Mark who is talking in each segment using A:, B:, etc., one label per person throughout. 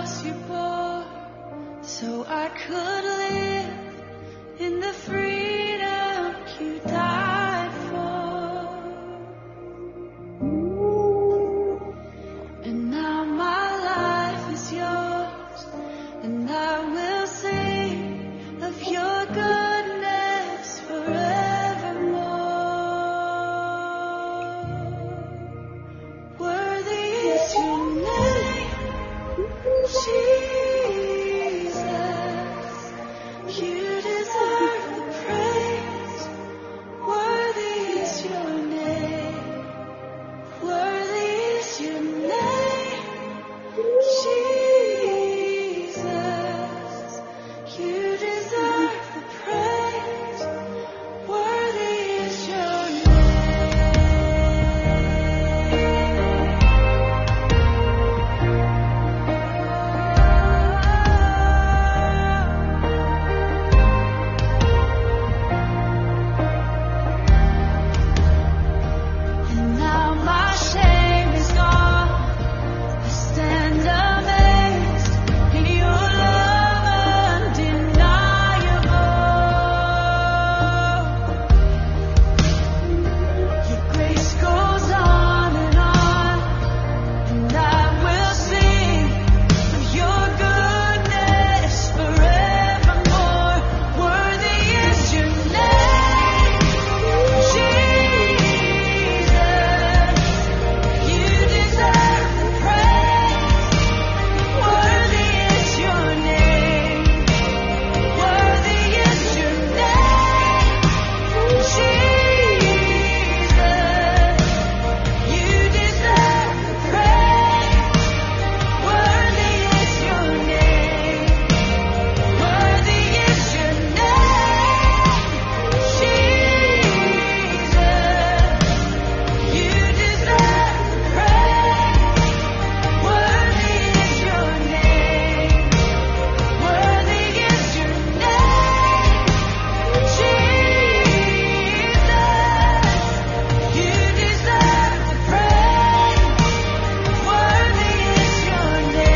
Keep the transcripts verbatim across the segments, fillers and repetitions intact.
A: cross you bore, so I could live in the freedom you died for. And now my life is yours, and I will sing of your goodness forevermore. Worthy is your name, Jesus. You deserve the praise. Worthy is your name. Worthy is your name, Jesus. You deserve the praise. Worthy is your And now my shame is gone. I stand amazed in your love undeniable. Your grace goes on and on, and I will sing of your goodness forevermore. Worthy is your name, Jesus. You deserve the praise. Worthy is your name. Worthy is your name, Jesus. You deserve the praise. Worthy is your name. Worthy is your name, Jesus. You deserve the praise. Worthy is your name. Worthy is your name, Jesus. You deserve the praise. Worthy is your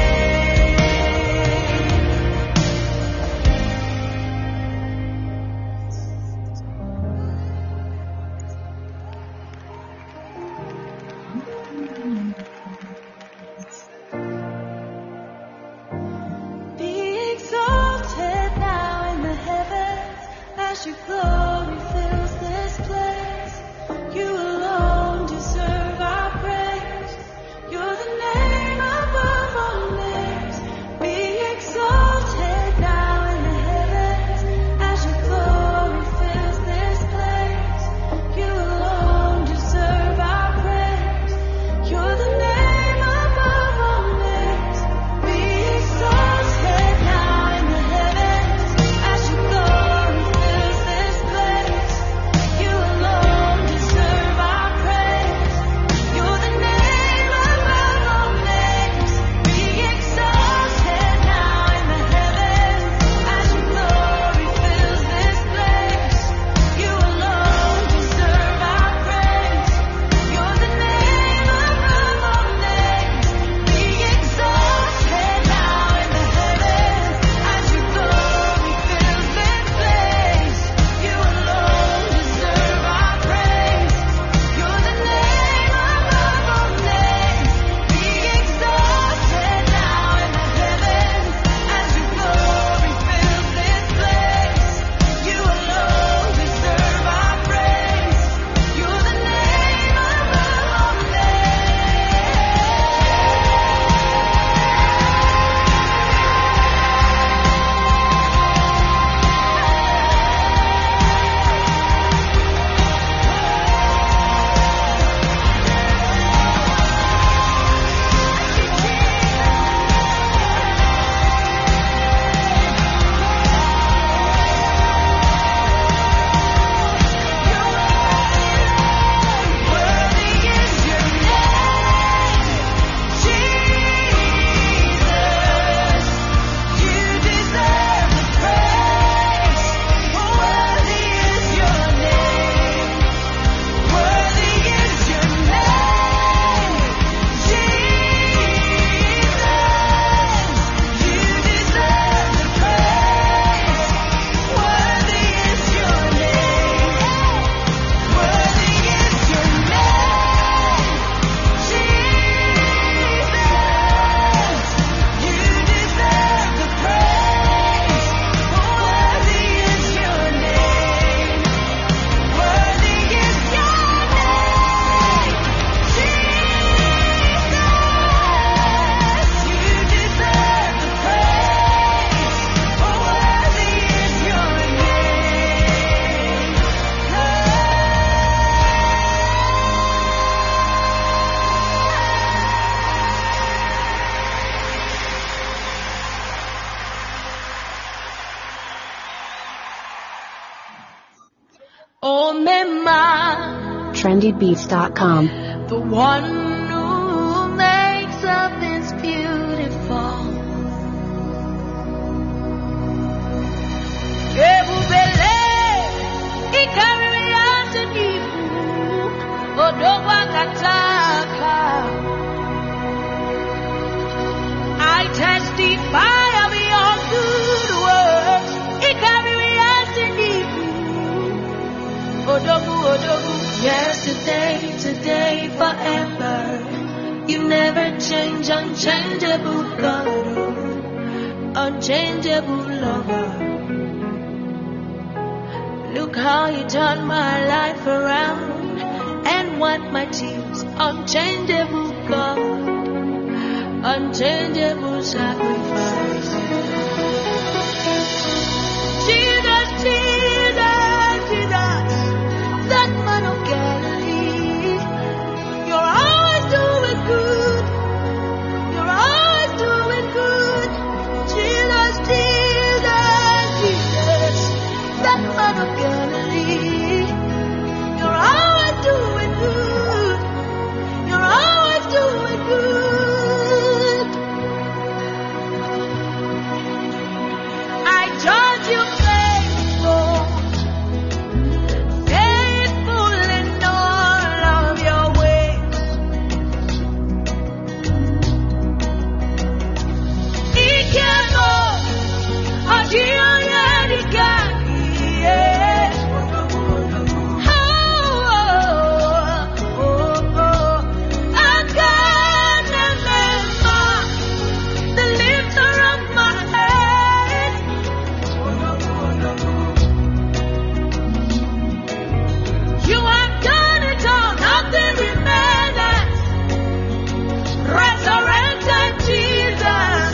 A: Be exalted now in the heavens as your glory fills this place. You alone deserve our praise. You're the name above all names. Be exalted now in the heavens as your glory fills this place. You alone deserve our praise. You're the name above all names. Be exalted now in the heavens as your glory fills this place. Oh, Mema,
B: trendy beats dot com.
A: the one who makes all things beautiful. Ebubele, ikariyasi nifu, odogwa kataka. I testify of your good works. Ikariyasi nifu, odogu, odogu. Yesterday, today, forever. You never change, unchangeable God, unchangeable lover. Look how you turned my life around and wiped my tears. Unchangeable God, unchangeable sacrifice. Jesus, Jesus, Jesus, that man of Galilee. You're always doing good. You're always doing good. Jesus, Jesus, Jesus, that man of Galilee. You're always doing good. You're always doing good. I judge you faithful, faithful in all of your ways. Ikemo, Adio Yedikaki, yeah. Oh, oh, oh, oh. Akanamema, the lifter of my head. You have done it all, nothing remains. Resurrected Jesus.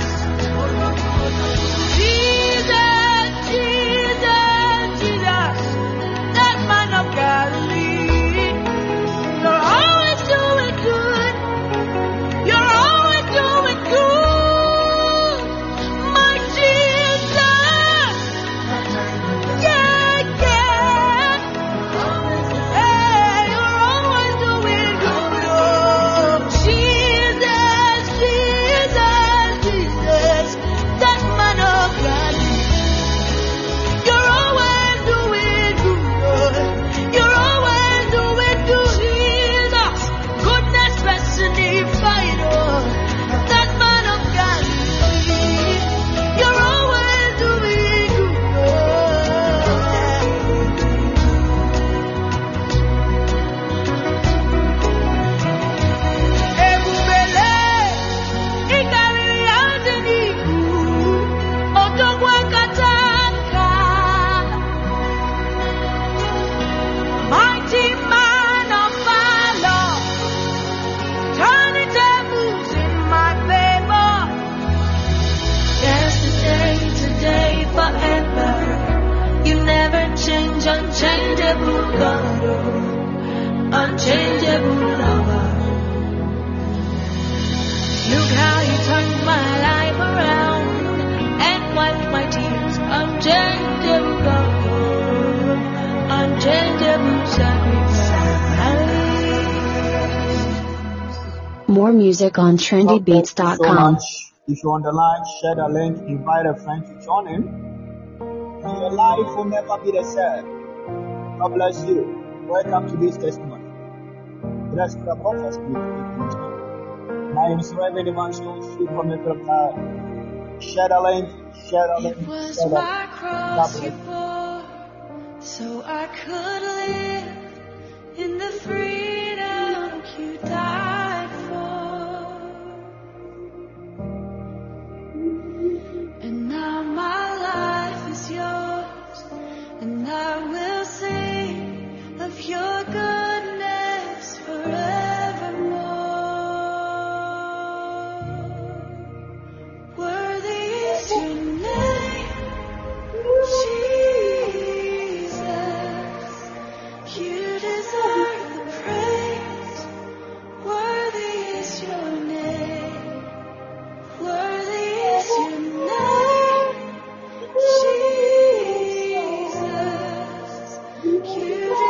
A: Jesus, Jesus, Jesus, that man of Galilee. You're always doing good. You're always doing good. My Jesus. Yeah, yeah. Hey, you're always doing good. Oh, Jesus, Jesus, Jesus, that man of Galilee. You're always doing good. You're always doing good. Jesus, goodness personified. Oh, that man of Galilee. You're always doing good. Ebubele, ikariyasi nifu, odogwa kataka. Mighty man of valor, turning tables in my favor. Yesterday, today, forever. You never change, unchangeable God, oh, unchangeable lover. Look how you turned my life around and wiped my tears. Unchangeable God, oh, unchangeable sacrifice.
B: More music on trendy beats dot
C: Thank you so
B: com.
C: much. If you're on the line, share the link, invite a friend to join in, and your life will never be the same. God bless you. Welcome to this testimony. Bless the prophet. My name is Reverend Evangelist Sweet from the God. Share the link, share the link,
A: It was
C: share the
A: my
C: link. God
A: cross
C: bless
A: you
C: you.
A: bore, so I could live in the freedom you died for. And now my life is yours, and I will sing of your goodness forevermore. Worthy is your name, Jesus. You deserve the praise. Worthy is your name. Worthy is your name, Jesus. You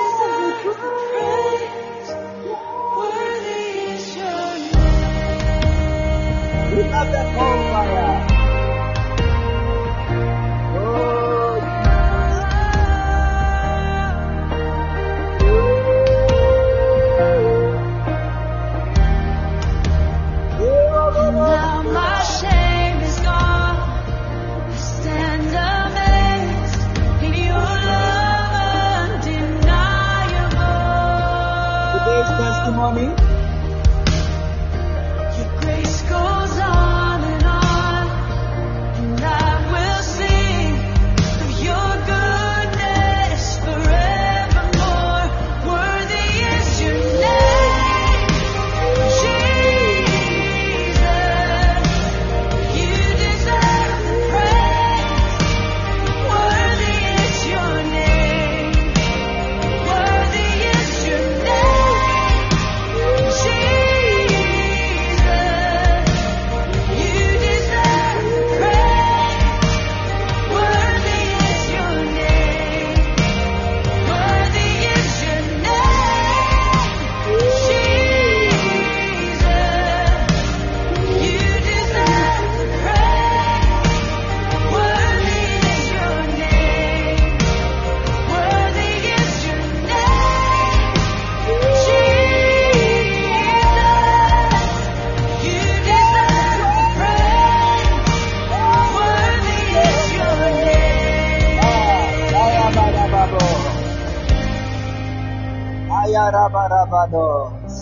C: Ayarabarabados.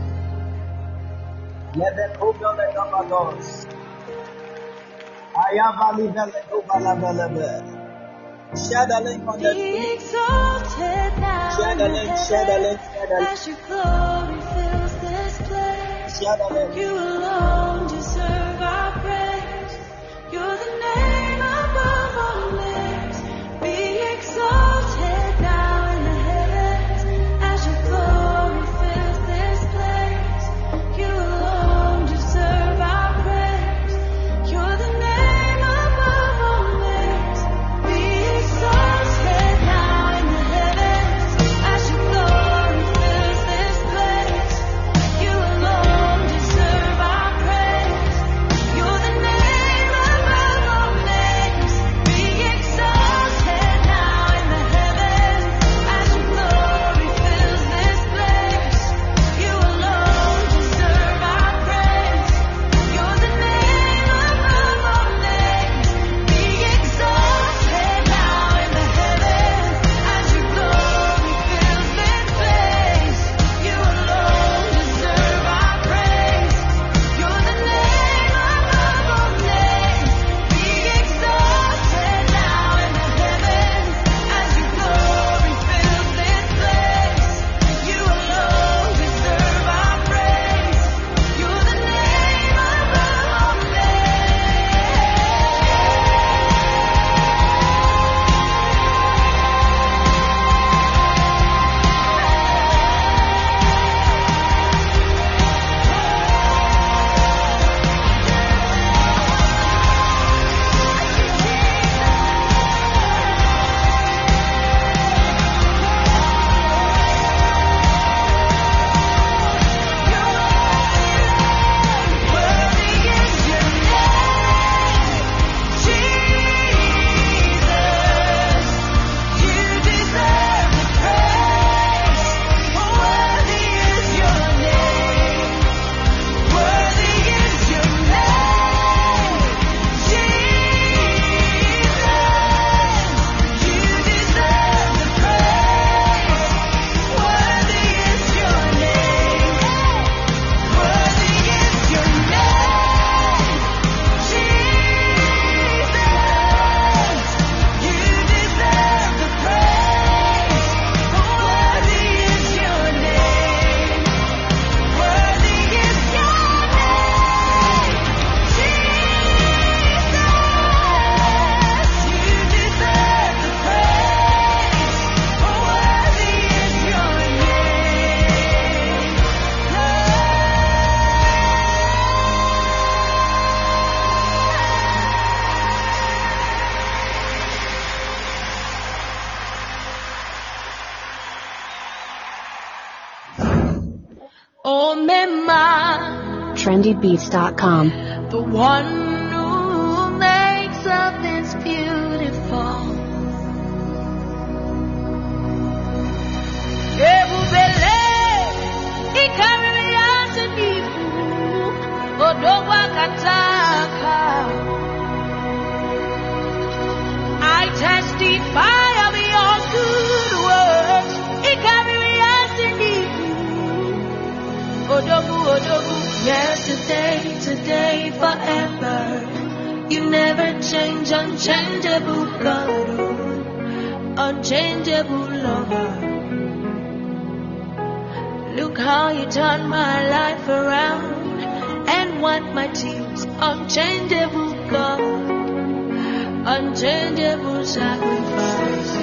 C: Lebekobelegabados. Ayabalibelegobalabelebe. Share the link on the
A: Be
C: screen.
A: exalted now
C: Share the
A: in the
C: link, share the link, share the
A: heavens
C: link.
A: as your glory fills this place.
C: Share the link.
A: You alone deserve our praise. You're the name above all names. Be exalted now in the heavens as your glory fills this place. You alone deserve our praise. You're the name above all names. Be exalted now in the heavens as your glory fills this place. You alone deserve our praise. You're the name above all names. Be exalted now in the heavens as your glory fills this place. You alone deserve our praise. You're the name above all names. Be exalted now in the heavens as your glory fills this place. You alone deserve our praise. You're the name above all names. Be exalted now in the heavens as your glory fills this place. You alone deserve our praise. You're the name above all Worthy is your name, Jesus. You deserve the praise. Worthy is your name. Worthy is your name, Jesus. You deserve the praise. Worthy is your name. Worthy is your name, Jesus. You deserve the praise. Worthy is your name. Worthy is your name, Jesus. You deserve the praise. Worthy is your Oh, Mema,
B: trendy beats dot com.
A: the one who makes all things beautiful. Ebubele, ikarele asenifu, odowa kataka. I testify of your good works. Ikarele asenifu, odogu, odogu. Yesterday, today, forever. You never change, unchangeable God, unchangeable lover. Look how you turned my life around and wiped my tears. Unchangeable God, unchangeable sacrifice.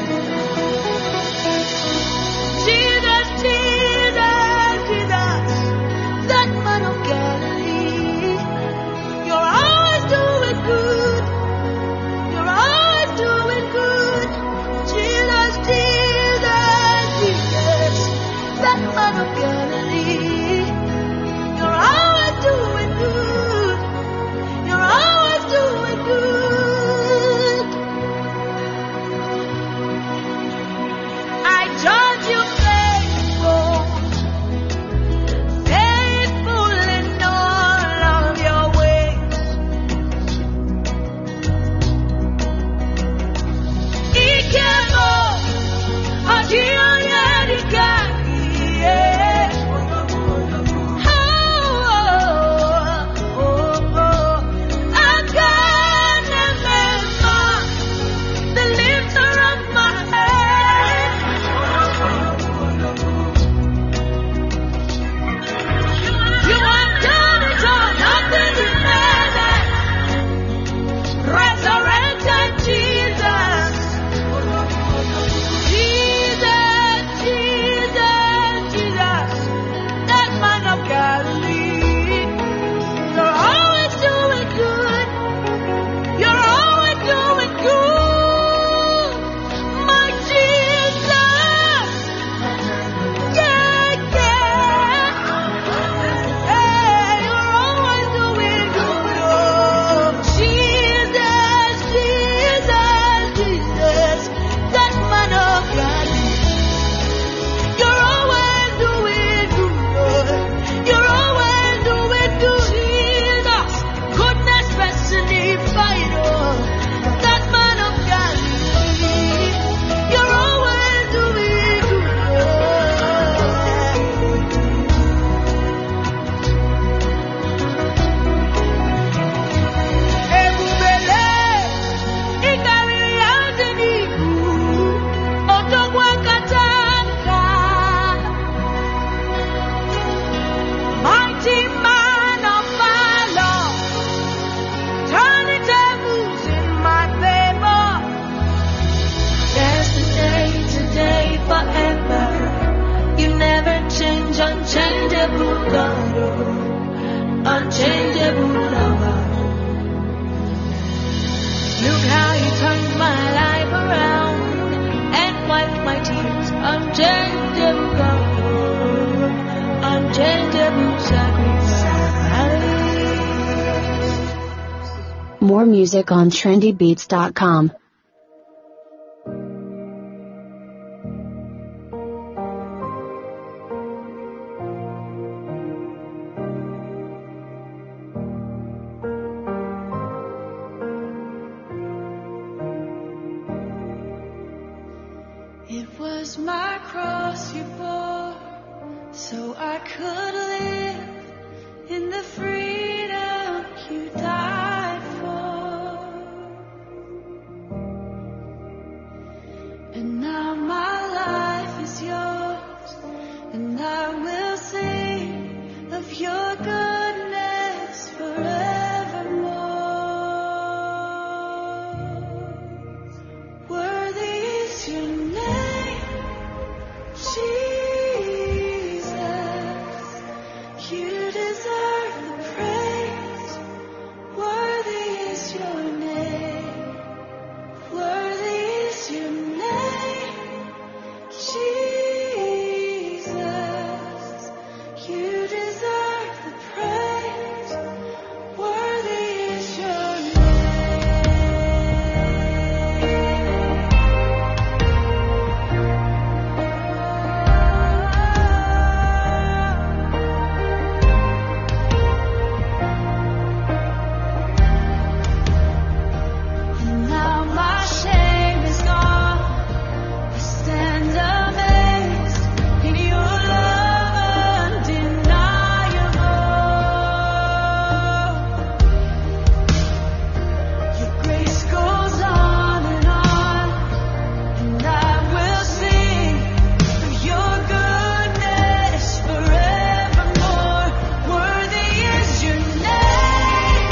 A: Jesus, Jesus, Jesus, that man of Galilee. You're always doing good. You're always doing good. Jesus, Jesus, Jesus, that man of Galilee. You're always doing good. You're always doing good. unchangeable God, oh, unchangeable lover. Look how you turned my life around and wiped my tears. Unchangeable God, oh, unchangeable sacrifice.
B: More music on trendy beats dot com.
A: It was my cross you bore, so I could live in the freedom you died for. And now my life is yours, and I will sing of your goodness forevermore. Worthy is your name, Jesus. You deserve the praise. Worthy is your name. Worthy is your name, Jesus. You deserve the praise. Worthy is your And now my shame is gone. I stand amazed in your love undeniable. Your grace goes on and on, and I will sing of your goodness forevermore. Worthy is your name,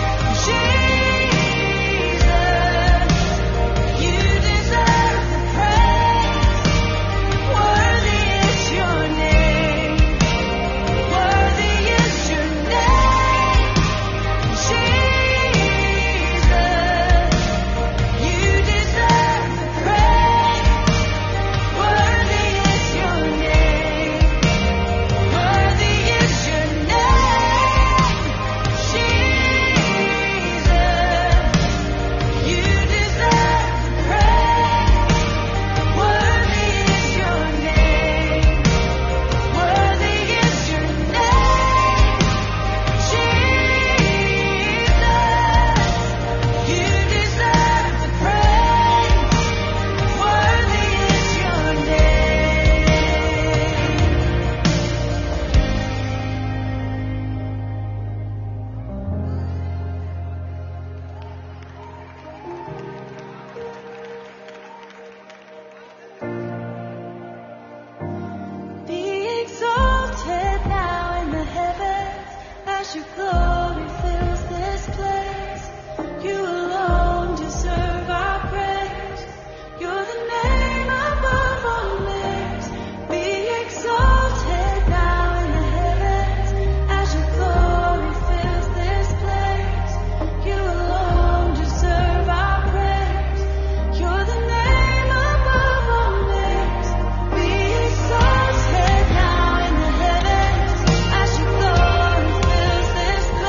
A: Jesus. You deserve the praise. Worthy is your name. Worthy is your name, Jesus. You deserve the praise. Worthy is your name. Worthy is your name, Jesus. You deserve the praise. Worthy is your name. Worthy is your name, Jesus. You deserve the praise. Worthy is your name. Be exalted now in the heavens as your glory fills this place. You alone deserve our praise. You're the name above all names. Be exalted now in the heavens as your glory fills this place. You alone deserve our praise. You're the name above all names. Be exalted now in the heavens as your glory fills this place.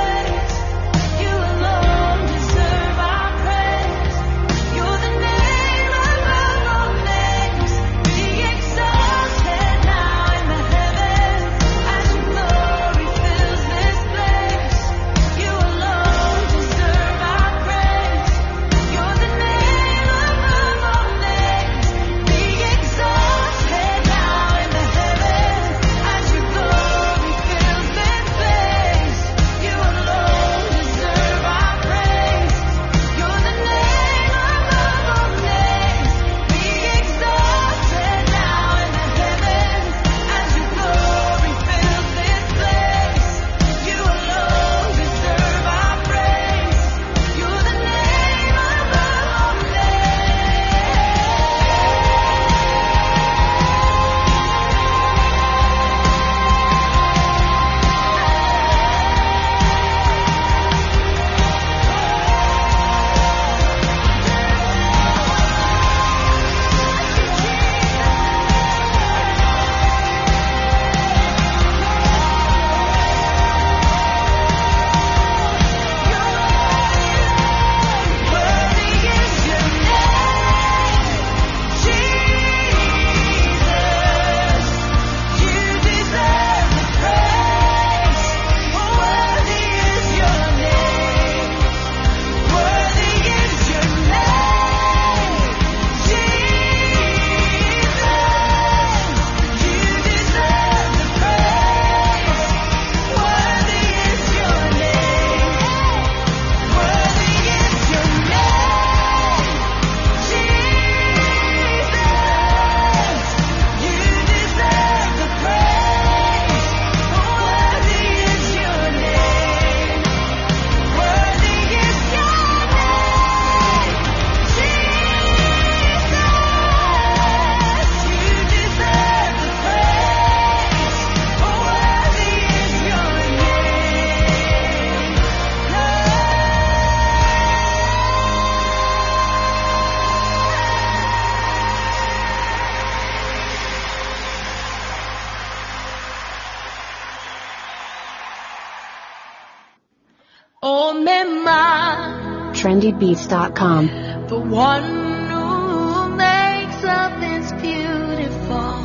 A: Oh, Mema,
B: trendy beats dot com.
A: the one who makes all things beautiful.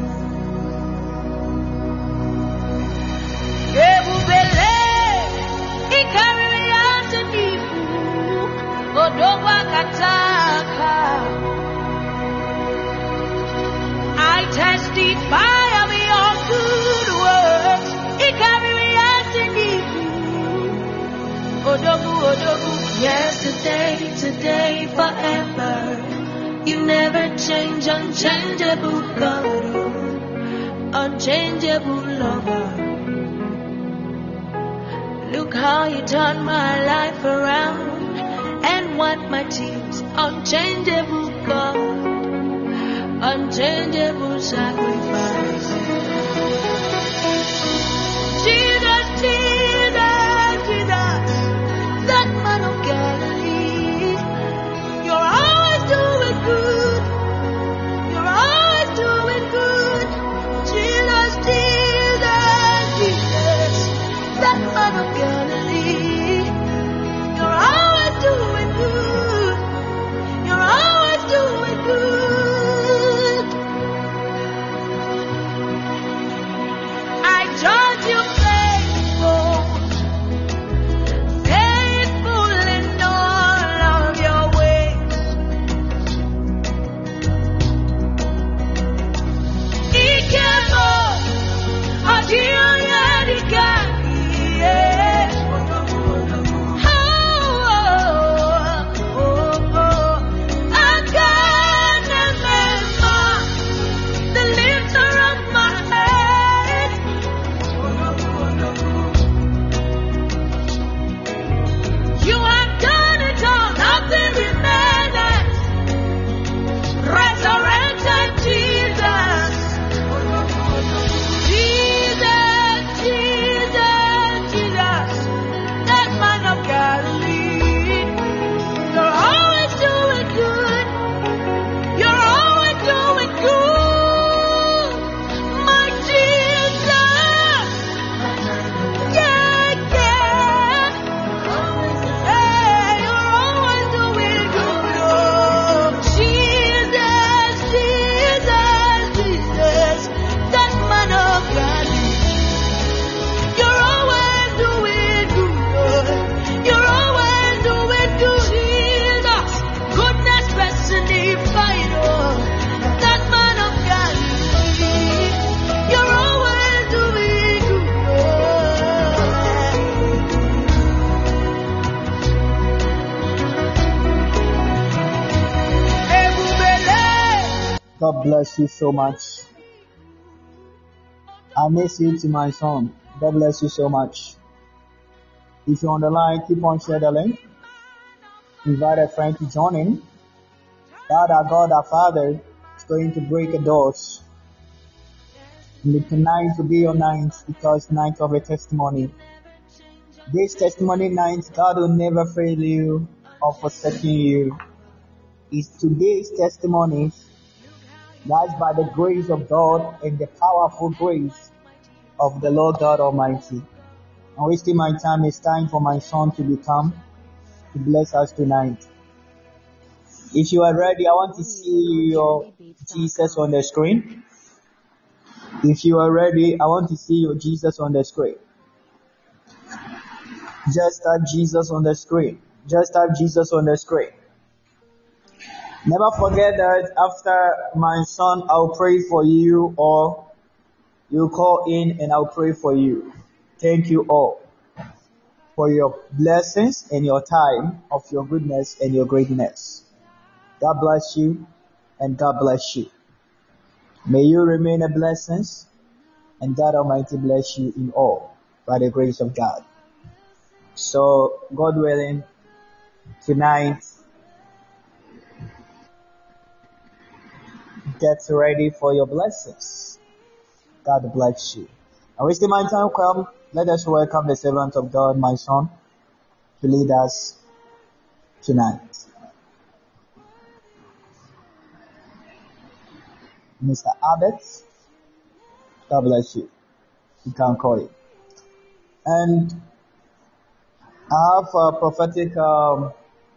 A: Ebubele, ikariri atanibu, odogwa kataka. I testify of your good works. Ikariri atanibu, odogu, odogu. Yesterday, today, forever. You never change, unchangeable God, unchangeable lover. Look how you turned my life around and wipe my tears. Unchangeable God, unchangeable sacrifice. Jesus, Jesus, Jesus, that man of Galilee. You're always doing good. You're always doing good. Jesus, Jesus, Jesus, that man of Galilee. You're always doing good. You're always doing good. I judge you faithful, faithful in all of your ways. Ikemo, Adio Yadikani, yes. Oh, oh, oh, oh. I can't remember the lifter of my head. You have done it all, nothing remains. Resurrected Jesus. Jesus, Jesus, Jesus, that man of Galilee. You're always doing good. You're always doing good. My Jesus. Yeah, yeah. Hey, you're always doing good. Oh, Jesus, Jesus, Jesus, that man of Galilee. You're always doing good. You're always doing good. Jesus, goodness personified. Oh, that man of Galilee. You're always doing good. Ebubele.
C: God bless you so much. I miss you to my son. God bless you so much. If you're on the line, keep on sharing the link. Invite a friend to join in. God, our God, our Father, is going to break the doors. And tonight to be your night because night of a testimony. This testimony night, God will never fail you or forsake you. It's today's testimonies. That's by the grace of God and the powerful grace of the Lord God Almighty. I'm wasting my time. It's time for my son to become to bless us tonight. If you are ready, I want to see your Jesus on the screen. If you are ready, I want to see your Jesus on the screen. Just type Jesus on the screen. Just type Jesus on the screen. Never forget that after my son, I'll pray for you, or you call in and I'll pray for you. Thank you all for your blessings and your time of your goodness and your greatness. God bless you and God bless you. May you remain a blessing and God Almighty bless you in all by the grace of God. So, God willing, tonight, get ready for your blessings. God bless you. And wasting my time, come, let us welcome the servant of God, my son, to lead us tonight. Mister Abbott, God bless you. You can call it. And I have a prophetic, um,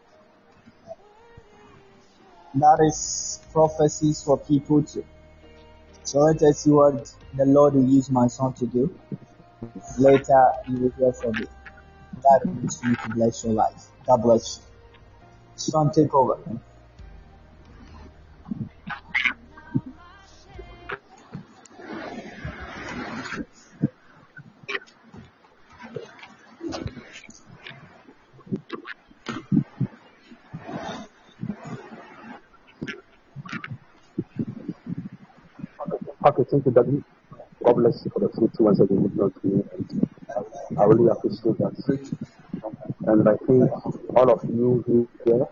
C: that is prophecies for people too. So let us see what the Lord will use my son to do. Later, you will hear from me. God will continue to bless your life. God bless you. Son, take over.
D: Okay, thank you, Daddy. God bless you for the fruit once again you've done to me. And I really appreciate that. And I think all of you here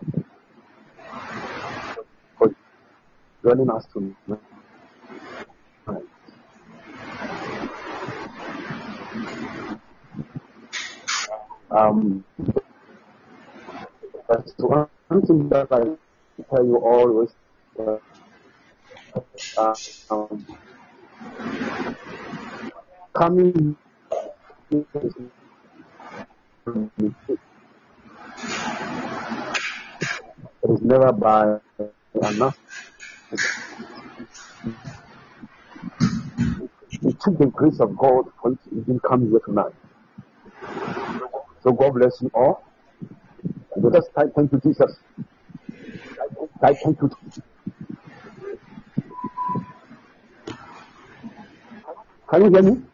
D: for joining us tonight. Um, that's one thing that I tell you always. Uh, uh, um, coming it is never by enough. It took the grace of God for you to even come here tonight. So God bless you all. Let us type thank you, Jesus. Type thank you. Can you hear me?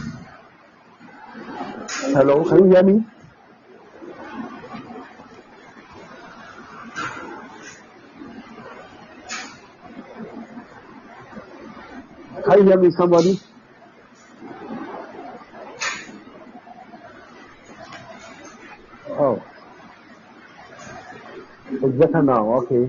D: Hello, can you hear me? Can you hear me, somebody? Oh, it's better now. Okay.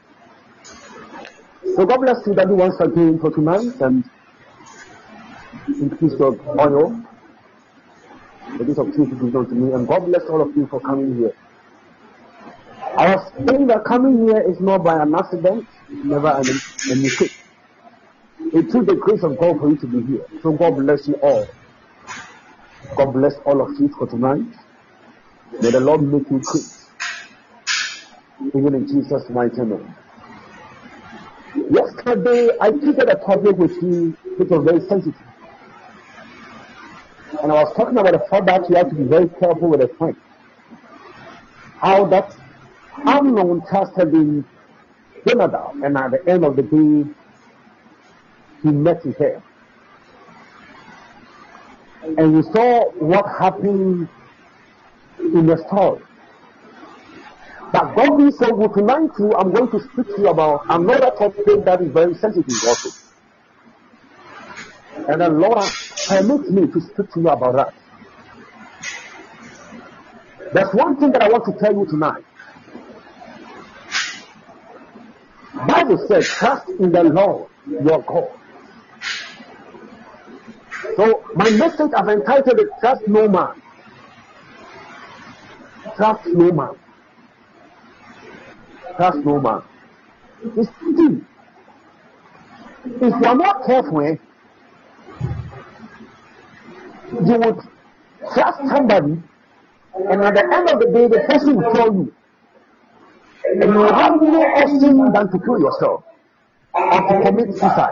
D: So God bless you, Daddy, once again for tonight, and increase your oil. The gift of truth is done to me, and God bless all of you for coming here. I was saying that coming here is not by an accident, never an, a mistake. It took the grace of God for you to be here. So God bless you all. God bless all of you for tonight. May the Lord make you great, even in Jesus' mighty name. Yesterday, I treated a topic with you which was very sensitive. And I was talking about the fact that you have to be very careful with a friend. How that Amnon trusted in Jonadab, and at the end of the day, he met his hair. And you saw what happened in the story. But God being so good tonight too, I'm going to speak to you about another topic that is very sensitive also. And the Lord permits me to speak to you about that. There's one thing that I want to tell you tonight. Bible says, trust in the Lord your God. So my message I've entitled it, Trust No Man. Trust no man. Trust no man. It's true. If you are not careful, eh, you would trust somebody, and at the end of the day, the person will tell you, and you will have no option than to kill yourself or to commit suicide.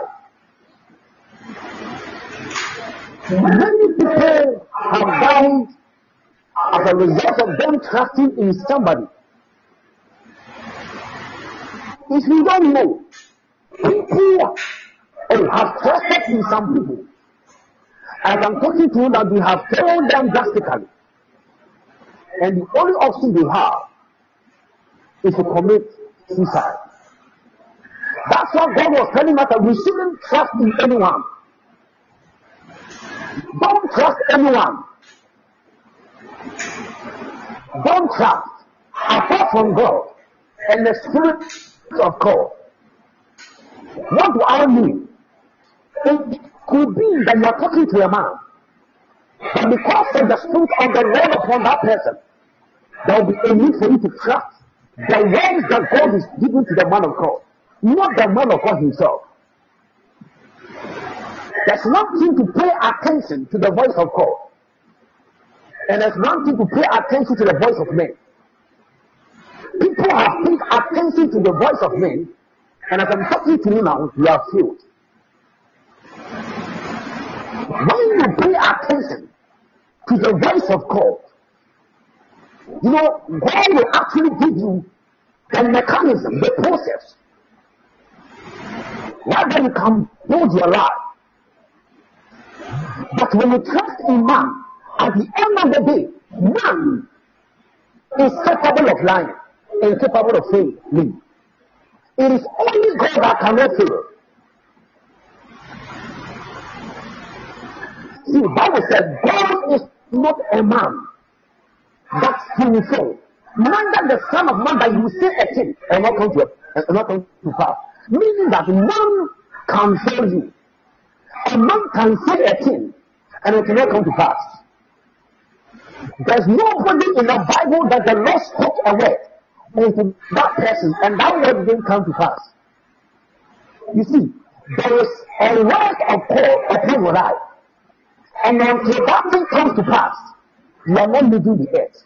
D: Many people have died as a result of them trusting in somebody. If you don't know, people have trusted in some people. As I'm talking to you that we have failed them drastically. And the only option they have is to commit suicide. That's what God was telling us, that we shouldn't trust in anyone. Don't trust anyone. Don't trust apart from God and the Spirit of God. What do I mean? It could be that you are talking to a man, but because of the Spirit of the Lord upon that person, there will be a need for you to trust the words that God is giving to the man of God, not the man of God himself. There's one thing to pay attention to the voice of God. And it's one thing to pay attention to the voice of men. People have paid attention to the voice of men, and as I'm talking to you now, you are filled. When you pay attention to the voice of God, you know, God will actually give you the mechanism, the process, whether you can build your life. But when you trust in man, at the end of the day, man is capable of lying and capable of failing. It is only God that cannot fail. See, the Bible said God is not a man that he will fail. Neither the Son of Man that you will say a thing and not come to and not come to pass. Meaning that man can fail you. A man can say a thing and it will not come to pass. There's nobody in the Bible that the Lord spoke a word into that person and that word didn't come to pass. You see, there is a word of God upon your life. And until that thing comes to pass, you are not leaving the earth.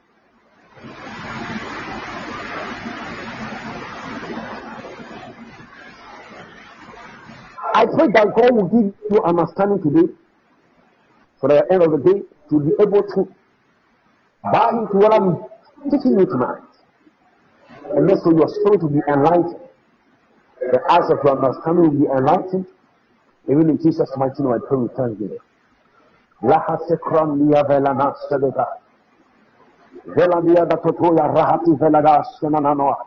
D: I pray that God will give you understanding today, for the end of the day, to be able to buy into what I'm teaching you tonight. And also your spirit will be enlightened. The eyes of your understanding will be enlightened. Even in Jesus' mighty name, I pray with thanksgiving. Lahasekram liya velana sedeka. Velandia da totoya rahati velada senananoa.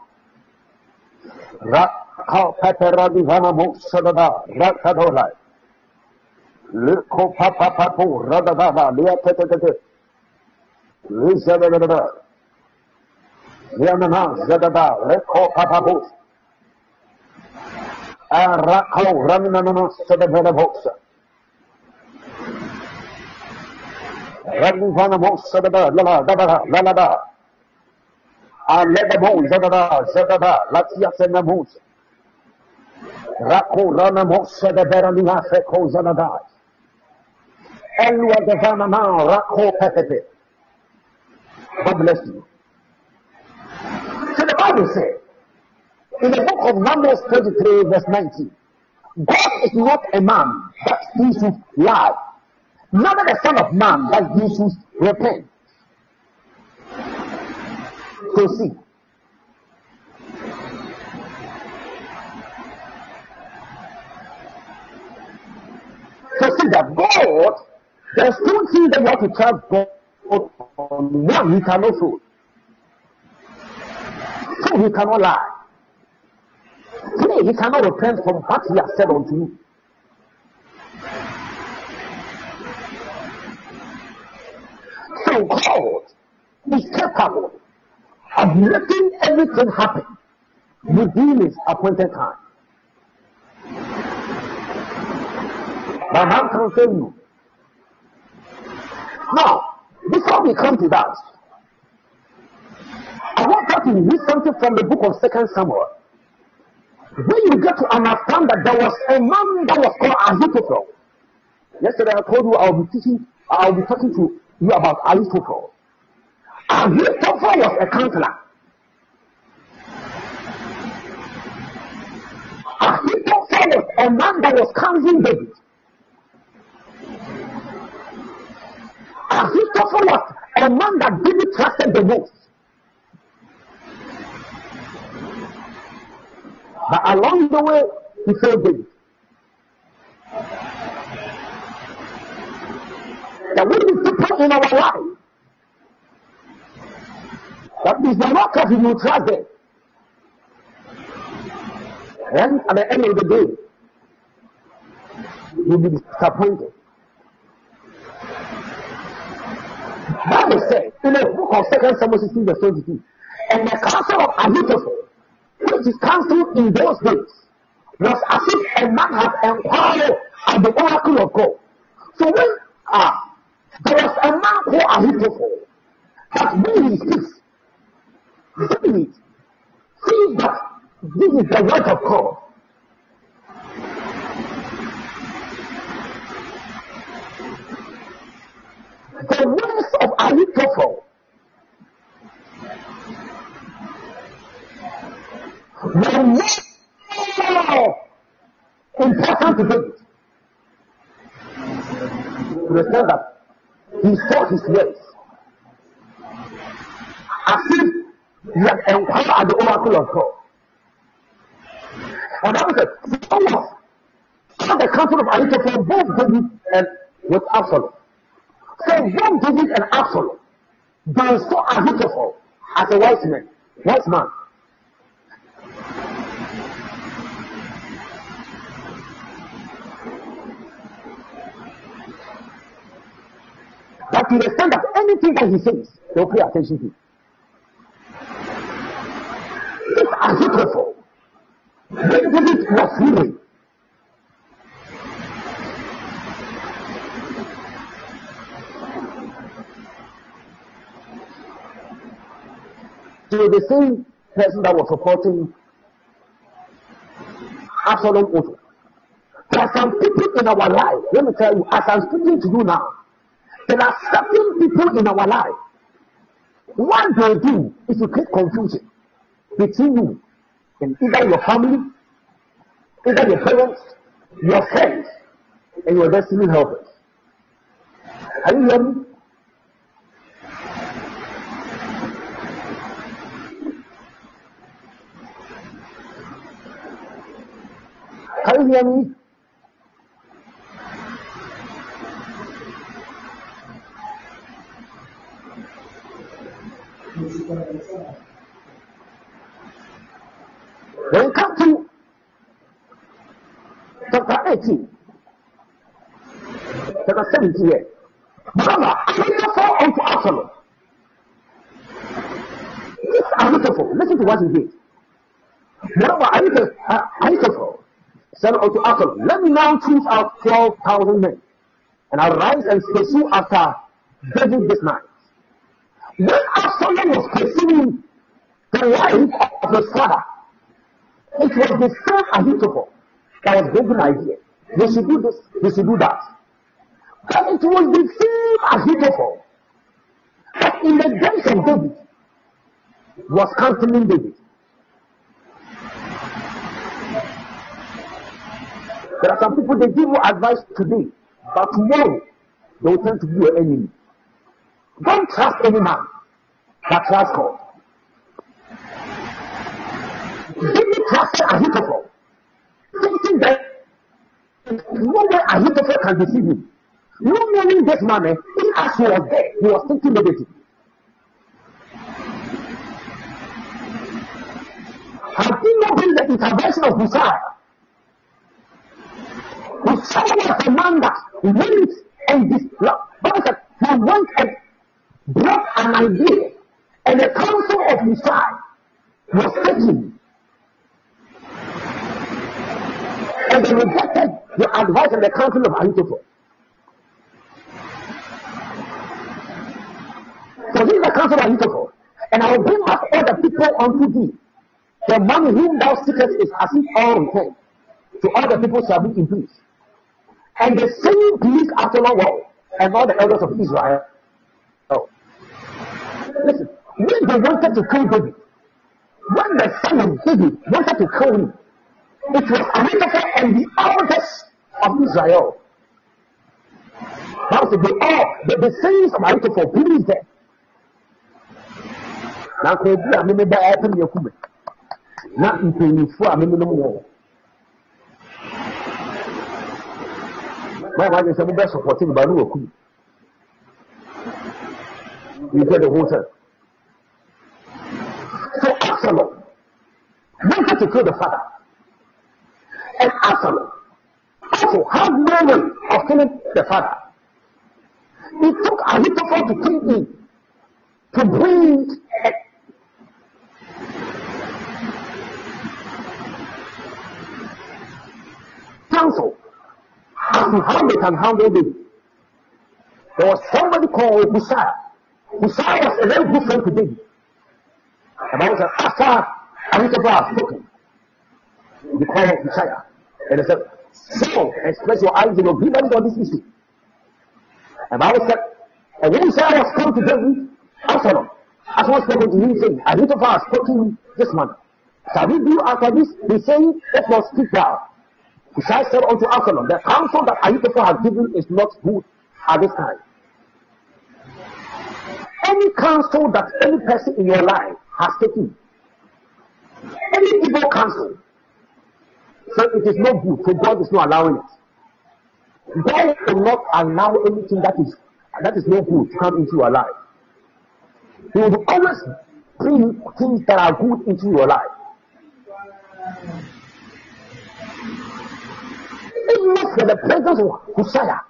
D: Rakha pepera divana mo sedada rakadolai. Lirko papa papo radadada liya tetetete. Lizadadada. Lianana zadada lirko papapo. Arakho raminana sedevela boxa. Radivana Mosadada, Lala, Dada, Lalada, Aledamo, Zadada, Zadada, Latia Senamos, Rako Rana Mosada Veramina Feko Zanada, Elua Devana, Rako Pepe. God bless you. So the Bible says, in the book of Numbers twenty-three, verse nineteen, God is not a man that he should lie. Neither the Son of Man that he should repent. So see. So see that God, there's two things that you have to trust God on. One, he cannot fool. Two, he cannot lie. Three, he cannot repent from what he has said unto you. So God is capable of making everything happen within his appointed time. But man can fail you. Now, before we come to that, I want us to read something from the book of Second Samuel. When you get to understand that there was a man that was called Ahithophel. Yesterday I told you I'll be teaching, I'll be talking to you about Ahithophel. Ahithophel was a counselor. Ahithophel was a man that was counseling David. Ahithophel was a man that David trusted the most. But along the way, he failed David. There will be people in our life that is not because you trust them. And at the end of the day, you'll be disappointed. Bible says in the book of Second Samuel sixteen verse twenty-two, and the counsel of Ahithophel, which is counsel in those days, was as if a man had inquired at the oracle of God. So when ah, there was a man called Ahithophel, that when he speaks, see it, see that this is the word of God. The words of Ahithophel were more important to David. To the extent that he saw his ways as if he had encountered at the oracle of God. And that was it. So was all the counsel of Ahithophel, both David and with Absalom. So both David and Absalom, they saw Ahithophel as a wise man, wise man. But to the extent that anything that he says, they'll pay attention to. This Ahithophel, when David was living, to the same person that was supporting Absalom also. There are some people in our life, let me tell you, as I'm speaking to you now, there are certain people in our life. What they do is to create confusion between you and either your family, either your parents, your friends, and your destiny helpers. Are you hearing me? Can you hear me? When we come to chapter eighteen, chapter seventeen here, remember, Ahithophel unto Absalom. This Ahithophel, listen to what he did. Remember, Ahithophel said unto Absalom, let me now choose out twelve thousand men, and arise and pursue after David this night. When Absalom was pursuing the life of his father, it was the same Ahithophel that was giving idea. They should do this, they should do that. But it was the same Ahithophel that in the days of David was counseling David. There are some people, they give you advice today, but tomorrow they will turn to be your enemy. Don't trust any man, but trust God. David trusted Ahithophel, thinking that no way Ahithophel can deceive him. No knowing this man, eh, he as he was there, he was thinking negative. Had he not been the intervention of Uzziah, Uzziah was the man that went and disrupted. Bible said he went and brought an idea, and the counsel of Uzziah was taken. And they rejected the advice and the counsel of Ahithophel. So this is the counsel of Ahithophel. And I will bring back all the people unto thee. The money whom thou seekest is as if all returned. To all the people shall be in peace. And the same pleased Absalom well, and all the elders of Israel. Oh. Listen, when they wanted to kill David, when the son of David wanted to kill him, it was Ahithophel and the elders of Israel. Now, so they all, the, the sayings of Ahithophel pleased them. Now, can you be a member of your woman? Not in paying for a member no more. My wife is a member supporting Baru. You get the whole time. So, Absalom wanted to kill the father. And Absalom also had no way of killing the father. He took Ahithophel to kill him, to bring a counsel as to how they can handle David. There was somebody called Uzziah. Uzziah was a very good friend to David. The Bible said, after Ahithophel had spoken, they called Uzziah. And they said, so express your eyes and your grievance on this issue. And the Bible said, And when Sarah was come to David, Absalom, Absalom spoke to him, saying, Ahithophel has spoken this man. Shall we do after this? He saying, let us speak now. Hushai said unto Absalom, the counsel that Ahithophel has given is not good at this time. Any counsel that any person in your life has taken, any evil counsel, so it is not good, so God is not allowing it. God will not allow anything that is that is not good to come into your life. He will always bring things that are good into your life. Even for the presence of Hosea,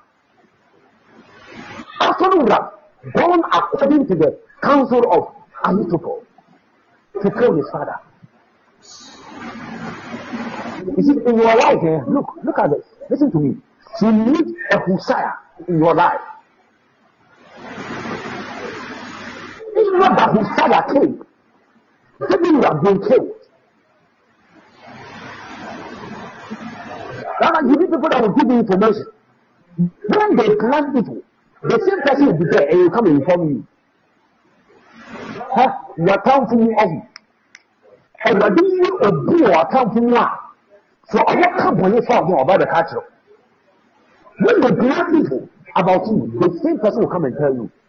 D: Absalom would have gone according to the counsel of Ahithophel to kill his father. You see, in your life, eh, look, look at this. Listen to me. You need a Hosea in your life. It's not that Hosea came. Maybe you have been killed. Rather, you need people that will give you information. When they plan evil, the same person will be there and will come and inform you. Huh? You are telling me everything. And what do you do or tell me now? So I won't come when you find more about the culture. When they plan evil about you, the same person will come and tell you.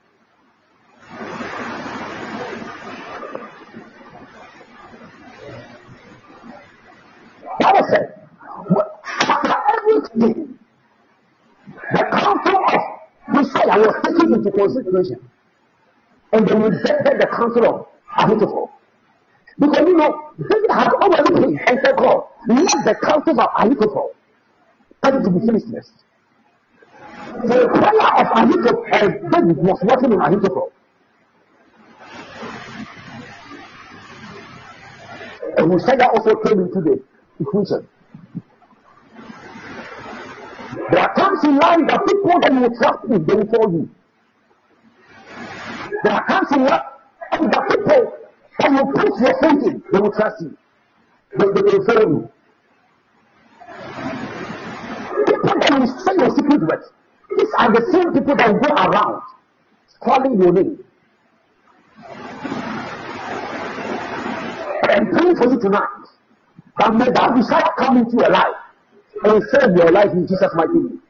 D: Bible said, after everything, the counsel of Messiah was taken into consideration, and they rejected the counsel of Ahithophel. Because you know, David had already prayed and said, God, let the counsel of Ahithophel come to be foolishness. The prayer of Ahithophel, uh, David was working in Ahithophel. And Messiah also came into the equation. There are times in life that people that you trust in, they will fall you. There are times in life that people that you put your faith in, they will trust you. They, they will follow you. People that you say your secret with, these are the same people that go around calling your name. And praying for you tonight. That may that desire come into your life and save your life in Jesus' mighty name.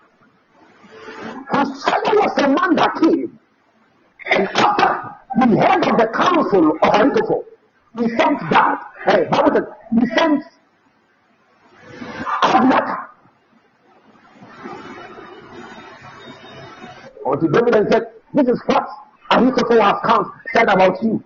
D: Hosea was a man that came, and after he heard of the counsel of Ahithophel, he sent God. Hey, Bible said he sent Abner unto David and said, "This is what Ahithophel has come said about you."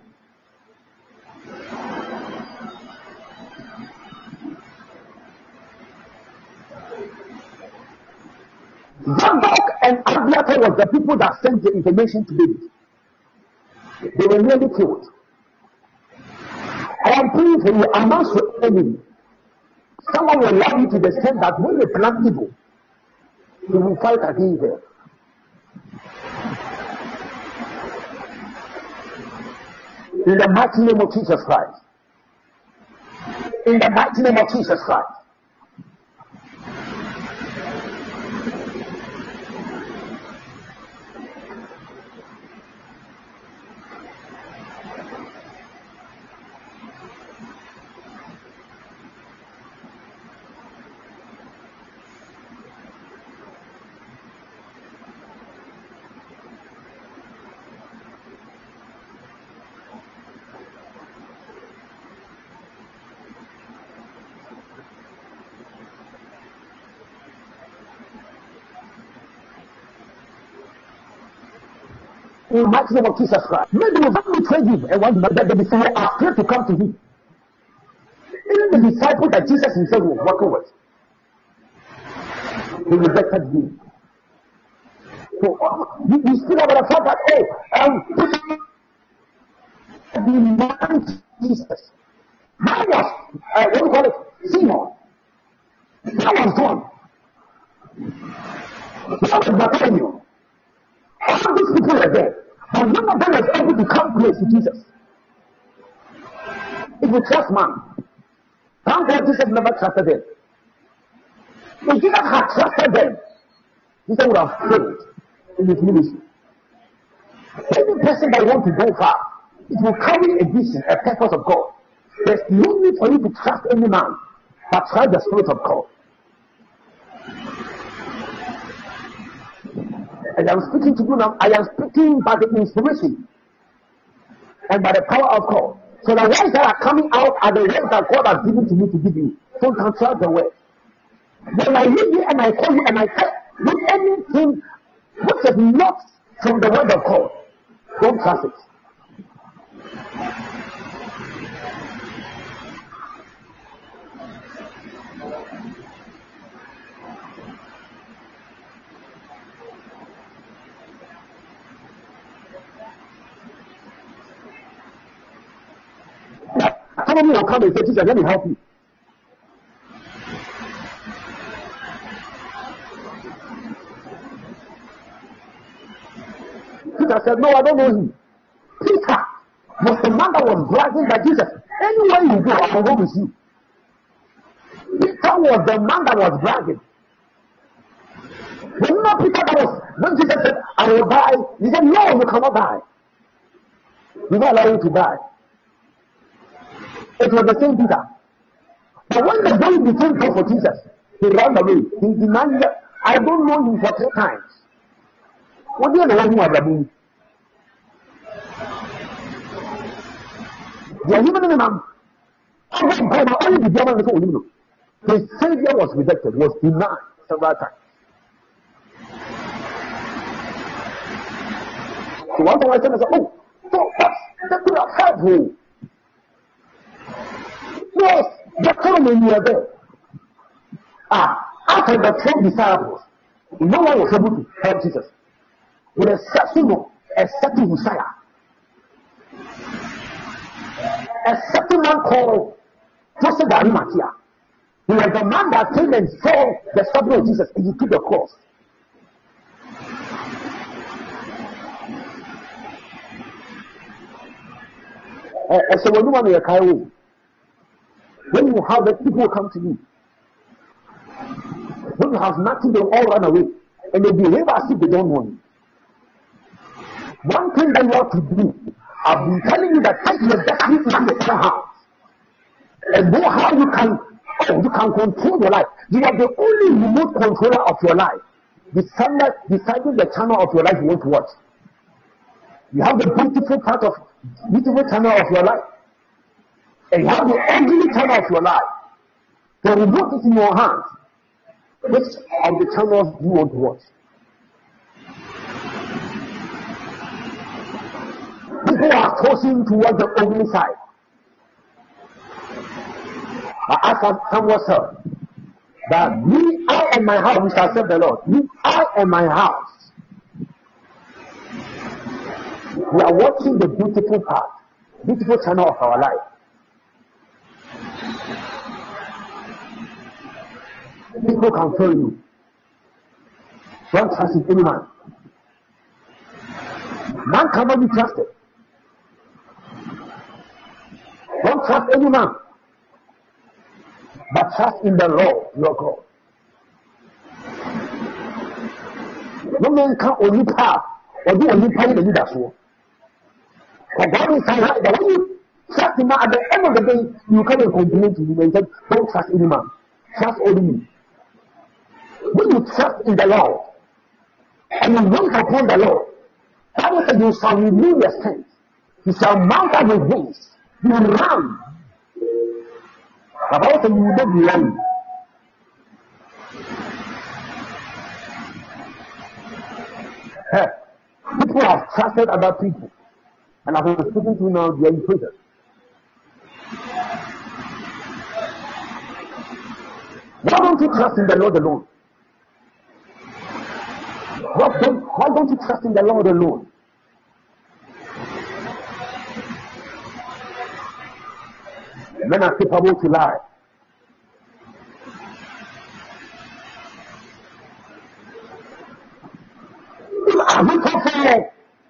D: Zadok and Abiathar was the people that sent the information to David. They were nearly killed. I am praying for you amongst your enemy. Someone will love you to the extent that when they plan evil, they will fight against them. In the mighty name of Jesus Christ. In the mighty name of Jesus Christ. In the mighty name of Jesus Christ. Maybe you have betrayed him and want that the disciples are scared to come to him. Even the disciples that Jesus himself was working with, they rejected him. So uh, you, you still have the fact that, oh, um, demand Jesus. How was, uh, what do you call it, Simon? That was gone. That was Bartholomew. All these people are there. But none of them was able to come close to Jesus. If you trust man, thank God Jesus never trusted them. If Jesus had trusted them, Jesus would have failed in his ministry. Any person that wants to go far, it will carry a vision, a purpose of God. There's no need for you to trust any man, but trust the Spirit of God. As I'm speaking to you now, I am speaking by the inspiration and by the power of God. So the words that are coming out are the words that God has given to me to give you. So you can trust the word. When I read you and I call you and I say, with anything which is not from the word of God, don't trust it. Somebody will come and say, "Teacher, let me help you." Peter said, "No, I don't know him." Peter was the man that was bragging that Jesus, anywhere you go, I will go with you. Peter was the man that was bragging. But not Peter that was, when Jesus said, "I will die," he said, "No, you cannot die. We not allow you to die." It was the same Peter. But when the day became time for Jesus, he ran away. He denied, "I don't know him," for three times. What do you know who are doing? The human man, only the German was only. His Savior was rejected, was denied several times. So one time I said, "Oh, so that could have helped you." Yes, the time you were there. Ah, after the twelve disciples, no one was able to help Jesus. With a certain, a certain Messiah, a certain man called Joseph of Arimathea. He was the man that came and saw the suffering of Jesus and he took the cross. And so when you want to carry, when you have the people come to you, when you have nothing, they all run away and they behave as if they don't know you. One thing that you have to do, I've been telling you that take your destiny into your hands and know how you can, oh, you can control your life. You are the only remote controller of your life. Deciding, deciding the channel of your life you want to watch. You have the beautiful part of beautiful channel of your life, and you have the ugly channel of your life. The remote is in your hands. Which of the channels you want to watch? People are tossing towards the ugly side. But as someone said, that me, I and my house, we shall serve the Lord. Me, I and my house. We are watching the beautiful part, beautiful channel of our life. People can tell you, don't trust in any man. Man cannot be trusted. Don't trust any man, but trust in the Lord your God. No man can only pass or do only pay the leader so. But God is saying that when you trust him, at the end of the day, you come and complain to him and say, don't trust any man, trust only me. When you trust in the Lord and you wait upon the Lord, Bible says you shall renew your strength. You shall mount up with wings. You will run. The Bible says you will not be running. Hey, people have trusted other people, and as I'm speaking to you now, they are in prison. Why don't you trust in the Lord alone? Why don't, why don't you trust in the Lord alone? Men are capable to lie. Are we confident?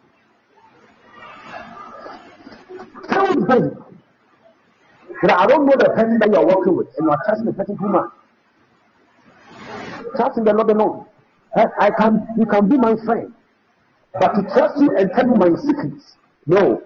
D: Tell me, baby, that I don't know the person that you are working with, and you are trusting the person too much. Trust in the Lord alone. I can, you can be my friend, But to trust you and tell you my secrets, no.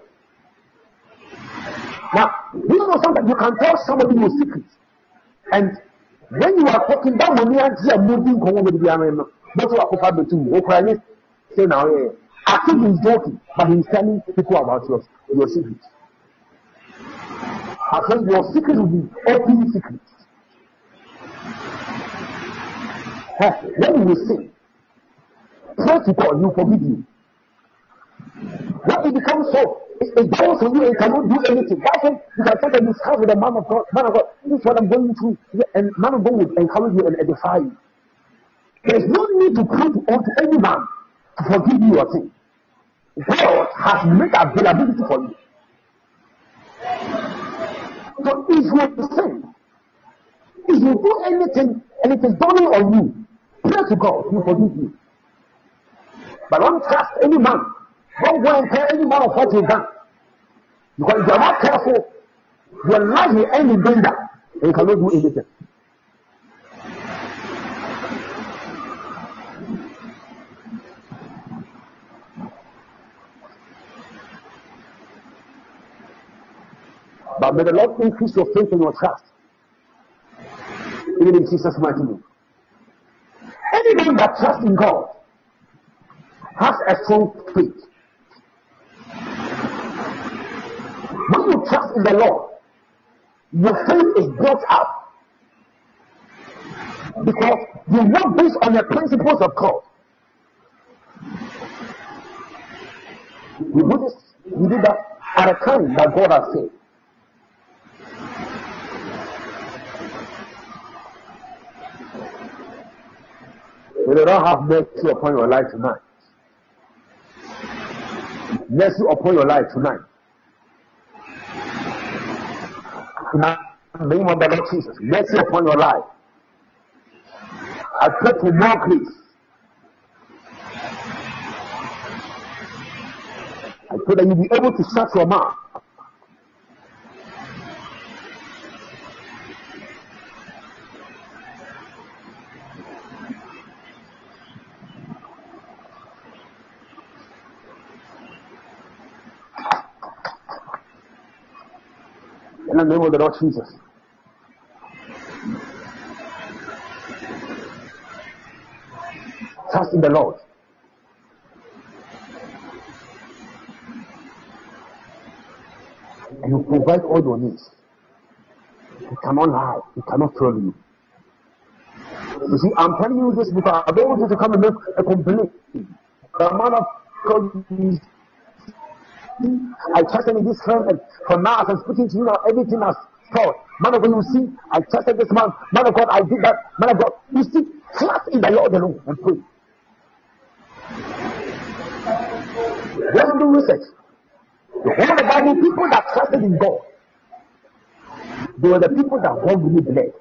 D: Now, you know something, you can tell somebody your secrets. And when you are talking that money and you are moving, that's what I have to do. Say now, I think he's joking, but he's telling people about your, your secrets. I think your secrets will be open secrets. When you sin, pray to God, He will forgive you. When it becomes so, it, it goes on you and cannot do anything. That's when you can take a discuss with a man of God. Man of God, this is what I'm going through. And man of God will encourage you and edify you. There is no need to pray to, to any man to forgive you your sin. God has made availability for you. So if you sin, if you do anything and it is dawning on you, pray to God, He will forgive you. But don't trust any man. Don't go and tell any man of what you've done. Because if you are not careful, your life will end in danger and you cannot do anything. But may the Lord increase your faith and your trust. Even in Jesus' mighty name. Anyone that trusts in God has a strong faith. When you trust in the Lord, your faith is built up. Because you work based on the principles of God. We do this, we do that at a time that God has said. May the Lord have mercy upon your life tonight. Mercy upon your life tonight. In the name of the Lord Jesus, mercy upon your life. I pray for more grace. I pray that you'll be able to shut your mouth. In the name of the Lord Jesus. Trust in the Lord. And He provide all your needs. He cannot lie. He cannot fail you. You see, I'm telling you this because I don't want you to come and make a complaint. The man of God is I trusted in this friend, and from now as I'm speaking to you now, everything has stopped. Man of God, you see, I trusted this man. Man of God, I did that. Man of God, you see, trust in the Lord alone and pray. Let's do research. The whole of the Bible, people that trusted in God, they were the people that God really blessed.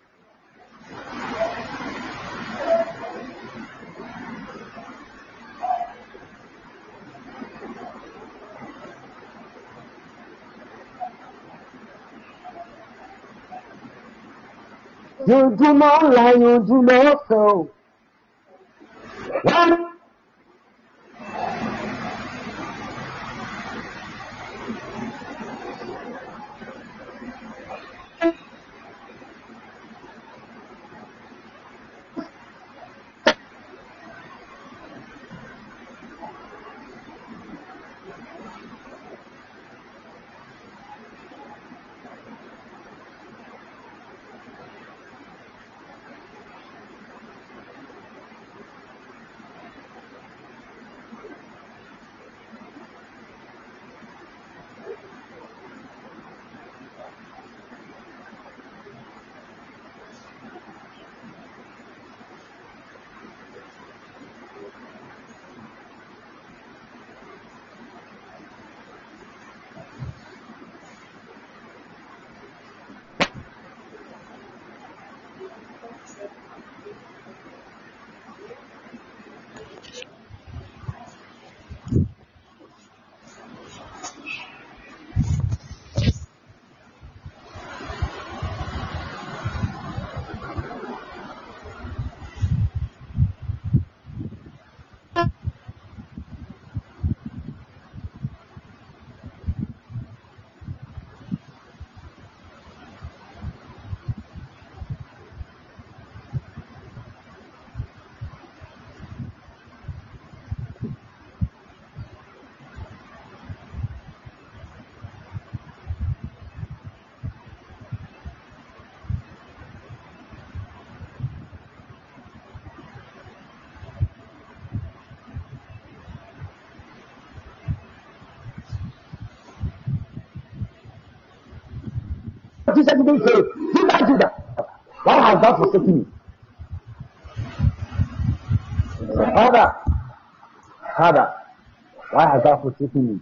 D: You do not lie, you do not fail. One. Jesus didn't say, Judah, Judah, why has thou forsaken me? Father, Father, why has thou forsaken me?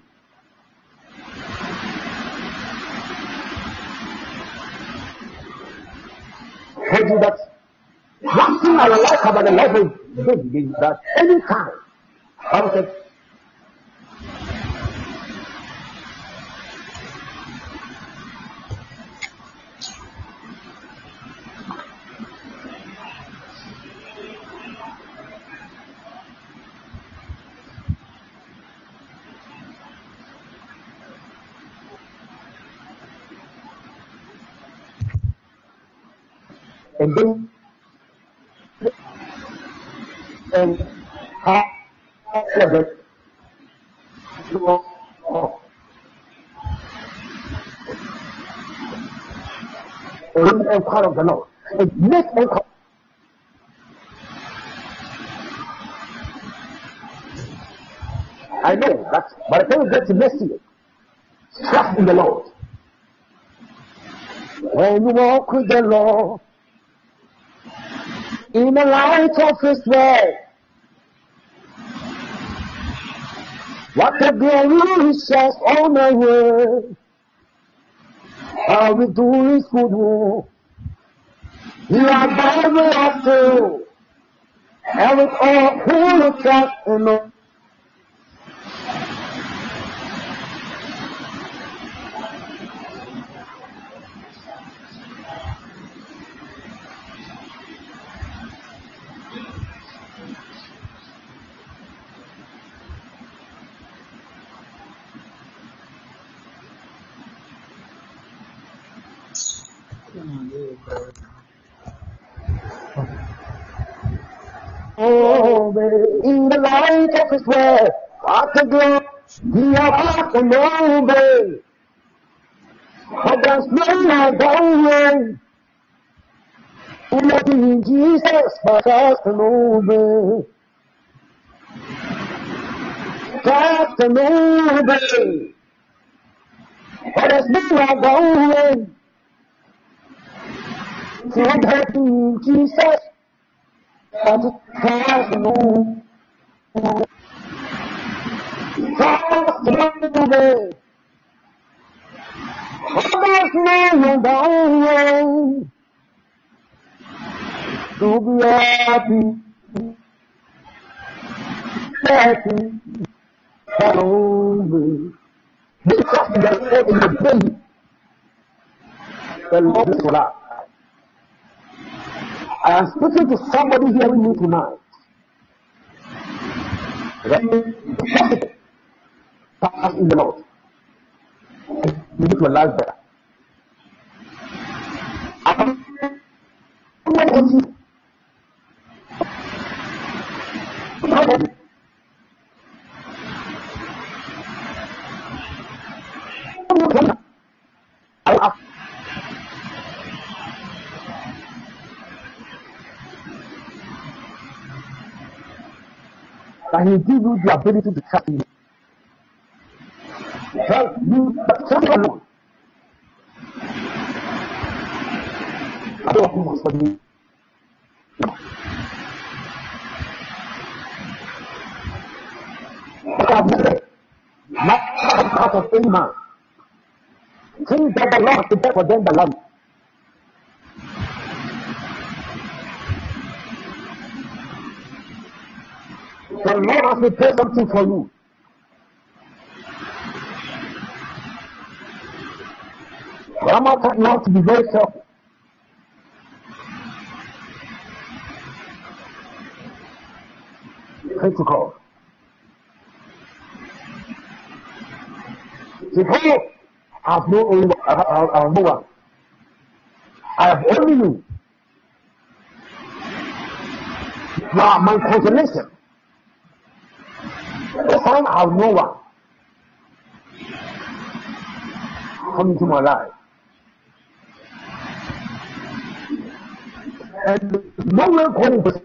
D: I told you that one thing I like about the life of David is that any time I said, and then and I said that oh, and part of the Lord. It makes them come. I know that by the time you get to next year, trust in the Lord. When you walk with the Lord in the light of His word, what a glory He says on the way. How we do His good work. You are Bible after, and with all who look at and all. Oh, in the light of His word, what a glory, we are back and over. But there's no light going. Nothing Jesus but us and over. Just and over. But there's no light going. Nothing Jesus. But it has no just over. There's no going to be happy, happy, over. Because the Lord in the day, the Lord is alive. I am speaking to somebody hearing me tonight. Right? Trust in the Lord. You need to life better. I'm not going to and He give you the ability to trust Him. Help you, but trust alone. I don't know what's for you. But I've never, not out of any man. Things that the Lord prepared for them that love Him. The Lord has prepared something for you. But I'm not talking now to be very careful. Pray to God. Say, hey, I have no only I have, I have no one. I have only you. You are my consolation. This time I have no one. Come into my life. And no one calling for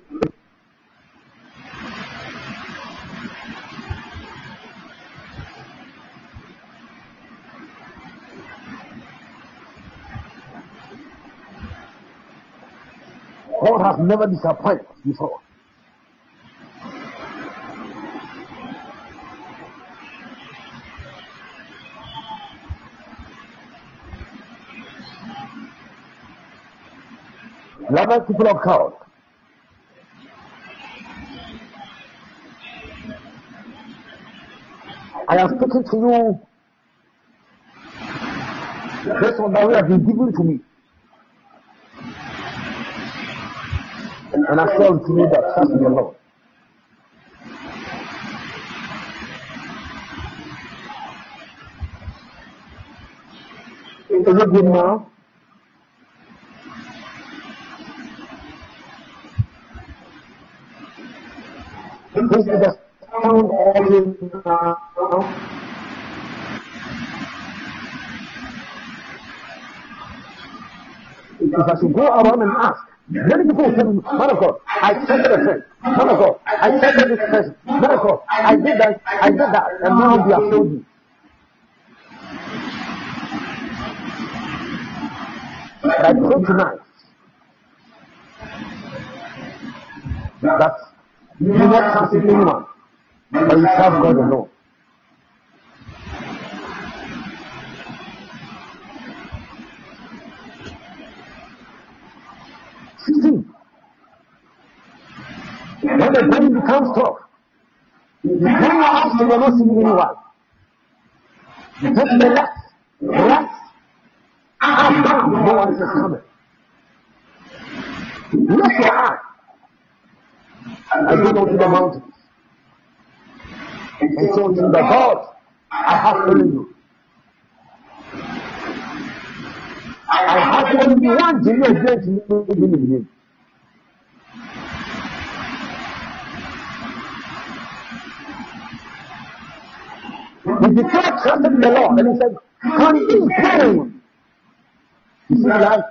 D: God has never disappointed before. Beloved people of God, I am speaking to you based on that way has been given to me. And I say to you that trust in the Lord. Is it good now? This is the sound audio now. If I should go around and ask, many people will tell me, man of God, I tested a friend, man of God, I tested this person, man of God, I did that, I did that, and now they have told me. But I pray tonight that you do not trust in anyone, but you trust God alone. See, when the brain becomes tough, you turn your eyes to the not seeing anyone. You turn to the left, right, up, down, no one is coming. Lift your eye and go to the mountains and say unto the God, I have only you. I have only one genuine great living in him. He declared trust in the Lord and he said, continue praying. You see life?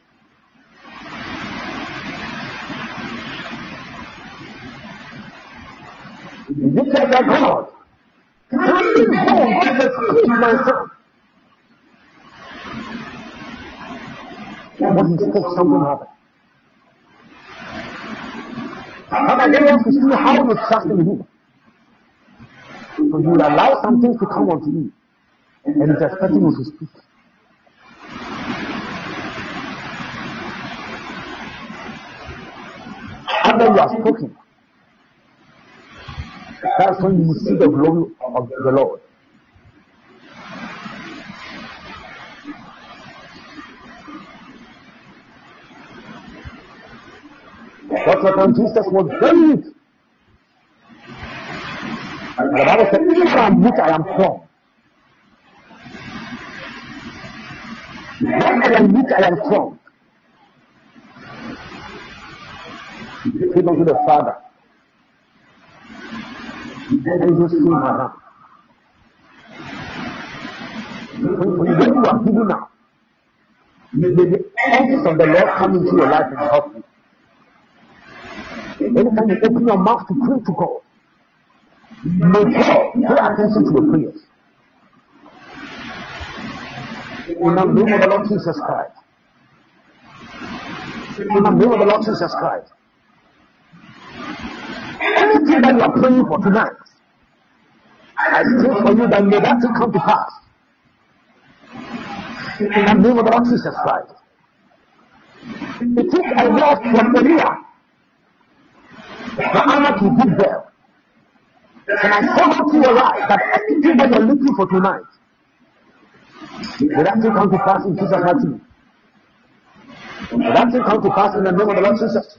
D: He declared that God, continue home, God has saved my son. When he spoke, something happened. And I didn't want to see how you trust in him. So you will allow some things to come unto you, and it's expecting you to speak. After you are spoken, that's when you will see the glory of the Lord. That's what when Jesus was very weak. And the Bible said, even from which I am strong. When I am weak, I am strong. He came unto the Father. And he just came around. When you are giving now, may the angels of the Lord come into your life and help you. Anytime you open your mouth to pray to God, may God pay attention to your prayers. In the name of the Lord Jesus Christ. In the name of the Lord Jesus Christ. Anything that you are praying for tonight, I pray for you that may that thing come to pass. In the name of the Lord Jesus Christ. It took a word from Elijah. The honor to give them. And I come to your life that everything that you're looking for tonight, may that thing come to pass in Jesus' name. May that thing come to pass in the name of the Lord Jesus.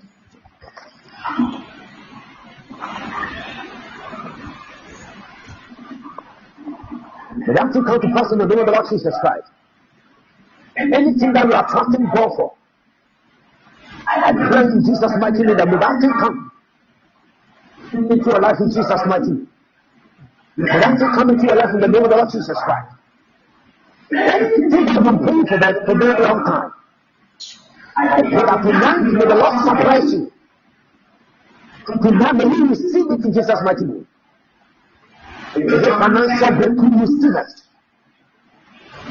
D: May that thing come to pass in the name of the Lord Jesus Christ. Anything that you are trusting God for, I pray in Jesus' mighty name that may that thing come into your life in Jesus' mighty name. May that thing come into your life in the name of the Lord Jesus Christ. Anything that I've been praying for that for a very long time, I pray that tonight may the Lord surprise you. Tonight may you receive it in Jesus' mighty name. The financial breakthrough, receive it.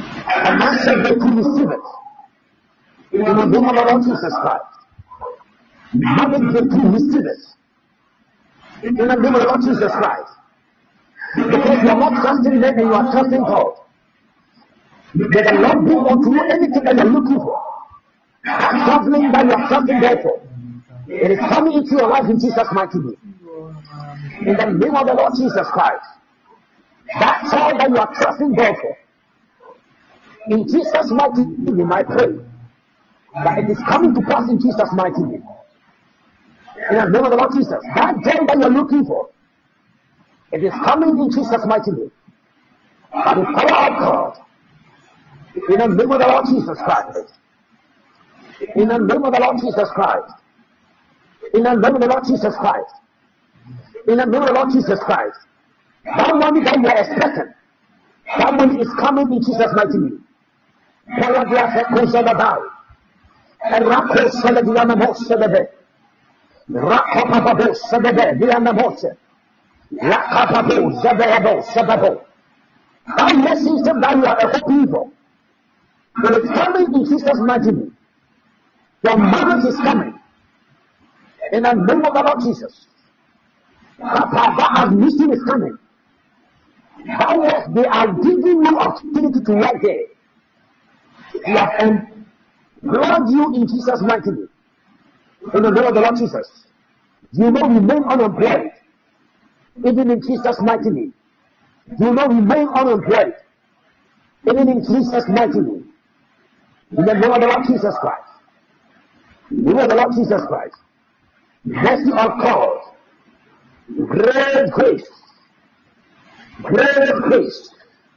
D: Financial breakthrough, receive it. In the name of the Lord Jesus Christ. Marriage breakthrough, receive it. In the name of the Lord Jesus Christ. Because you are not trusting them and you are trusting God. May the Lord bring unto you anything that you are looking for. That traveling that you are trusting God for. It is coming into your life in Jesus' mighty name. In the name of the Lord Jesus Christ. That child that you are trusting God for. In Jesus' mighty name, I pray that it is coming to pass in Jesus' mighty name. In the name of the Lord Jesus. That joy that you are looking for. It is coming in Jesus' mighty name. By the power of God. In the name of the Lord Jesus Christ. In the name of the Lord Jesus Christ. In the name of the Lord Jesus Christ. In the name of the Lord Jesus Christ. That money that you are expecting. That money is coming in Jesus' mighty name. That message that you are hoping for. It is coming in Jesus' mighty name. Your marriage is coming. In the name of the Lord Jesus. That admission is coming. That was, they are giving you opportunity to work there. They have employed you in Jesus' mighty name. In the name of the Lord Jesus. You will remain unemployed. Even in Jesus' mighty name. You will remain unemployed. Even in Jesus' mighty name. In the name of the Lord Jesus Christ. In the name of the Lord Jesus Christ. Mercy of God. Great grace. Great grace.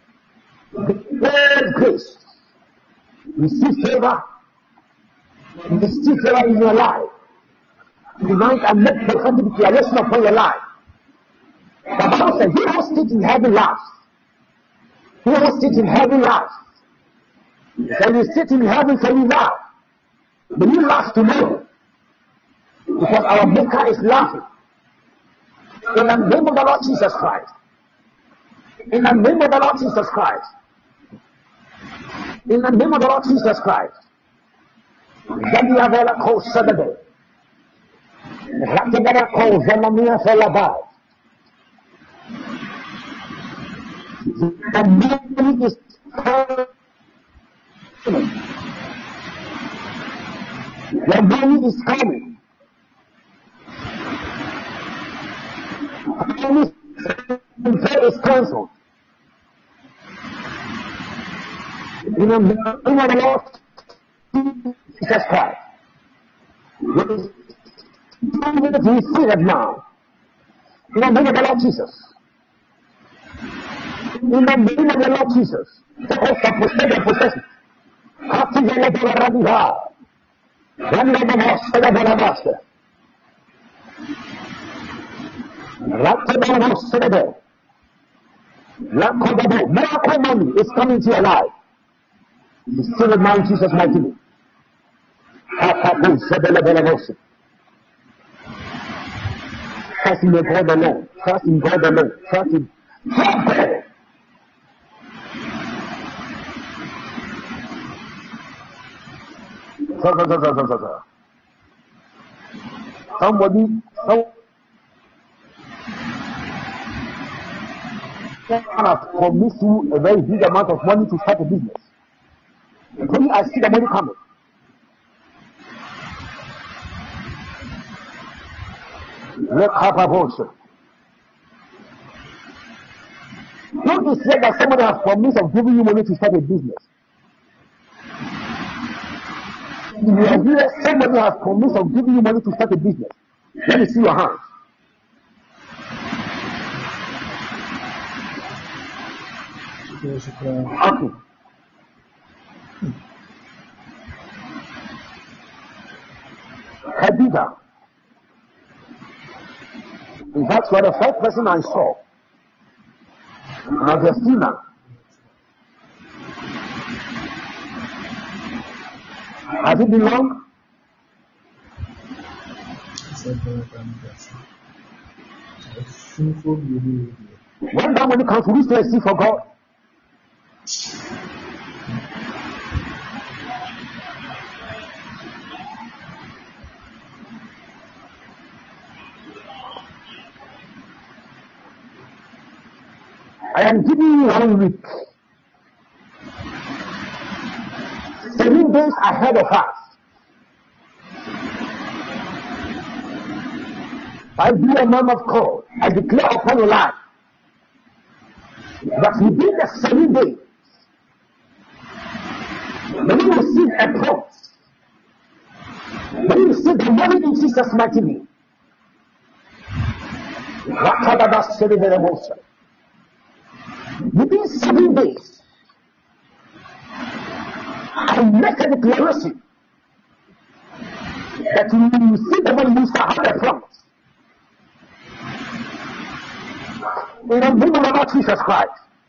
D: Great grace. Receive favor. Receive favor in your life. Tonight I make prophetic declaration upon your life. The Bible says, he who sits in heaven laughs. He who sits in heaven laughs. When you sit in heaven, can you laugh? But you laugh tomorrow. Because our Maker is laughing. In the name of the Lord Jesus Christ. In the name of the Lord Jesus Christ. In the name of the Lord Jesus Christ. Zebia ko Saturday. Rakibera ko Zemania Felabai. The money is coming. The money is coming. Prayer is cancelled. In the name of the Lord Jesus Christ. Receive it now. In the name of the Lord Jesus. In the name of the Lord Jesus. The host of possession, possession. After the level of Radha. Run the master, the master. Rakababa, Rakababa, miracle money is coming to your life. The still of man, Jesus mighty name. Trust in God alone. Trust in God alone. Trust in God. Somebody, some has promised you a very big amount of money to start a business. When I see the money coming, let's have a bullshit. Don't you say that somebody has promised of giving you money to start a business? If you are here, somebody has promised of giving you money to start a business. Let me see your hands. Okay. Khadija. In fact, you are the first person I saw. Augustina. Has it been long? When that money comes, will you still see for God? I am giving you one week. Seven days ahead of us. I be a man of God. I declare upon your life that within the seven days, when you receive a promise, when you receive the money in Jesus' mighty name, within seven days, I make a declaration that you will receive the money you shall have a promise. In the name of the Lord Jesus Christ.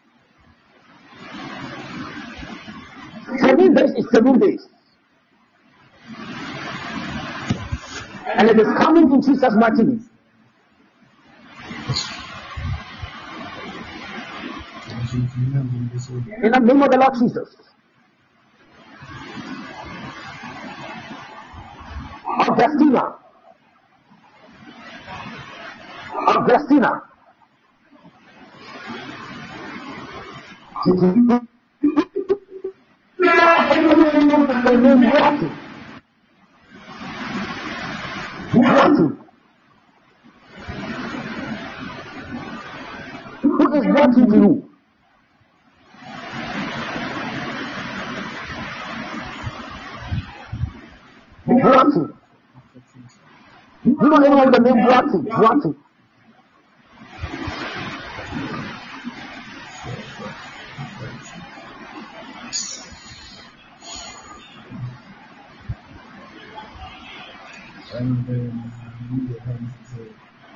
D: Seven days is seven days. And it is coming in Jesus' mighty name. In the name of the Lord Jesus. Augustina. Augustina. Who is watching to you? Watching. You know anyone the name watching? Watching.
C: And then you get him to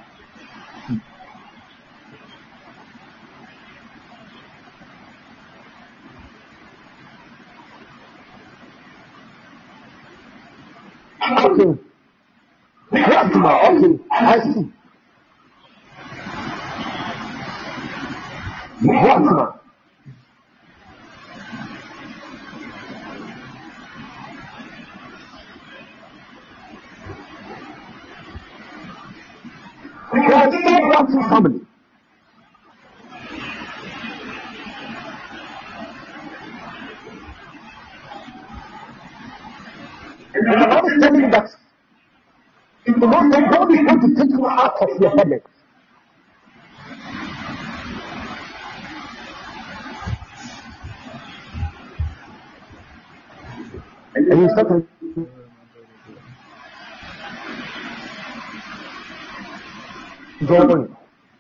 D: Okay. Fatima, okay. I see. Fatima. I see watching family. And the Lord is telling you that in the Lord, God is going to take you out of your headache. And you start to join.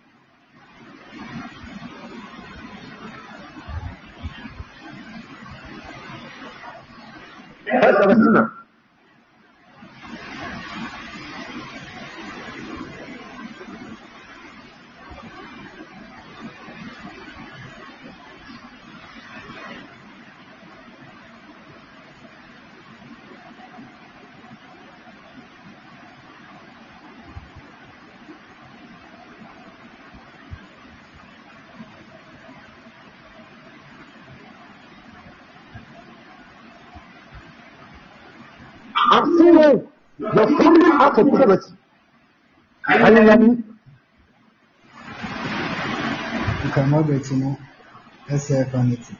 D: That's a sinner. I'm seeing you. Your family out of poverty. Are you ready?
C: you cannot get you know S F anything.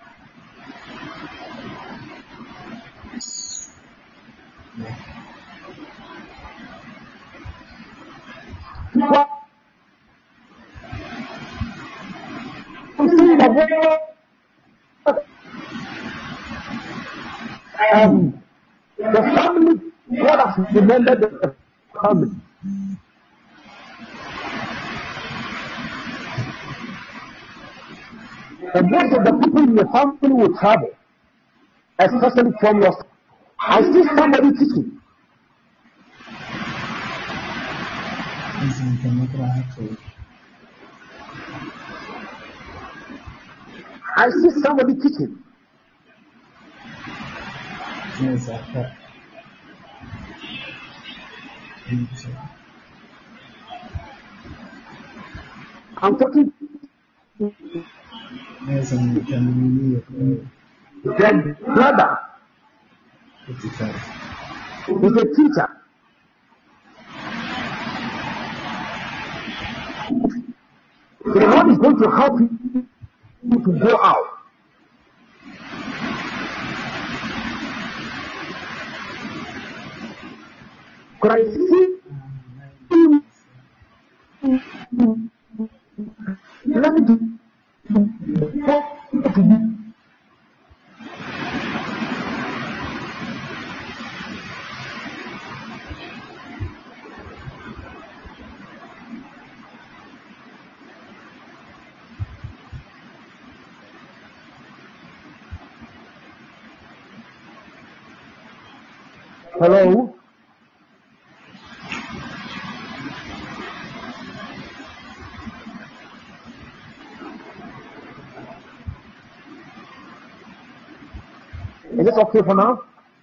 C: Yeah.
D: What? I'm seeing the um, the family, God has remembered the family. And most of the people in the family will travel, especially from your. I see somebody teaching.
C: Listen, you cannot try to.
D: I see somebody teaching.
C: Yes, I can.
D: I'm talking
C: Yes, and you can really
D: the brother
C: fifty-five.
D: is a teacher. So the Lord is going to help you to go out. Could I see? Let me do. Hello? Is this okay for now?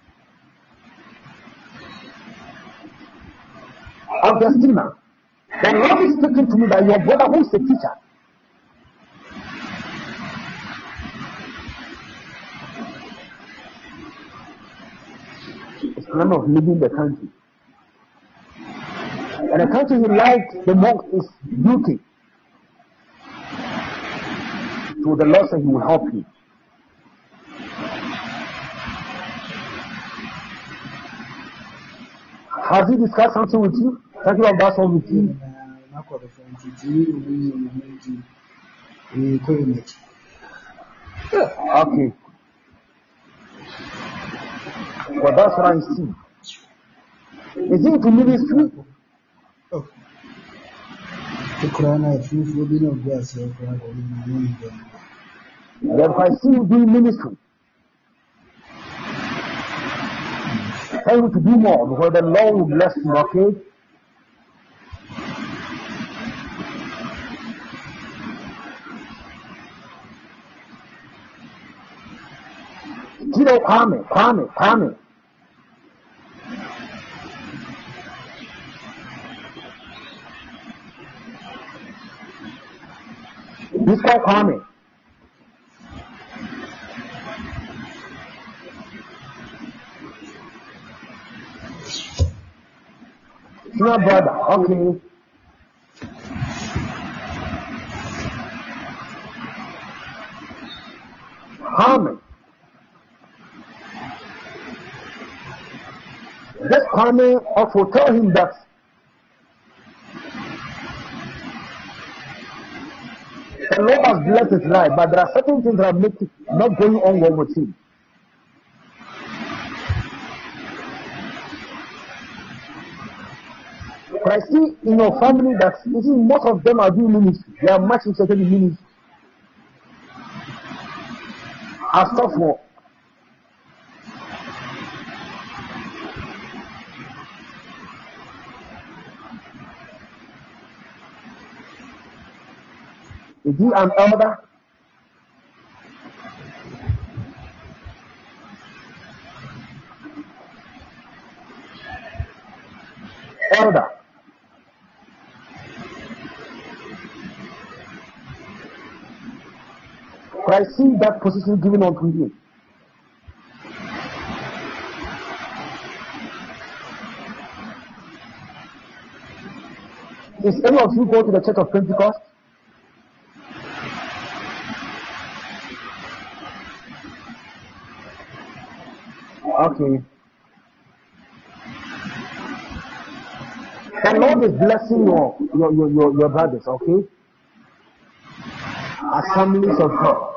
D: Augustina, the Lord is speaking to me that your brother who is a teacher. Is plan of leaving the country. And the country he likes the most is U K. So the Lord said he will help you. Has he discussed something with you? Talking about that one with you? Okay. Well, that's what I see. Is he into ministry?
E: Oh. The
D: Then I see you doing ministry. Tell you to do more because the Lord will bless you, okay? Kiddo, Kwame, Kwame, Kwame. This guy Kwame. Your brother, okay. Kwame. Just Kwame also tell him that the Lord has blessed his life, but there are certain things that make it not going on well with him. But I see in your family that you see most of them are doing ministry. They are much interested in ministry. As tough for is he an elder? Elder. But I see that position given unto you. Is any of you go to the Church of Pentecost? Okay. The Lord is blessing your your your your, your brothers, okay? Assemblies of God.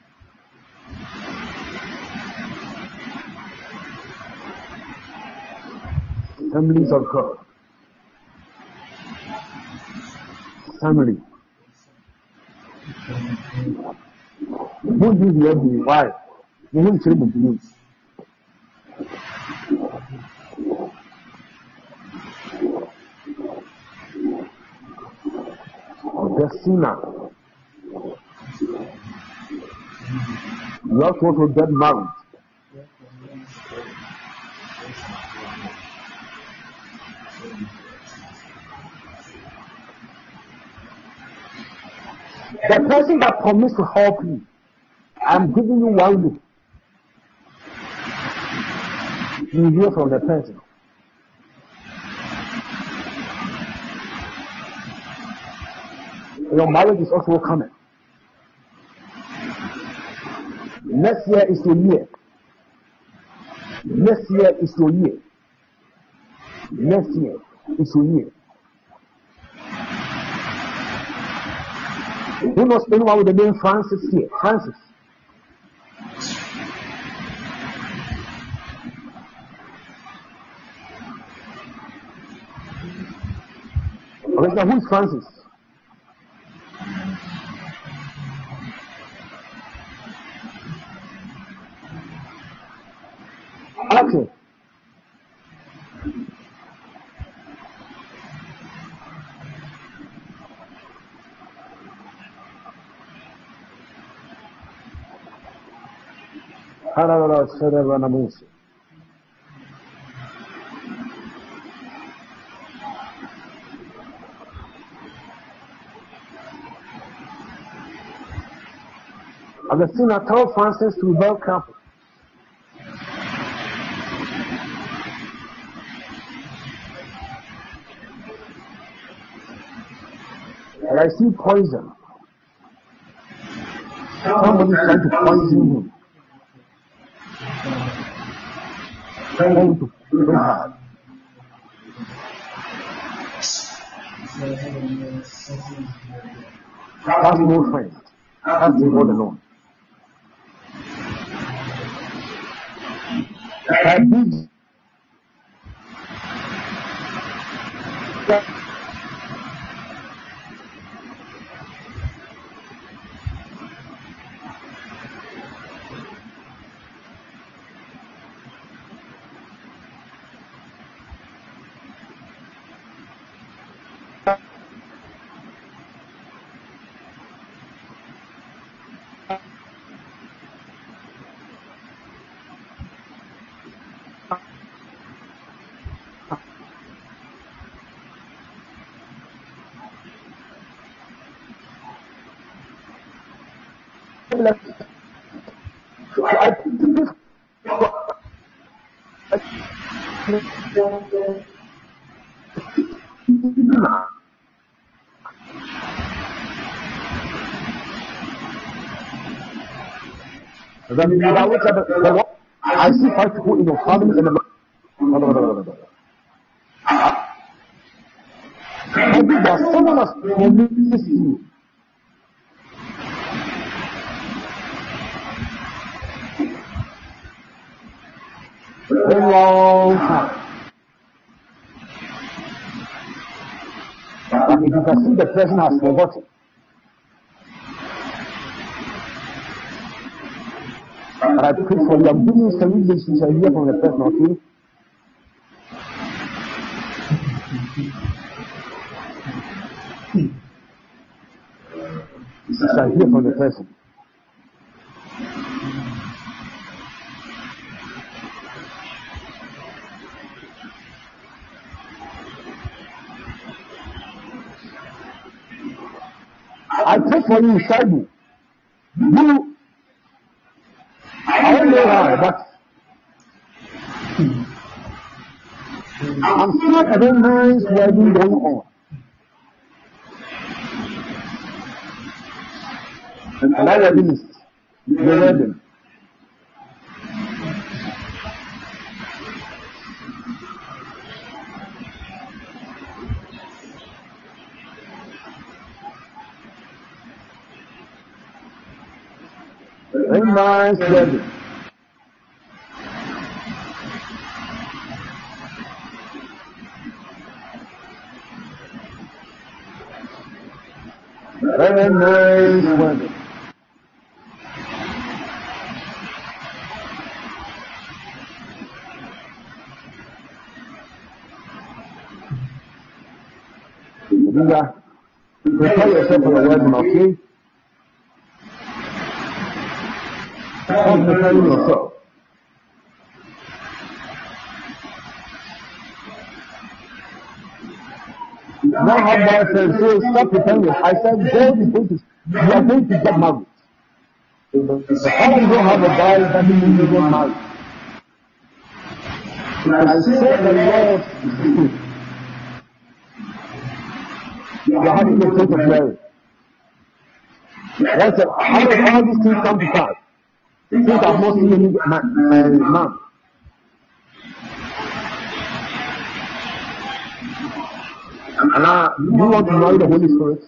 D: Assemblies of God. Assembly. Who did the every why? You won't tell me to use. Augustina. You also want to get married. The person that promised to help you, I'm giving you one look. You hear from the person. Your marriage is also coming. Next year is your year. Next year is your year. Next year is your year. Who knows anyone with the name Francis here? Francis. Okay, so who is Francis? Okay. Augustina, tell Francis to be very careful. And I see poison. Somebody trying to poison him. Trying to pray hard. That's no friend. That's the God alone. I did. I see five people in your family and the no, no, no, no, no. Maybe there's someone else who needs you. A long time. But if you can see the person has forgotten, but I pray for you. I'm giving you some relations I hear from the person, okay? I hear from the person. I pray for you, Shaibu. You, I don't know how, but I'm sure a very nice wedding going on. And that wedding is the wedding. Very nice wedding. Very nice wedding. Linda, prepare yourself for the wedding, okay? Stop preparing yourself. Now how about said, so stop preparing yourself. I said, God is going to, you are going to get married. The fact you don't have a bride doesn't mean you get married. I said the Lord, you are having a state of marriage. That's it. How does all these things come to pass? Since I've not seen any man, uh, man. And now, you want to marry the Holy Spirit?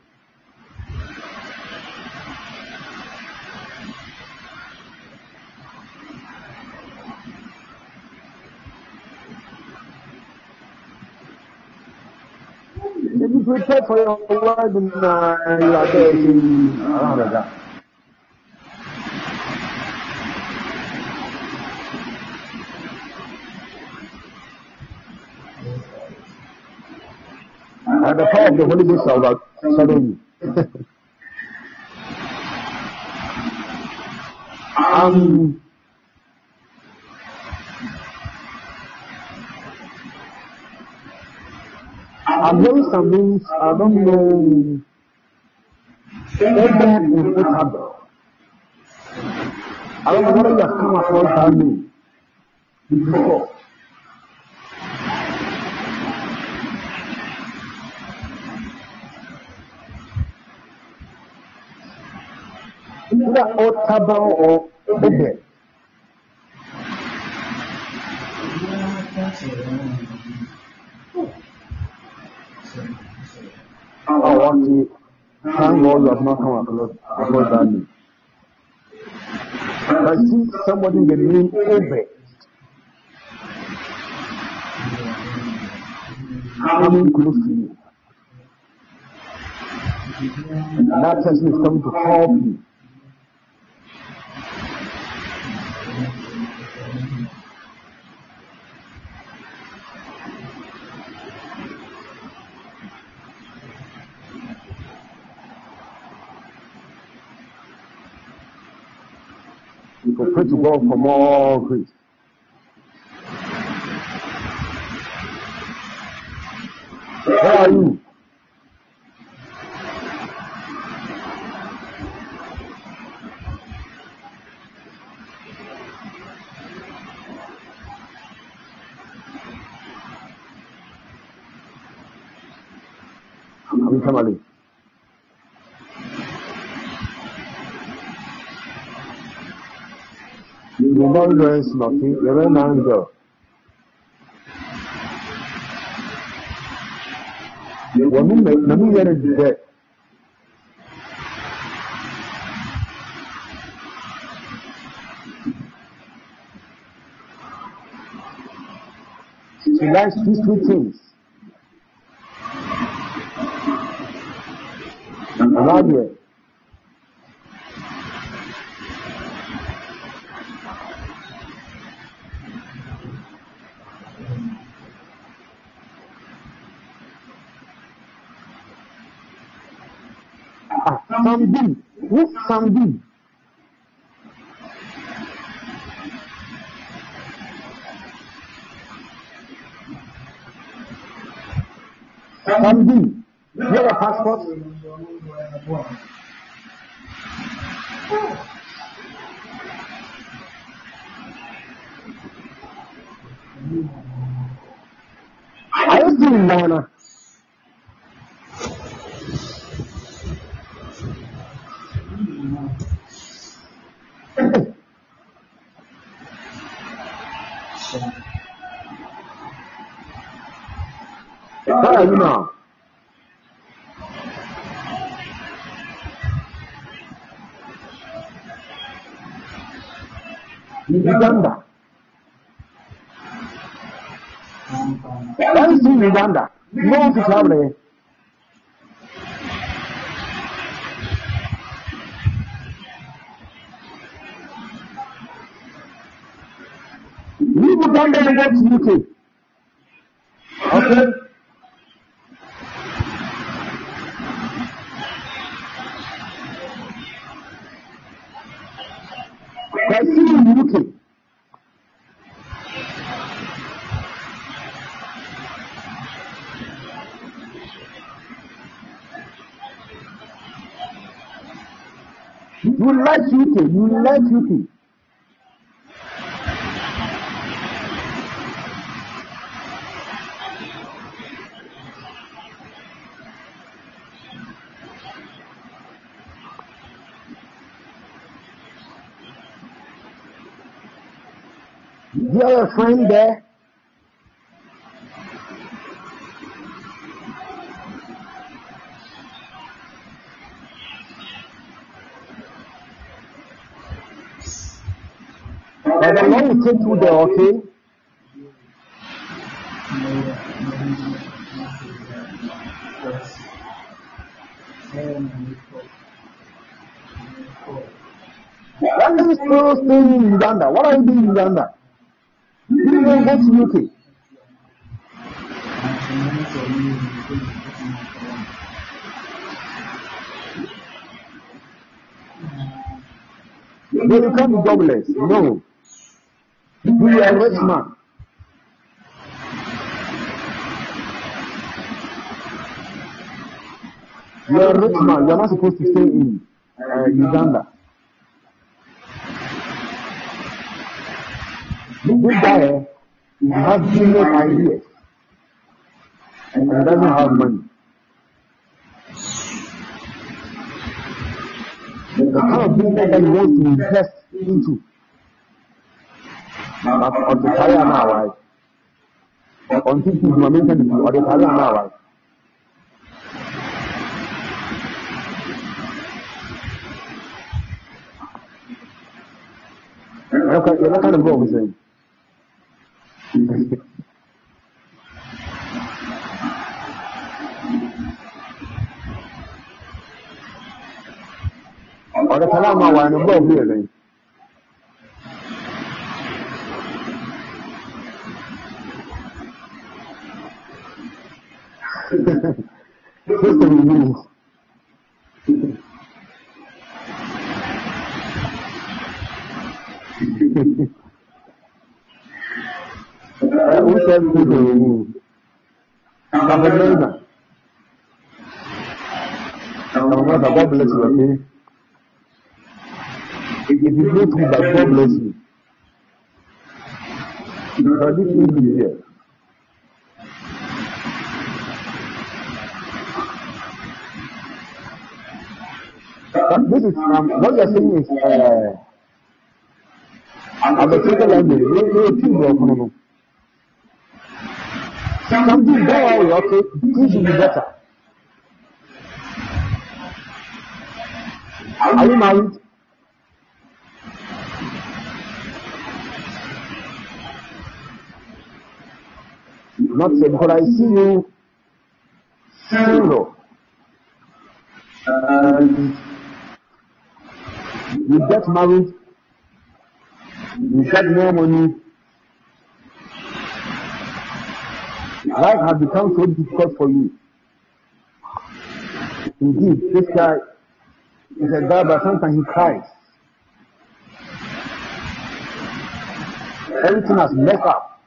D: Did you prepare for your word and uh, you are there saying, around like that? And the power of the Holy Ghost shall overshadow you. um, I'm hearing some names, I don't know, Edgar in Otaba. I don't know whether you have come across that name before. Either Otaba or Obed. Oh, okay. Thank God you have not come across, across that name. I see somebody in the name Obed coming close to you. And that person is coming to help you. We can pray to God for more grace. Where are you? I'm coming. You're not very smoking, you're very nice girl. When we make, when we get into debt, she likes peaceful things. Around here. Ah, Samdi. Who's Samdi? Samdi. You have a passport? Are you still in Ghana? Where are you now? Uganda. Why is in Uganda? You want to travel? Leave Uganda and go to U K. Okay? I see you in U K. You like U K, you like U K. Do you have a friend there? But the Lord will take you there, okay? Why are you still staying in Uganda? What are you doing in Uganda? You didn't go to U K. No, you can't be jobless. No. You are a rich man. You are a rich man. You are not supposed to stay in uh, Uganda. This guy, he has business ideas and he doesn't have money. The kind of business that he wants to invest into. But on the Taya now, right? On this is my mention on the Taya now, right? Okay, you're not kind of go with him. Or the Kalama one above here, then. System rules. Who said we do remove? God bless you, okay? If you go through that, God bless you. But this will be here. But this is, um, what you're saying is, uh, I'm a second language, no, no, two of no. Something go away, okay? Things will be better. Are you married? Not yet, because I see you single. And you get married, you get more money. Life has become so difficult for you. Indeed, this guy is a guy, but sometimes he cries. Everything has messed up.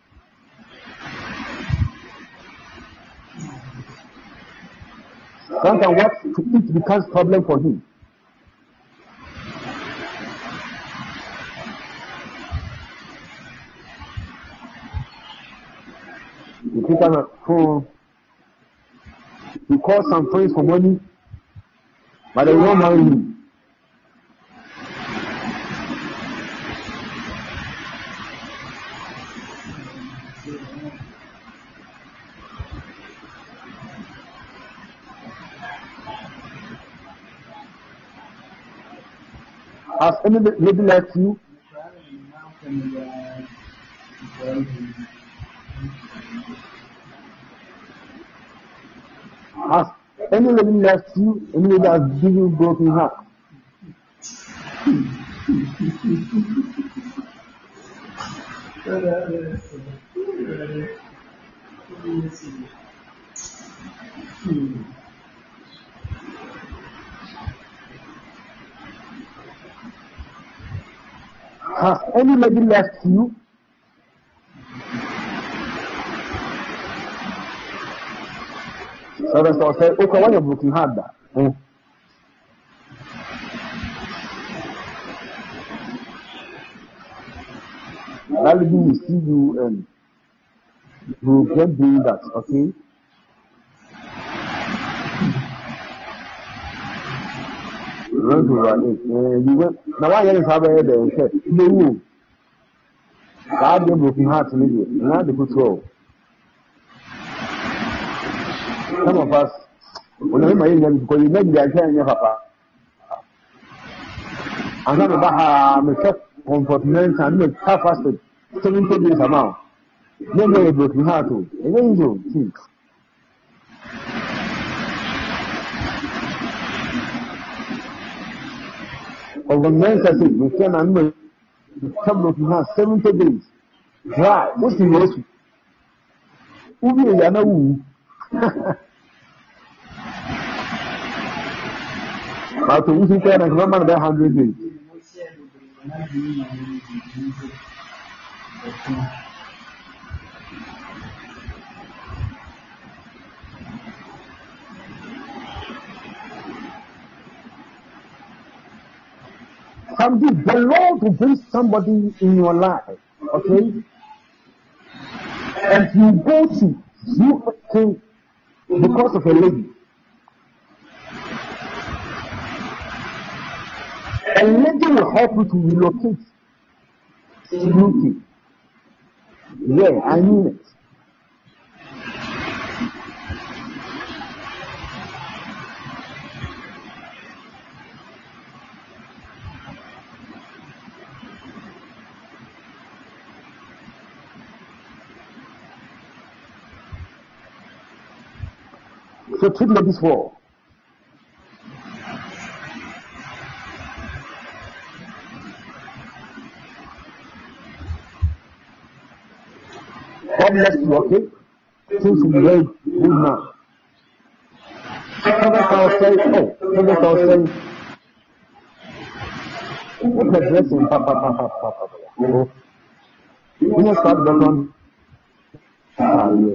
D: Sometimes what to eat becomes a problem for him. You pick up a phone, you call some friends for money, but they won't marry you. Has any lady left you? Has any lady left you? Any lady has given you broken heart? Has any lady left you? So that's what I say, okay, when you're broken heart, that. Mm. That lady will see you and you will get doing that, okay? Run to run it. You went. Now, why are you having a head? No, God gave broken hearts in India. Not the good soul. Some of us, when I'm in them, because you make the idea in your papa. I'm not about how I comfortment and make half fasted seventy days amount. Then they broken heart too. And then you think. Of the men I said, we can and some broken heart seventy days. Dry. What's the most? Who will you know? How to use it and remember the hundred days. Something, the Lord will bring somebody in your life, okay? And you go to you okay because of a lady. A lady will help you to relocate to U K. Yeah, I mean it. So treat ladies well. God bless you, okay? Things will be very good now. Sometimes I'll say, oh, sometimes I'll say, what a blessing, papa, papa, papa, papa. You know, start back on. Ah, yeah.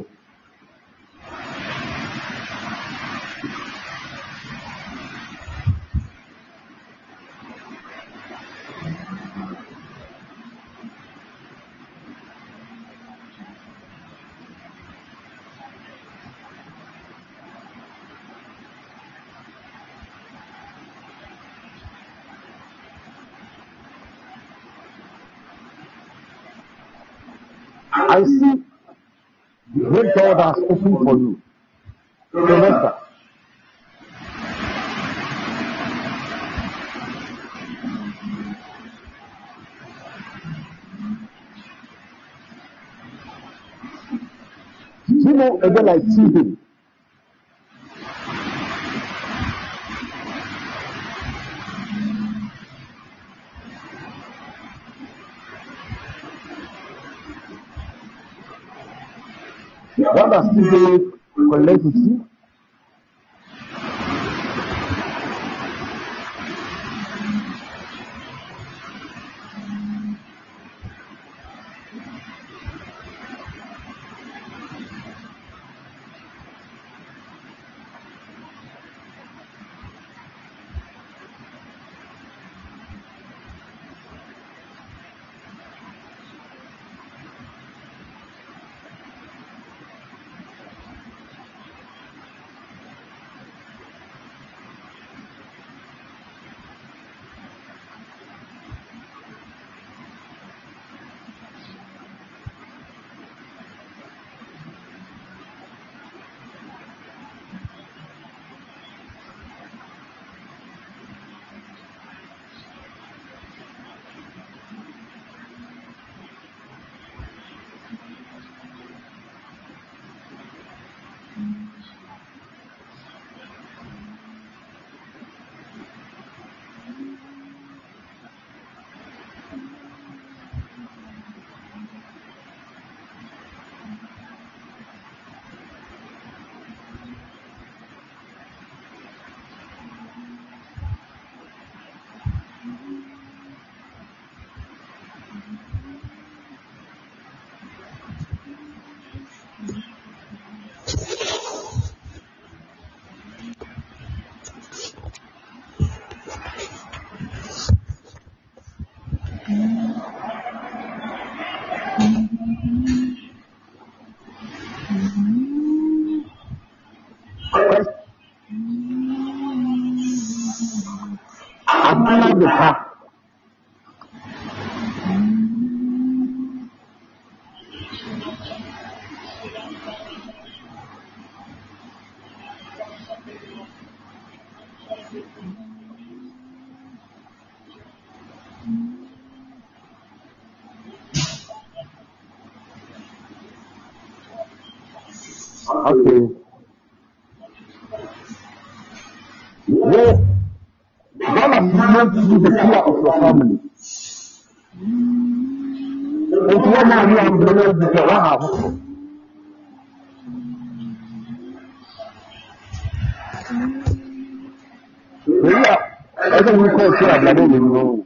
D: I see the great door has opened for you. Remember. You know, a bit like T V. What does T V collect with you? The path. Okay. Where God has given you the pillar of your family. It's one man you have been with your house. Yeah, I think we call it a blood in the room.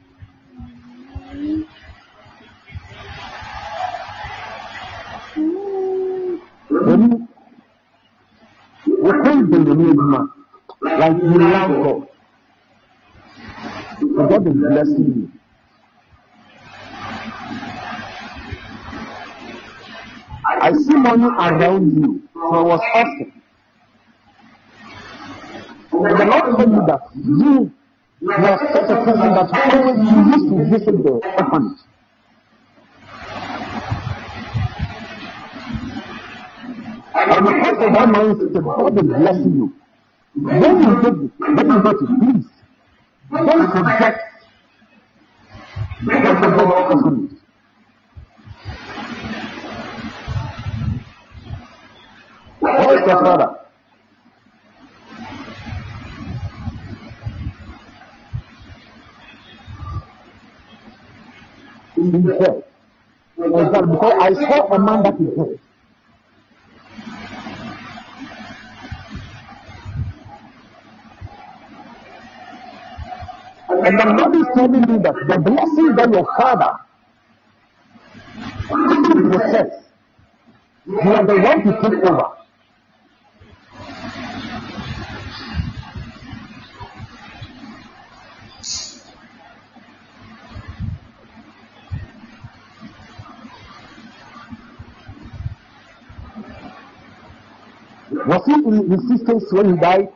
D: When we call the man, like you love God, God is blessing you. I see money around you, so I was asking. And the Lord told me that you were such a person that always you used to visit the orphanage. And because of that mindset, God is blessing you. When you take it, when you get it, please don't forget. Don't forget the orphanage. Where is your father? In the head. Because I saw a man that is dead. And the Lord is telling me that the blessing that your father possess, you are the one to take over. Was he in resistance when he died?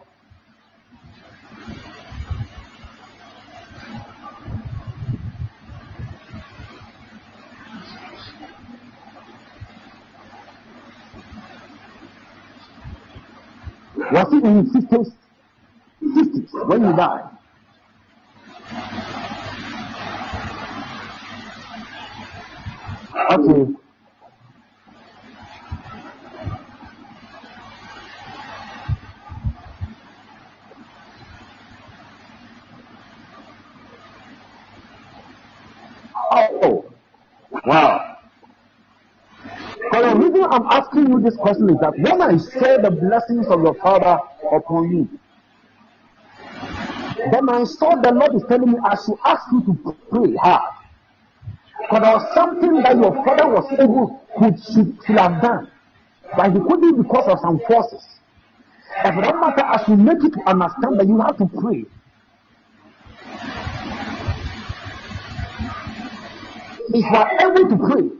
D: Was he in resistance when he died? Okay. Oh, wow. So the reason I'm asking you this question is that when I saw the blessings of your father upon you, then I saw the Lord is telling me I should ask you to pray hard. Because there was something that your father was able could should, should have done, but he couldn't because of some forces. And for that matter, as you make it to understand that you have to pray. If you are able to pray,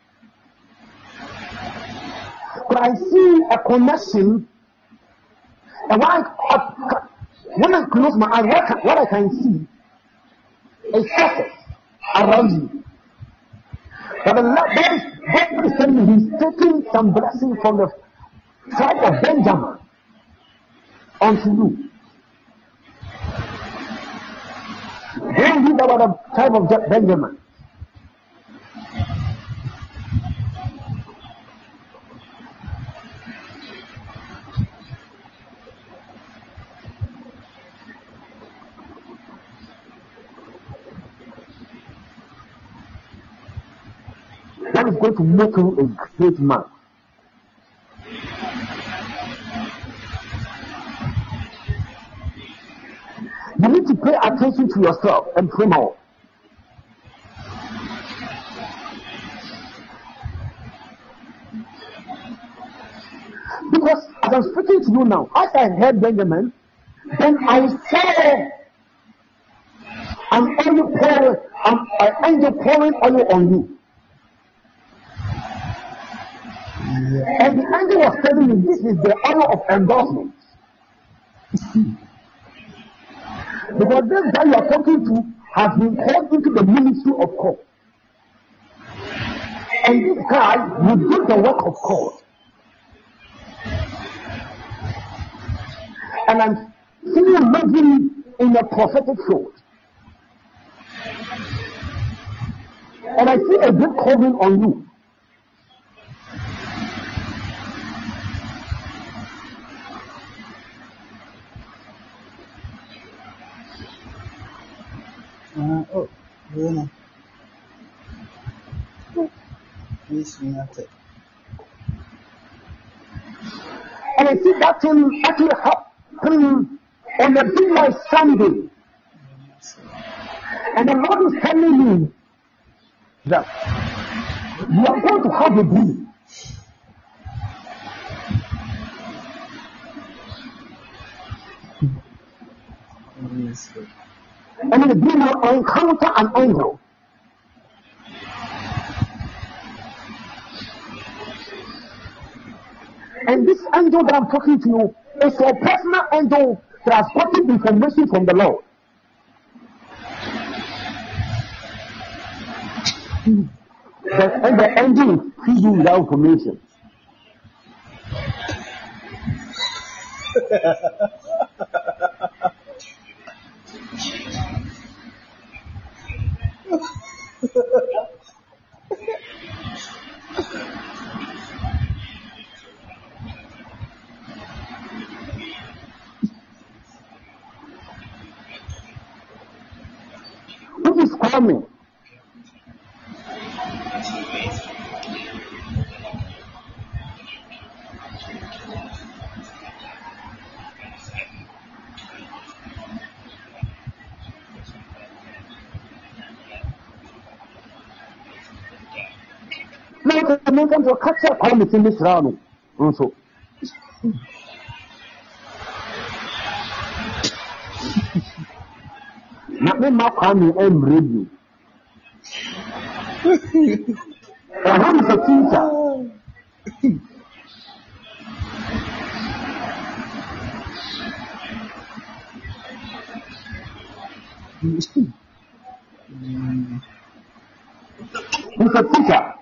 D: but I see a connection, and when I, when I close my eyes, what, can, what I can see is success around you. But the Lord, God is, God is telling me He's taking some blessing from the tribe of Benjamin unto you. Don't read about the tribe of Benjamin. That is going to make you a great man. You need to pay attention to yourself and pray more. Because as I'm speaking to you now, as I heard Benjamin, then I saw an oil pouring, an, an angel pouring oil on you. And the angel was telling me this is the hour of endorsement. Because this guy you are talking to has been called into the ministry of God. And this guy will do the work of God. And I'm, See you living in a prophetic field. And I see a great calling on you.
C: Uh, oh, you know. Please, United.
D: And I see that thing actually happening on a big like Sunday. And the Lord is telling me that you are going to have a dream.
C: Yes, sir.
D: And in the dream you will encounter an angel. And this angel that I'm talking to you is a personal angel that has gotten information from the Lord. The, and the angel feeds you with that information. What is coming? Now, the Americans will catch up on in this round. Also, not me, my family, I'm ready. And I'm a teacher. He's a teacher.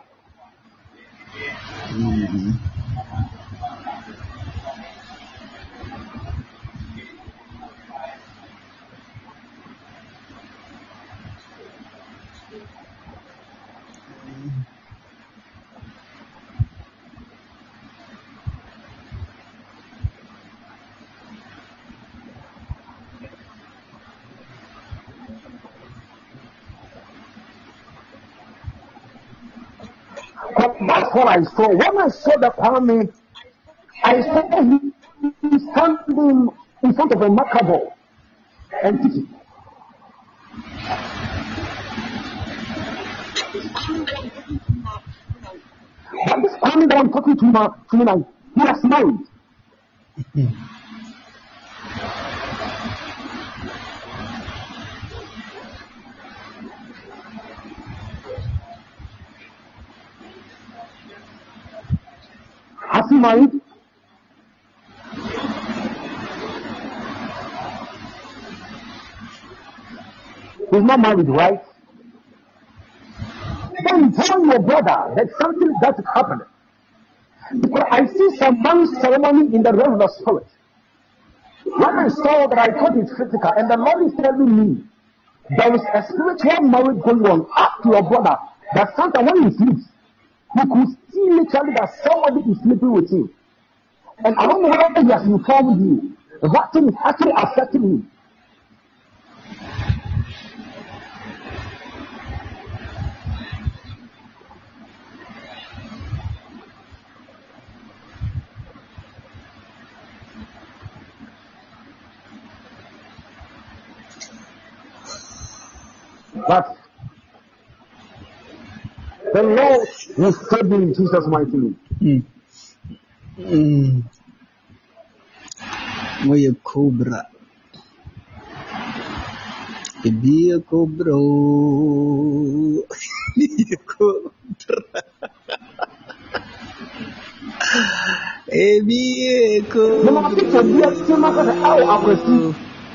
C: Mm-hmm.
D: But that's what I saw. When I saw the army, I saw him standing in front of a macabre and teaching. But this army that I'm talking to now, to me now, he has married. Has he married? He's not married, right? Then tell your brother that something that is happening. Because I see some marriage ceremony in the realm of the spirit. When I saw that, I thought it's physical, and the Lord is telling me there is a spiritual marriage going on up to your brother. That sometimes when he sleeps, he could see literally that somebody is sleeping with him. And I don't know whether he has informed you. That thing is actually affecting him. But the Lord will save you in Jesus' mighty name.
C: Mm. Mm. Moye cobra. Ebi a cobra. Ebi a cobra. Ebi a cobra.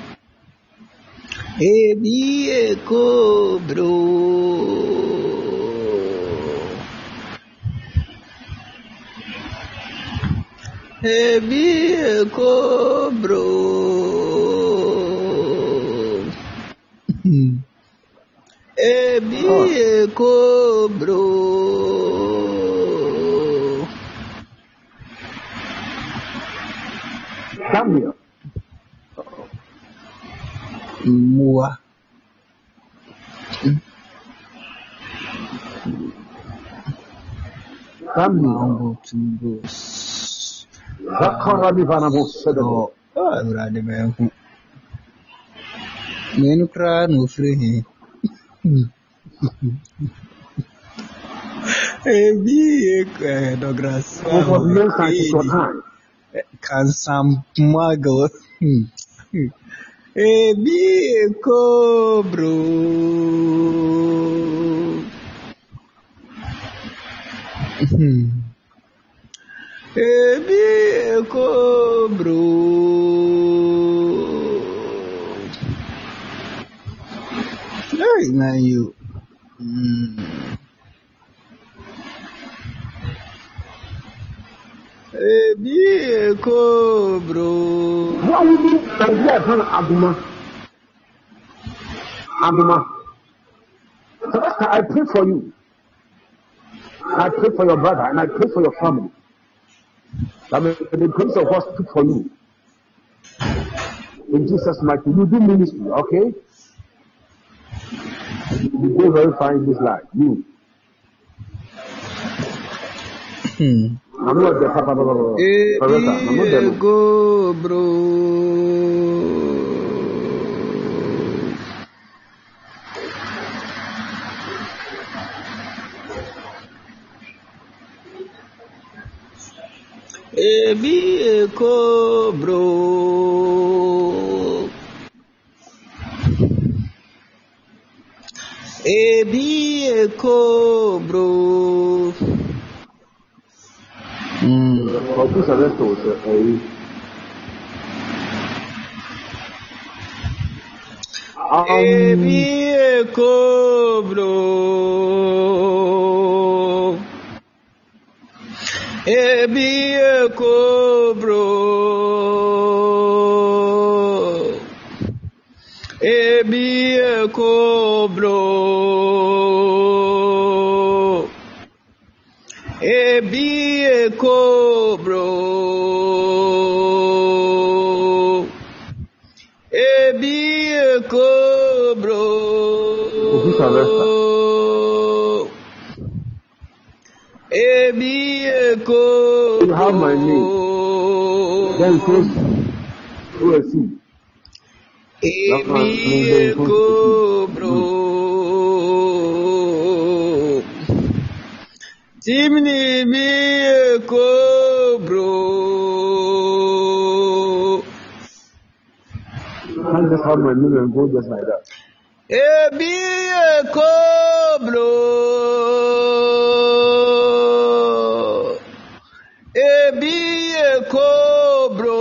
C: Ebi a cobra. Ebi a cobra.
E: Ebi
D: Oh,
E: eko bro.
D: Gambia.
E: Mua.
D: Gambia.
E: Mambo tumbo.
D: Zakara Livana Mosedo.
E: Oh, ah, brother man. Menu kra no free. Ebi eko eh, no grass.
D: Over the years, I took your time.
E: Can some muggle. Ebi eko bro. Ebi eko bro. Hey, man, you. Mm. Ebi eko bro.
D: What would you Nigeria turn Abuma? Abuma. So that's why I pray for you. I pray for your brother and I pray for your family. I mean, the grace of God speak for you. In Jesus' mighty name, you do ministry, okay? You go very far in this life. You.
E: Hmm.
D: I'm not the papa, Papa.
E: Ebi
D: I'm not the
E: eko bro. Ebi eko bro. Ebi eko bro. Mm.
D: For this arrest was a
E: Ebi
D: um
E: eko bro. Ebi eko bro. Ebi eko bro. Ebi eko bro. Ebi eko bro.
D: for this arrest.
E: Ebi eko
D: You have my name. Then
E: bro.
D: close to a sea. That's my
E: Ebi
D: name. Then close to
E: eko
D: the sea.
E: bro. Timni mi eko bro.
D: You can't just have my name and go just like that.
E: Ebi eko bro. Ebi eko bro.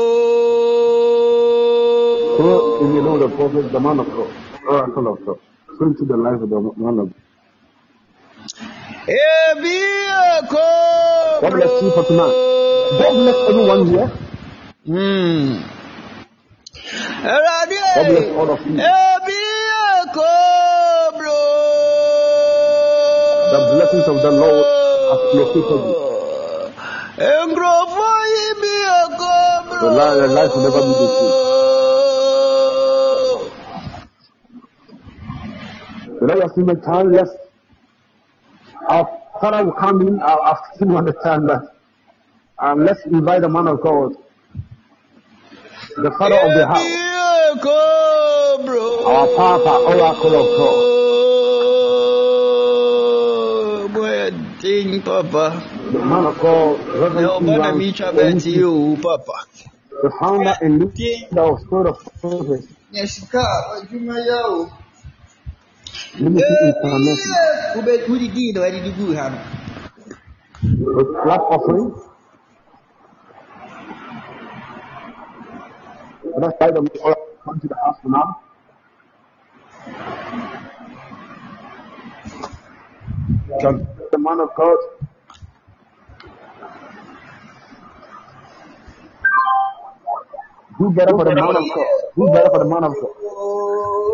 D: So, if you know the prophet, the man of God, oracle of God, so into the life of the man of God.
E: Ebi eko
D: God
E: bro.
D: bless you for tonight. God bless everyone here.
E: Hmm.
D: God bless
E: Erade.
D: all of you.
E: Ebi eko bro.
D: The blessings of the Lord have located you.
E: Engrofo ibi eko
D: The
E: bro.
D: life, the life will never be the same. The Lord has seen the time, yes. Our Father will come in. I'll, I've seen one the time that. And let's invite the man of God, the Father of the
E: Ebi
D: house,
E: eko bro.
D: our Papa, oracle of God,
E: Boy, ding papa.
D: the man of God, Reverend
E: No bana
D: Iran
E: mi chabeti
D: Owusu,
E: you papa.
D: the founder and
E: Ding.
D: leader of Spirit of Prophecy,
E: Yeshika, ajuma yao.
D: Ministry International,
E: Ube kuri gido adi dugu hano.
D: with flat offering. Let's invite them all come to the house now. The the man of God, do better for the man of God. Do better for the man of God.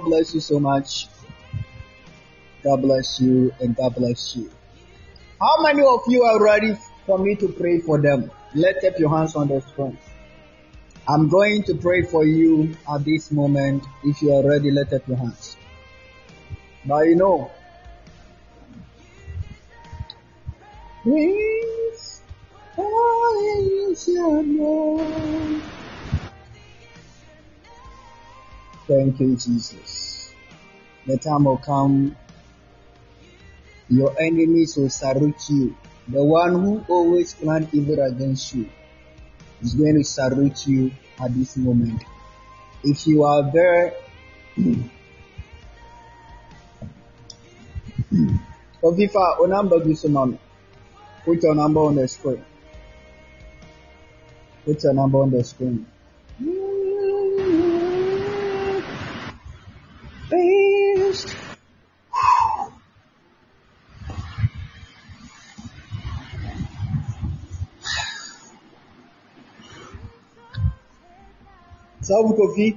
E: God bless you so much. God bless you and God bless you. How many of you are ready for me to pray for them? Lift up your hands on the screen. I'm going to pray for you at this moment. If you are ready, lift up your hands. But you know, please, praise your name. Thank you, Jesus. The time will come, your enemies will salute you. The one who always plans evil against you is going to salute you at this moment. If you are there, Ovifa, o number Gusunon. Put your number on the screen. Put your number on the screen. Based. Sabe Kofi?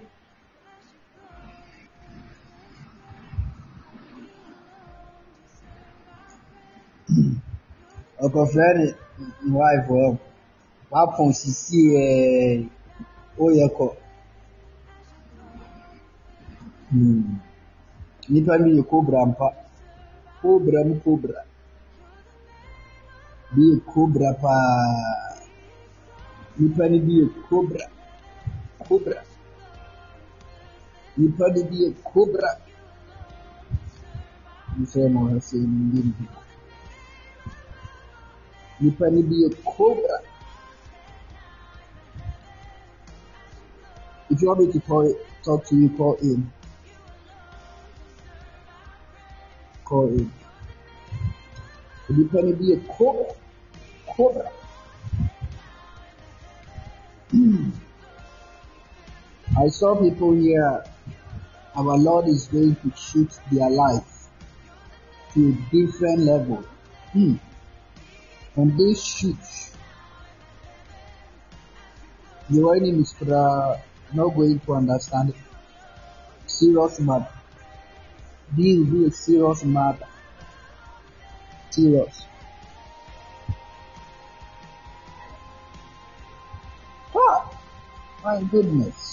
E: Ọkọ friend wife well. Wa pon sisi eh oyeko. Hmm. Nipa mi cobra mpa. Cobra mu cobra. Bi cobra pa. Nipa ni bi cobra. Cobra. Nipa ni bi cobra. You say mo ha say ndi. Nipa ni bi cobra. If you want me to call, talk to you, call in. Call in. Nipa ni bi cobra. Cobra. I saw people here. Our Lord is going to shoot their life to a different level. Hmm. When they shoot, your enemies are not going to understand it. Serious matter. This will be a serious matter. Serious. Ah, my goodness.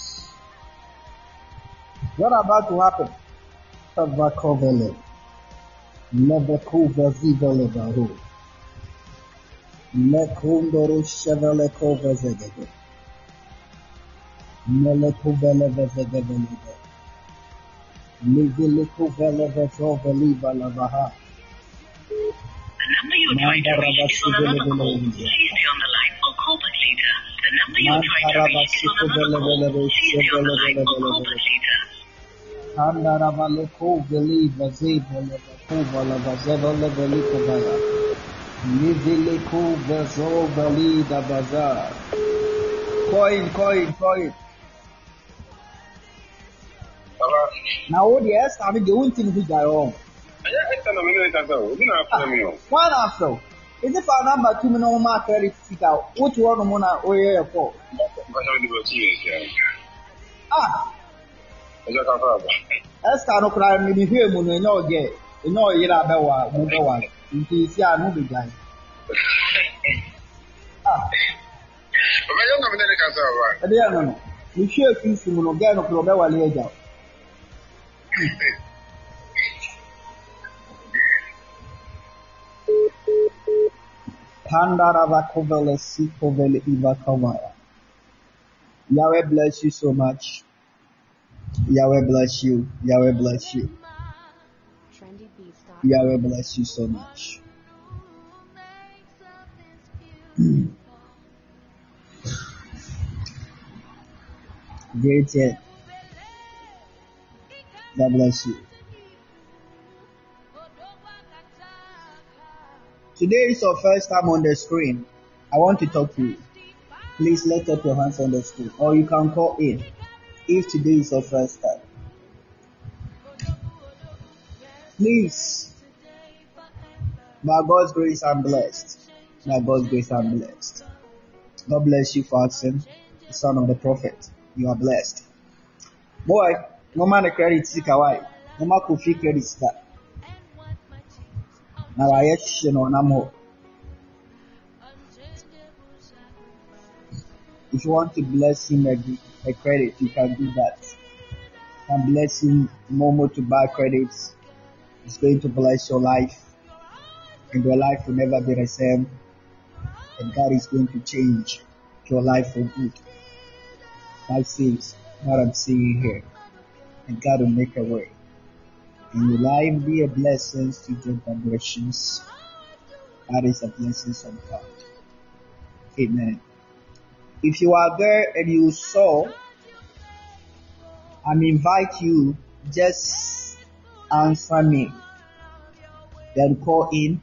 E: What about to happen? Tavakovele. Never cover zivele baru. Lekundoro chevele cover zegede. Melekuvele vezegede. Livele kuvele vezoveli balavaha.
F: The number you're trying to reach is on another call. Please stay on the line or call back later. The number you're trying to reach is on another call. Please stay on the line or call back later.
E: Handaravale koveli vazevele kovala vazevele veli kovaya. Livele koveli da bazar. Coin, coin, coin. Now what the ask I mean the one thing we got wrong. One after. Is it for number two no more thirty feet out? What you want to mona or yeah for? Ah. Esther no cry me be here mo no no get. You know, you know, about one, number one. In case you are moving, guy. Ah,
G: But I don't know when they can say
E: but yeah, no, no. You share things from no guy no problem. One year, Pandarava kovele si kovele iva kamara. Yahweh bless you so much. Yahweh bless you. Yahweh bless you. Yahweh bless you so much. Great yet. God bless you. Today is your first time on the screen. I want to talk to you. Please lift up your hands on the screen, or you can call in if today is your first time. Please, by God's grace, I'm blessed. By God's grace, I'm blessed. God bless you for asking, the son of the prophet. You are blessed. Boy, no man credit Sikawai. No man could feel credit that. Now I yet you know Namo. If you want to bless him a, a credit, you can do that. You can bless him Momo to buy credits. It's going to bless your life. And your life will never be the same. And God is going to change your life for good. God says what I'm seeing here. And God will make a way. And your life be a blessing to your vibrations. That is a blessing from God. Amen. If you are there and you saw, I invite you, just answer me. Then call in.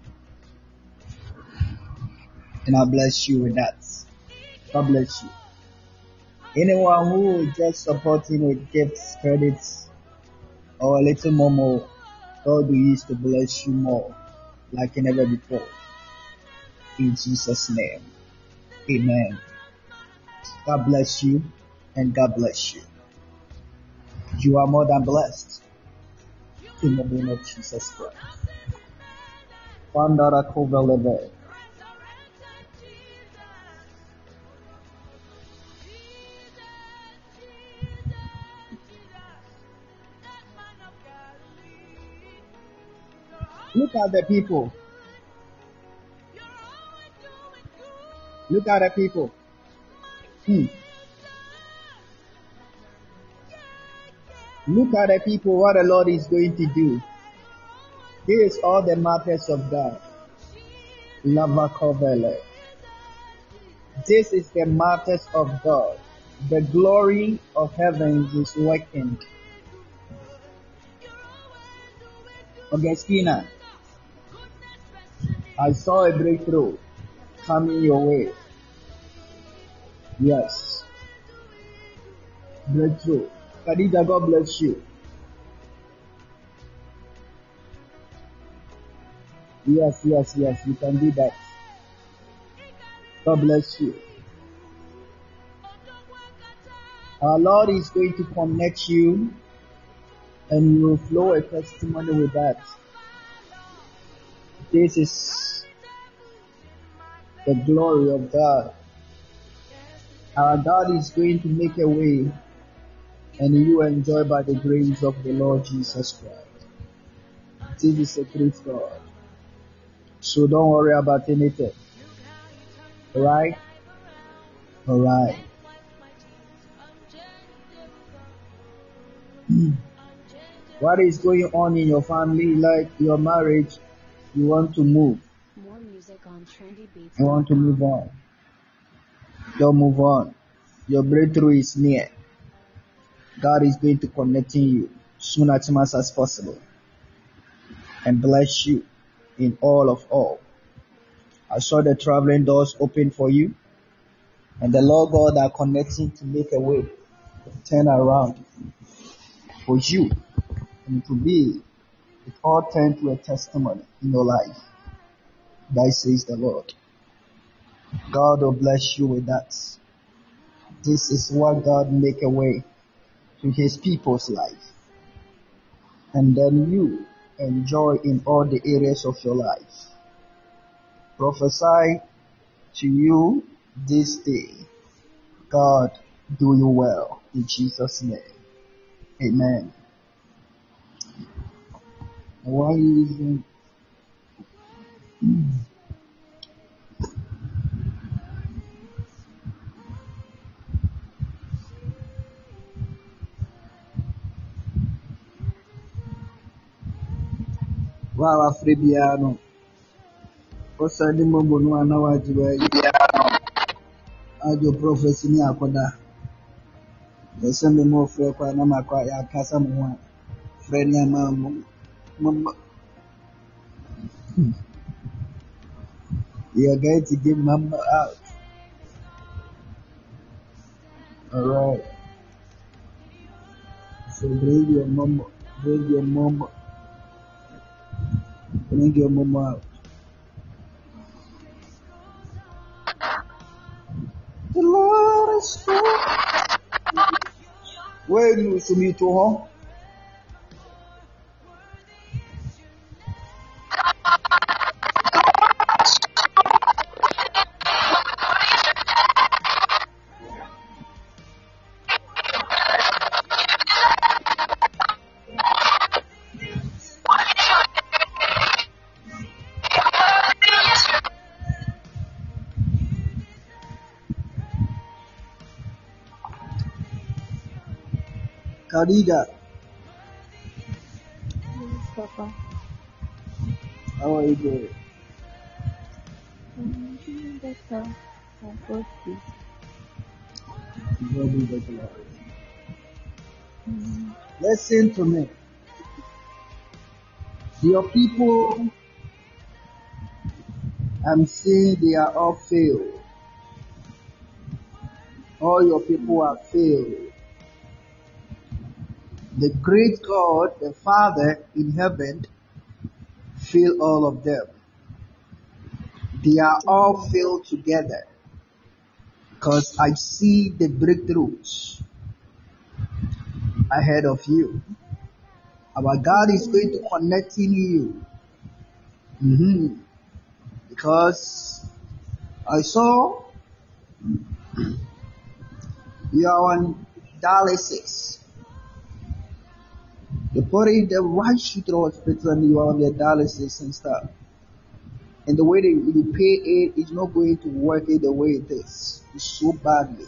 E: And I'll bless you with that. God bless you. Anyone who is just supporting with gifts, credits, or a little more, more, God will use to bless you more, like never before. In Jesus' name. Amen. God bless you, and God bless you. You are more than blessed. In the name of Jesus Christ. Pandara Kovaleve. Look at the people. Look at the people. Hmm. Look at the people, what the Lord is going to do. This is all the matters of God. Lava Kovele. This is the matters of God. The glory of heavens is working. Augustina, I saw a breakthrough coming your way. Yes. Breakthrough. Khadija, God bless you. Yes, yes, yes, you can do that. God bless you. Our Lord is going to connect you and you will flow a testimony with that. This is the glory of God. Our God is going to make a way and you enjoy by the grace of the Lord Jesus Christ. This is a great God. So don't worry about anything. Alright? Alright. What is going on in your family, like your marriage? You want to move.
B: More music on Trendy Beats.
E: You want to move on. Don't move on. Your breakthrough is near. God is going to connect you soon as much as possible and bless you in all of all. I saw the traveling doors open for you, and the Lord God are connecting to make a way, turn around for you, and to be, it all turned to a testimony in your life. That says the Lord. God will bless you with that. This is what God make a way to his people's life. And then you and joy in all the areas of your life. Prophesy to you this day. God do you well in Jesus' name. Amen. Why isn't wow Afribiano? What's the name of one hour ajo prophecy ni akoda. There's some more for Panama ya kasa mwa friend ya mamu. Mama. You are going to give mama out. Alright. So bring your mama, bring your mama, bring your mama out. The Lord is good. Where you see me to home? Khadija.
H: Yes, Papa.
E: How are you doing?
H: I'm doing better. I've got this.
E: God be the glory.
H: Mm.
E: Listen to me. Your people, I'm seeing they are all failed. All your people are failed. The great God, the Father in heaven, fill all of them. They are all filled together. Because I see the breakthroughs ahead of you. Our God is going to connect in you. Mm-hmm. Because I saw you are on dialysis. They put in the right shit to the hospital and you are on the dialysis and stuff. And the way that you pay it is not going to work it the way it is. It's so badly.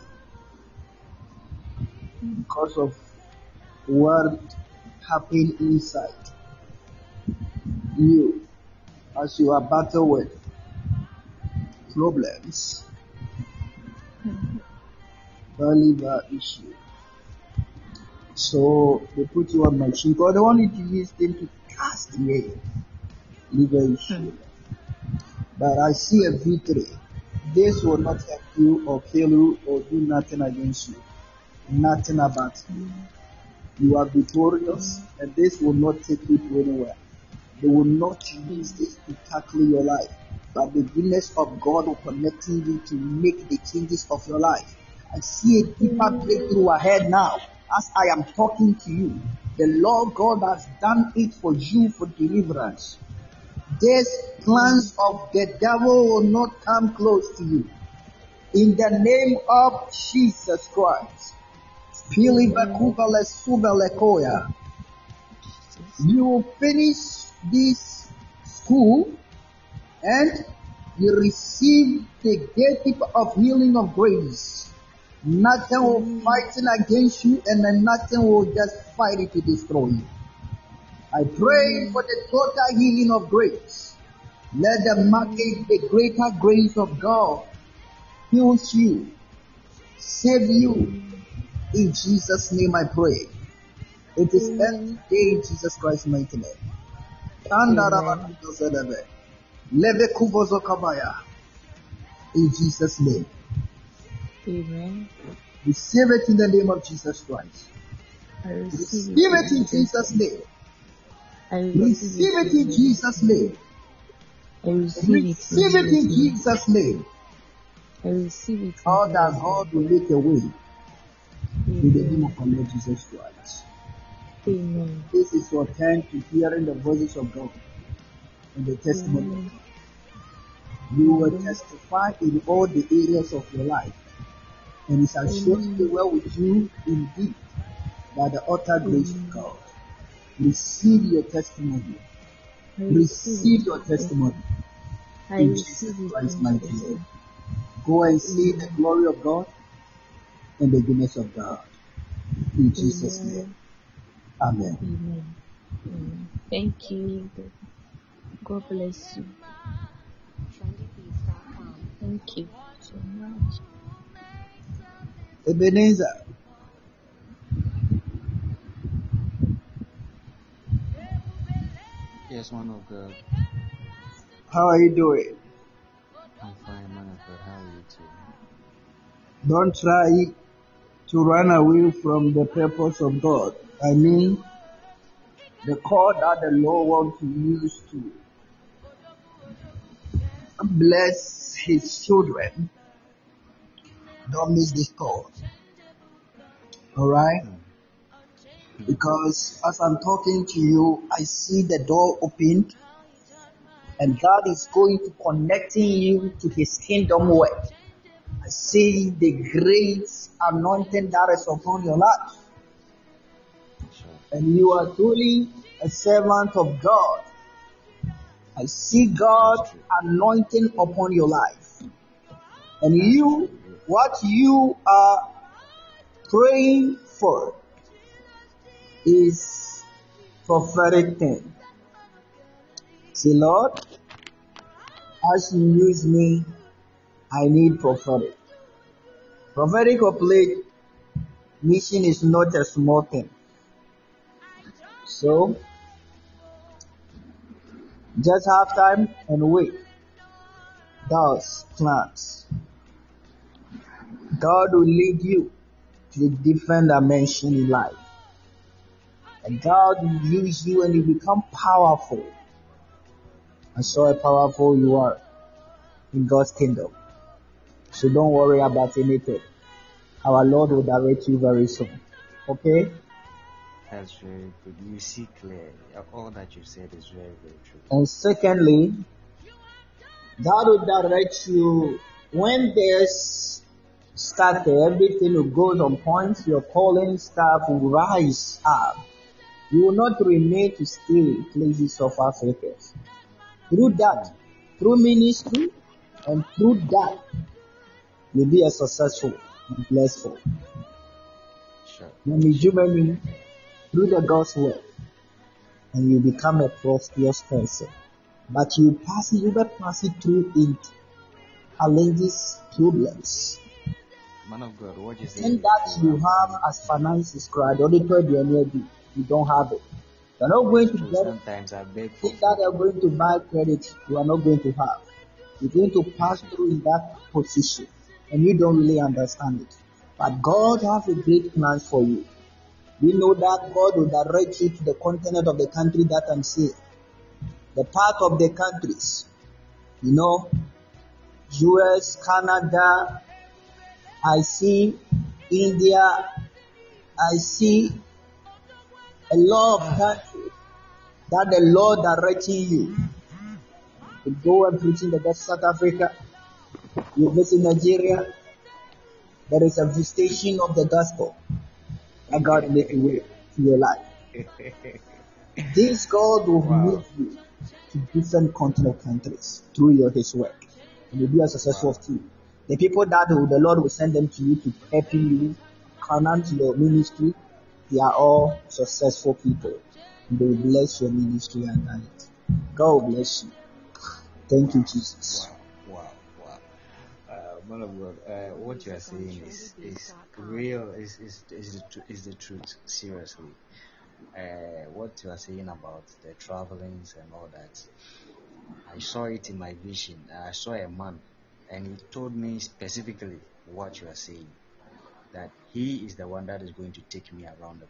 E: Because of what happened inside you as you are battling with problems, liver issue. So they put you on machine because they wanted to use them to cast away liver issue. But I see a victory. This will not help you or kill you or do nothing against you. Nothing about you. You are victorious, and this will not take you to anywhere. They will not use this to tackle your life. But the goodness of God will connect you to make the changes of your life. I see a deeper breakthrough ahead now. As I am talking to you, the Lord God has done it for you for deliverance. These plans of the devil will not come close to you. In the name of Jesus Christ. You will finish this school and you receive the gift of healing of grace. Nothing will fight against you and then nothing will just fight it to destroy you. I pray for the total healing of grace. Let the market, the greater grace of God heal you, save you. In Jesus' name I pray. It is every day in Jesus Christ's mighty name. In Jesus' name.
H: Amen.
E: Receive it in the name of Jesus Christ.
H: I receive,
E: receive it in Jesus' name.
H: I
E: receive it in Jesus' name.
H: I receive it.
E: Receive it in Jesus' name.
H: I receive it.
E: All that God will make a way in the name of our Lord Jesus Christ.
H: Amen.
C: This is your time to hearing the voices of God and the testimony of
H: Amen.
C: God. You will
H: Amen.
C: testify in all the areas of your life, and it shall surely be
H: Amen.
C: well with you indeed by the utter grace of
H: Amen.
C: God. Receive your testimony.
H: I receive
C: Receive
H: it.
C: your testimony
H: I
C: in
H: receive
C: Jesus
H: it
C: Christ's
H: in
C: mighty
H: Jesus'
C: name.
H: name.
C: Go and see the
H: Amen.
C: glory of God and the goodness of God. In Jesus' name.
H: Amen.
C: Amen.
H: Amen. Amen. Thank you. God bless you. Thank you so much.
C: Ebenezer,
I: Yes, man of God.
C: how are you doing?
I: I'm fine, man of God. How are you too?
C: Don't try to run away from the purpose of God. I mean, the call that the Lord wants to use to bless His children. Don't miss this call. Alright?
I: Hmm. Hmm.
C: Because as I'm talking to you, I see the door opened, and God is going to connecting you to His kingdom work. I see the great anointing that is upon your life,
I: Sure.
C: and you are truly a servant of God. I see God
I: That's true.
C: anointing upon your life, and
I: That's
C: you,
I: true.
C: what you are praying for is prophetic thing. Say, Lord, as you use me, I need prophetic. Prophetic operate mission is not a small thing. So just have time and wait. God's plans. God will lead you to a different dimension in life. And God will use you and you become powerful. And so powerful you are in God's kingdom. So don't worry about anything. Our Lord will direct you very soon. Okay?
I: That's very good. You see clearly. All that you said is very, very true.
C: And secondly, God will direct you when there's started, everything will go on point, your calling staff will rise up. You will not remain to stay in places of Africa. Through that, through ministry, and through that, you'll be a successful and blessed.
I: Sure.
C: When you do many through the gospel, and you become a prosperous person. But you pass it, you will pass it through it challenges, problems.
I: Man of God, what you say
C: And
I: is
C: that
I: true.
C: you have as finances cried, auditor you you don't have it. You're not going
I: It's
C: to
I: true.
C: get
I: Sometimes I beg for
C: things that
I: food.
C: are going to buy credit, you are not going to have. You're going to pass through in that position, and you don't really understand it. But God has a great plan for you. We know that God will direct you to the continent of the country that I'm saying. The part of the countries, you know, U S, Canada, I see India, I see a lot of countries that the Lord directing you to go and preach in the best South Africa. You visit Nigeria, there is a visitation of the gospel that God make a way to your life. This God will
I: Wow.
C: lead you to different continental countries through your His work, and you'll be a successful
I: Wow.
C: team. The people that will, the Lord will send them to you to help you finance your ministry, they are all successful people. They will bless your ministry and it. God will bless you. Thank you, Jesus.
I: Wow. Wow. Wow. Uh, man of God, uh, what you are saying is is real. Is is is the, tru- is the truth? Seriously. Uh, what you are saying about the travelings and all that, I saw it in my vision. I saw a man, and he told me specifically what you are saying, that he is the one that is going to take me around the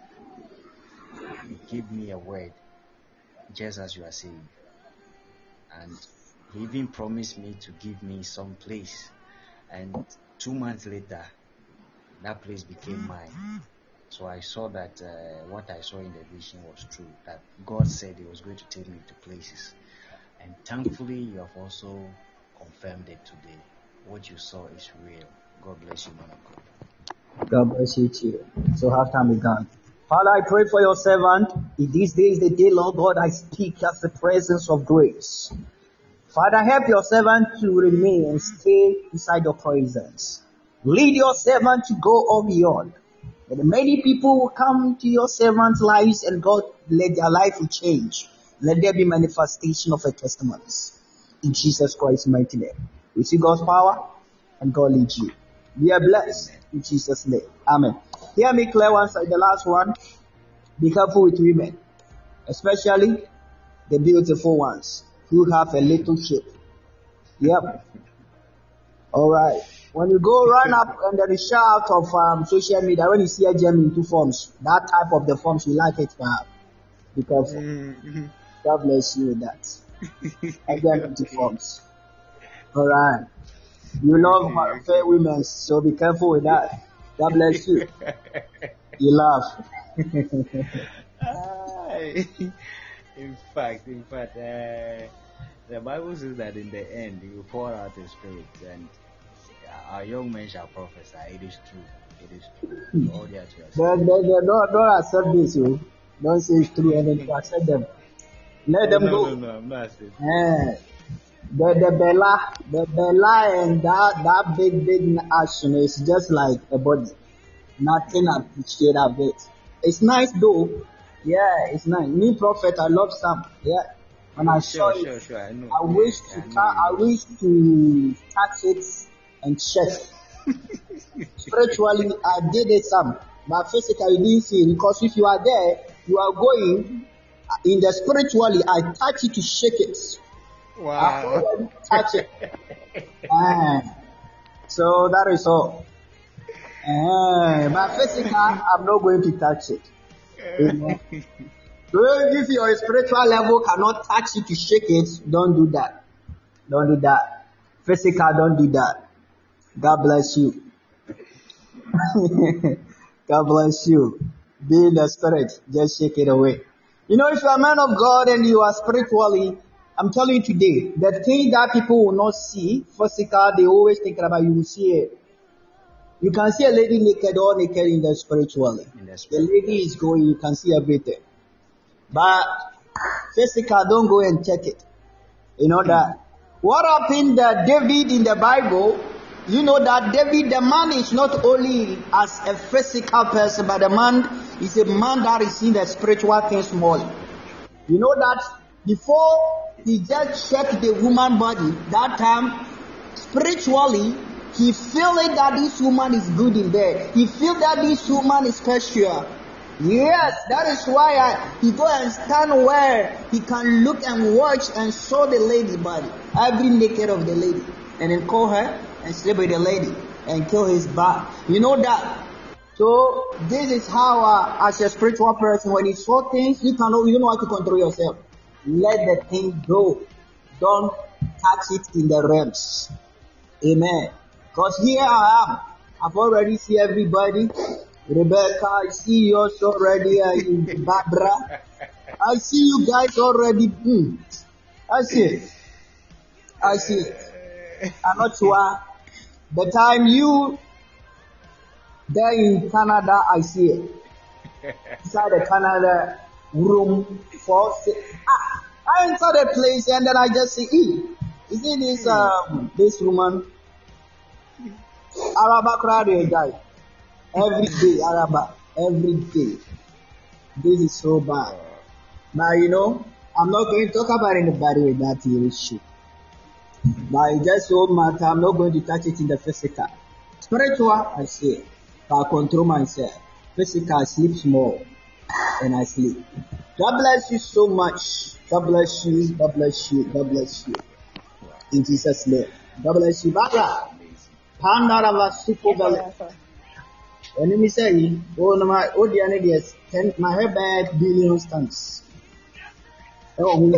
I: world. He gave me a word, just as you are saying, and he even promised me to give me some place. And two months later, that place became mine. So I saw that uh, what I saw in the vision was true. That God said He was going to take me to places, and thankfully you have also confirmed it today. What you saw is real. God bless you, man of God.
E: God bless you too. So half time is gone. Father, I pray for your servant. In these days, the day, Lord God, I speak as the presence of grace. Father, help your servant to remain and stay inside your presence. Lead your servant to go on beyond. And many people will come to your servant's lives, and God, let their life will change. Let there be manifestation of a testimonies. In Jesus Christ's mighty name. We see God's power, and God leads you. Be a blessed in Jesus' name. Amen. Hear me clear one side, the last one. Be careful with women, especially the beautiful ones who have a little shape. Yep. All right. When you go run up under the shout of um, social media, when you see a gem in two forms, that type of the forms you like it to have. Be careful. Mm-hmm. God bless you with that. A gem in two forms. All right. You love fair women, so be careful with that. God bless you. You laugh.
I: in fact, in fact, uh, the Bible says that in the end, He will pour out His Spirit, and our young men shall prophesy. It is true. It is true. All they are to
E: don't, don't, don't, don't accept this, you. Don't say it's true, and then accept them. Let
I: no,
E: them
I: no,
E: go.
I: No, no, I'm not saying.
E: Yeah. The the Bella, the Bella, and that that big big action is just like a body. Nothing appreciate of it. It's nice though. Yeah, it's nice. Me prophet, I love some. Yeah. When I saw
I: sure,
E: it,
I: sure, sure. I, know.
E: I wish to
I: I,
E: ta- I wish to touch it and check. Spiritually, I did it some, but physically, I didn't see it, because if you are there, you are going in the spiritually. I touch it to shake it.
I: Wow.
E: Touch it. uh, so that is all. Uh, but physically, I'm not going to touch it. Amen. So if your spiritual level cannot touch it to shake it, don't do that. Don't do that. Physical, don't do that. God bless you. God bless you. Be in the spirit. Just shake it away. You know, if you're a man of God and you are spiritually, I'm telling you today, the thing that people will not see, physical, they always think about, you will see it. You can see a lady naked or naked in the spiritually. In the, the lady is going, you can see everything. But physical, don't go and check it. You know that. What happened that David in the Bible, you know that David, the man is not only as a physical person, but the man is a man that is in the spiritual things more. You know that before he just checked the woman body, that time, spiritually, he feel it that this woman is good in bed. He feel that this woman is special. Yes, that is why I, he go and stand where he can look and watch and show the lady body, every naked of the lady, and then call her and sleep with the lady and kill his back. You know that. So this is how, uh, as a spiritual person, when you saw things, you cannot, you don't know how to control yourself. Let the thing go. Don't touch it in the realms. Amen. Because here I am. I've already seen everybody. Rebecca, I see you also already. Uh, Barbara, I see you guys already. Mm. I see it. I see it. I'm not sure. The time you there in Canada, I see it. Inside the Canada room for ah, I enter the place and then I just see, e, is it this um this woman? Araba crowd guy. Every day, Araba. Every day. This is so bad. Now, you know, I'm not going to talk about anybody with that issue. But it just so matter. I'm not going to touch it in the physical. Spiritual, I say, I control myself. Physical, I sleep small. And I sleep. God bless you so much. God bless you. God bless you. God bless you. In Jesus' name. God bless you. Baba. Pandarava Sukovale. When you say, oh, no, my audience is ten, my hair bad billion stamps. Oh,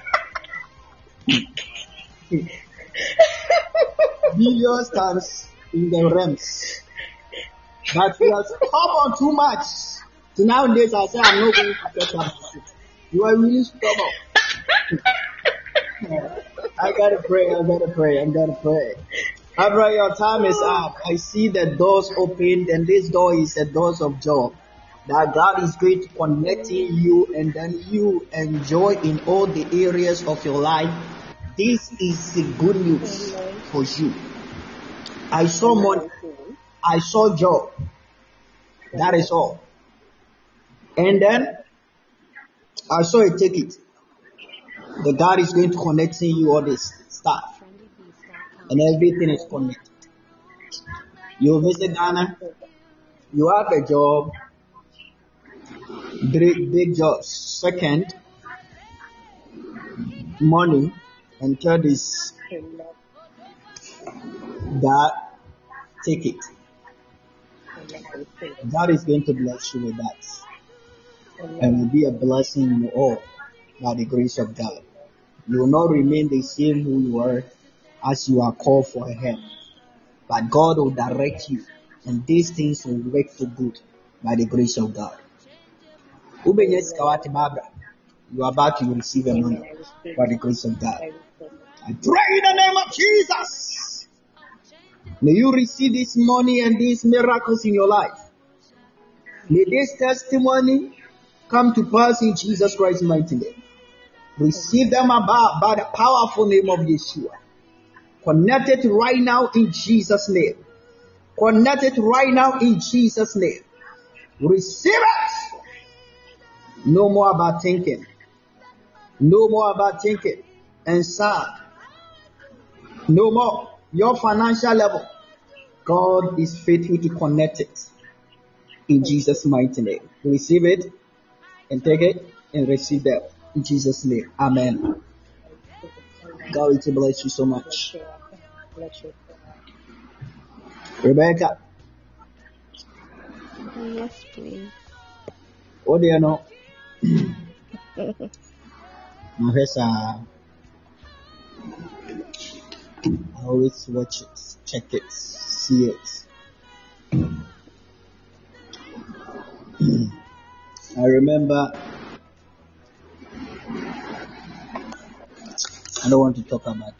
E: billion stamps. in the realms. But you are stubborn too much. So nowadays I say I'm not going to get up. You are really stubborn. I gotta pray, I gotta pray, I gotta pray. After your time is up, I see the doors opened, and this door is the doors of joy. That God is going to connect in you, and then you enjoy in all the areas of your life. This is the good news for you. I saw money, I saw joy. That is all. And then I saw a ticket. The God is going to connect in you all this stuff, and everything is connected. You visit Ghana, you have a job, big, big job. Second, money, and third is that ticket. God is going to bless you with that, and will be a blessing in you all by the grace of God. You will not remain the same who you are as you are called for help, but God will direct you, and these things will work for good by the grace of God. You are about to receive a money by the grace of God. I pray in the name of Jesus. May you receive this money and these miracles in your life. May this testimony come to pass in Jesus Christ's mighty name. Receive them about by the powerful name of Yeshua. Connect it right now in Jesus' name. Connect it right now in Jesus' name. Receive it. No more about thinking. No more about thinking and sad. No more. Your financial level, God is faithful to connect it in Jesus' mighty name. Receive it and take it and receive that in Jesus' name. Amen. God will bless you so much. Rebecca.
H: Yes, please.
E: What do you know? Professor, I always watch it, check it, see it. I remember, I don't want to talk about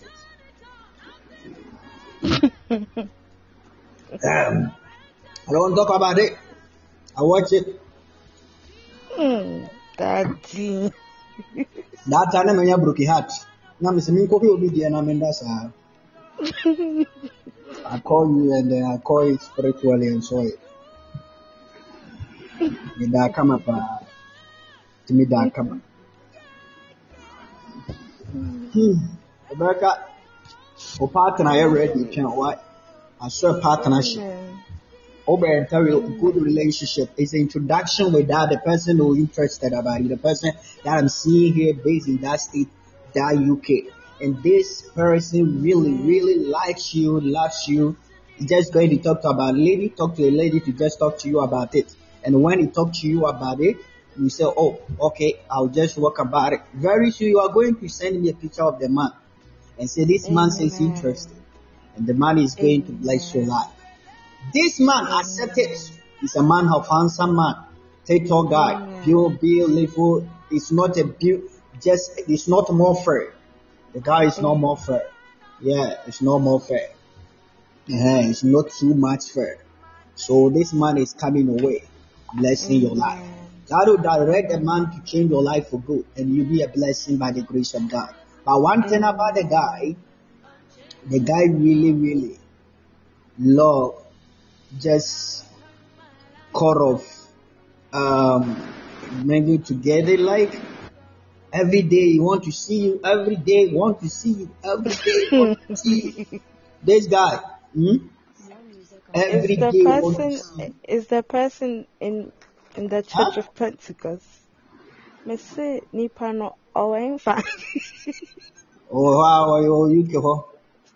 E: it. um, I don't want to talk about it. I watch it.
H: Mm, Daddy.
E: That time when you broke your heart. Now, Mister Minkopi will be there and I'm in that. I call you and then I call it spiritually and so it. That come up to me that come up. Hmm. America, for partner, I already you can't what? I saw partnership. Over and tell you good relationship is introduction with that the person who interested about you, the person that I'm seeing here based in that state, that U K. And this person really, really likes you, loves you. He's just going to talk to about a lady, talk to a lady to just talk to you about it. And when he talk to you about it, you say, oh, okay, I'll just walk about it. Very soon you are going to send me a picture of the man and say, this man says interested. And the man is going to bless your life. This man accepted. He's a man of handsome man, tall guy, pure, beautiful. It's not a beauty, just it's not more fair. The guy is not more fair. Yeah, it's not more fair. Yeah, it's not too much fair. So this man is coming away, blessing your life. God will direct a man to change your life for good, and you'll be a blessing by the grace of God. But one thing about the guy, the guy really, really love just kind of um maybe together, like every day you want to see you, every day you want to see you, every day you want to see you. This guy, hmm? every
H: Is the
E: day want to
H: person
E: see you.
H: is the person in in the Church
E: Huh?
H: of Pentecost? Me say nipa no owen fa.
E: Oh wow, oh you go.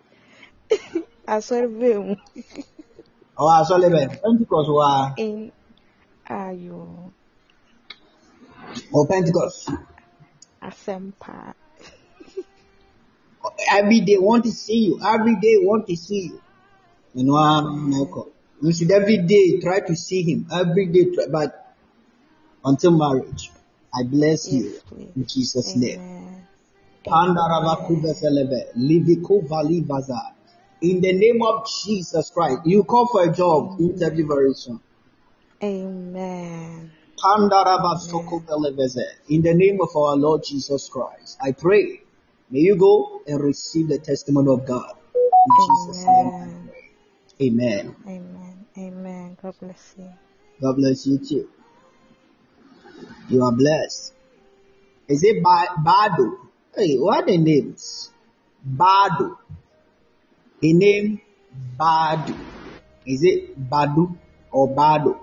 H: Asori be
E: Oh I saw them Pentecost wow.
H: in ayo
E: Oh Pentecost.
H: asempa.
E: Every day want to see you, every day want to see you. You know, Michael. You should every day try to see him. Every day, try, but until marriage. I bless you
H: Yes, please.
E: in Jesus' name.
H: Amen.
E: Pandaravakuveseleve, Livikovalivazar. In the name of Jesus Christ, you call for a job interview very soon.
H: Amen.
E: Pandaravasokoveleveze. In the name of our Lord Jesus Christ, I pray. May you go and receive the testimony of God. In Jesus' name, I
H: Amen.
E: pray. Amen.
H: Amen. Amen. God bless you.
E: God bless you too. You are blessed. Is it ba- Bado? Hey, what are the names? Bado. A name Badu. Is it Badu or Bado?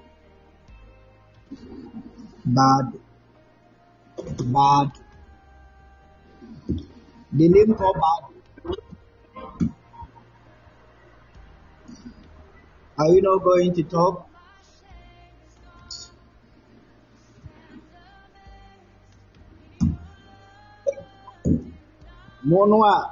E: Badu. Badu. The name called Badu. Are you not going to talk? Monwa.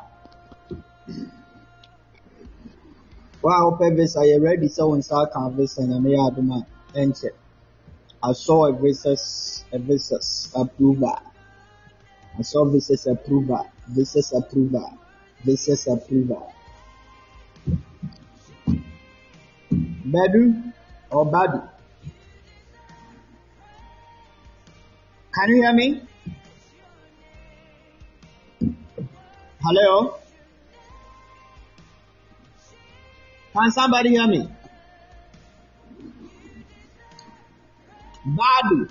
E: Wow, Pevis, are you ready? So in South Canvas and Amayaduma enter. I saw a visas, a visas approver. I saw visas approver, visas approver, visas approver. Badu or Badu? Can you hear me? Hello? Can somebody hear me? Badu.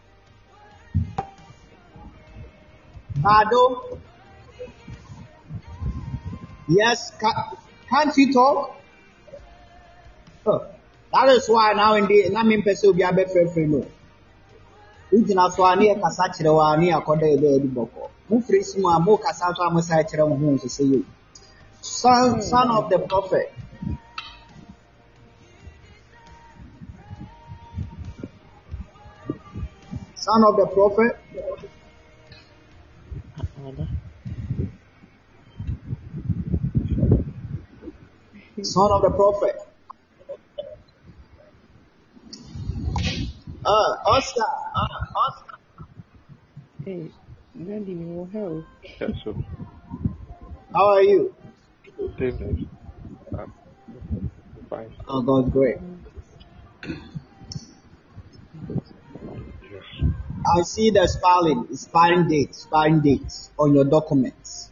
E: Bado. Yes, ca- can't you talk? Oh, that is why now in the na me pese obi abe frefre no. Ujina so ani e kasa kire wa ani akoda e be edi boko. Mu frisi mu amo kasa to amosa kire mo hu so you. Son son of the prophet. Son of the prophet. Son of the prophet. Uh, Oscar. Uh, Oscar.
J: Hey, Randy, no hell. Yes, sir.
E: How are you?
J: David. Um, fine.
E: Oh, God's great.
J: Yes.
E: I see the spelling, expiring date, expiring dates on your documents.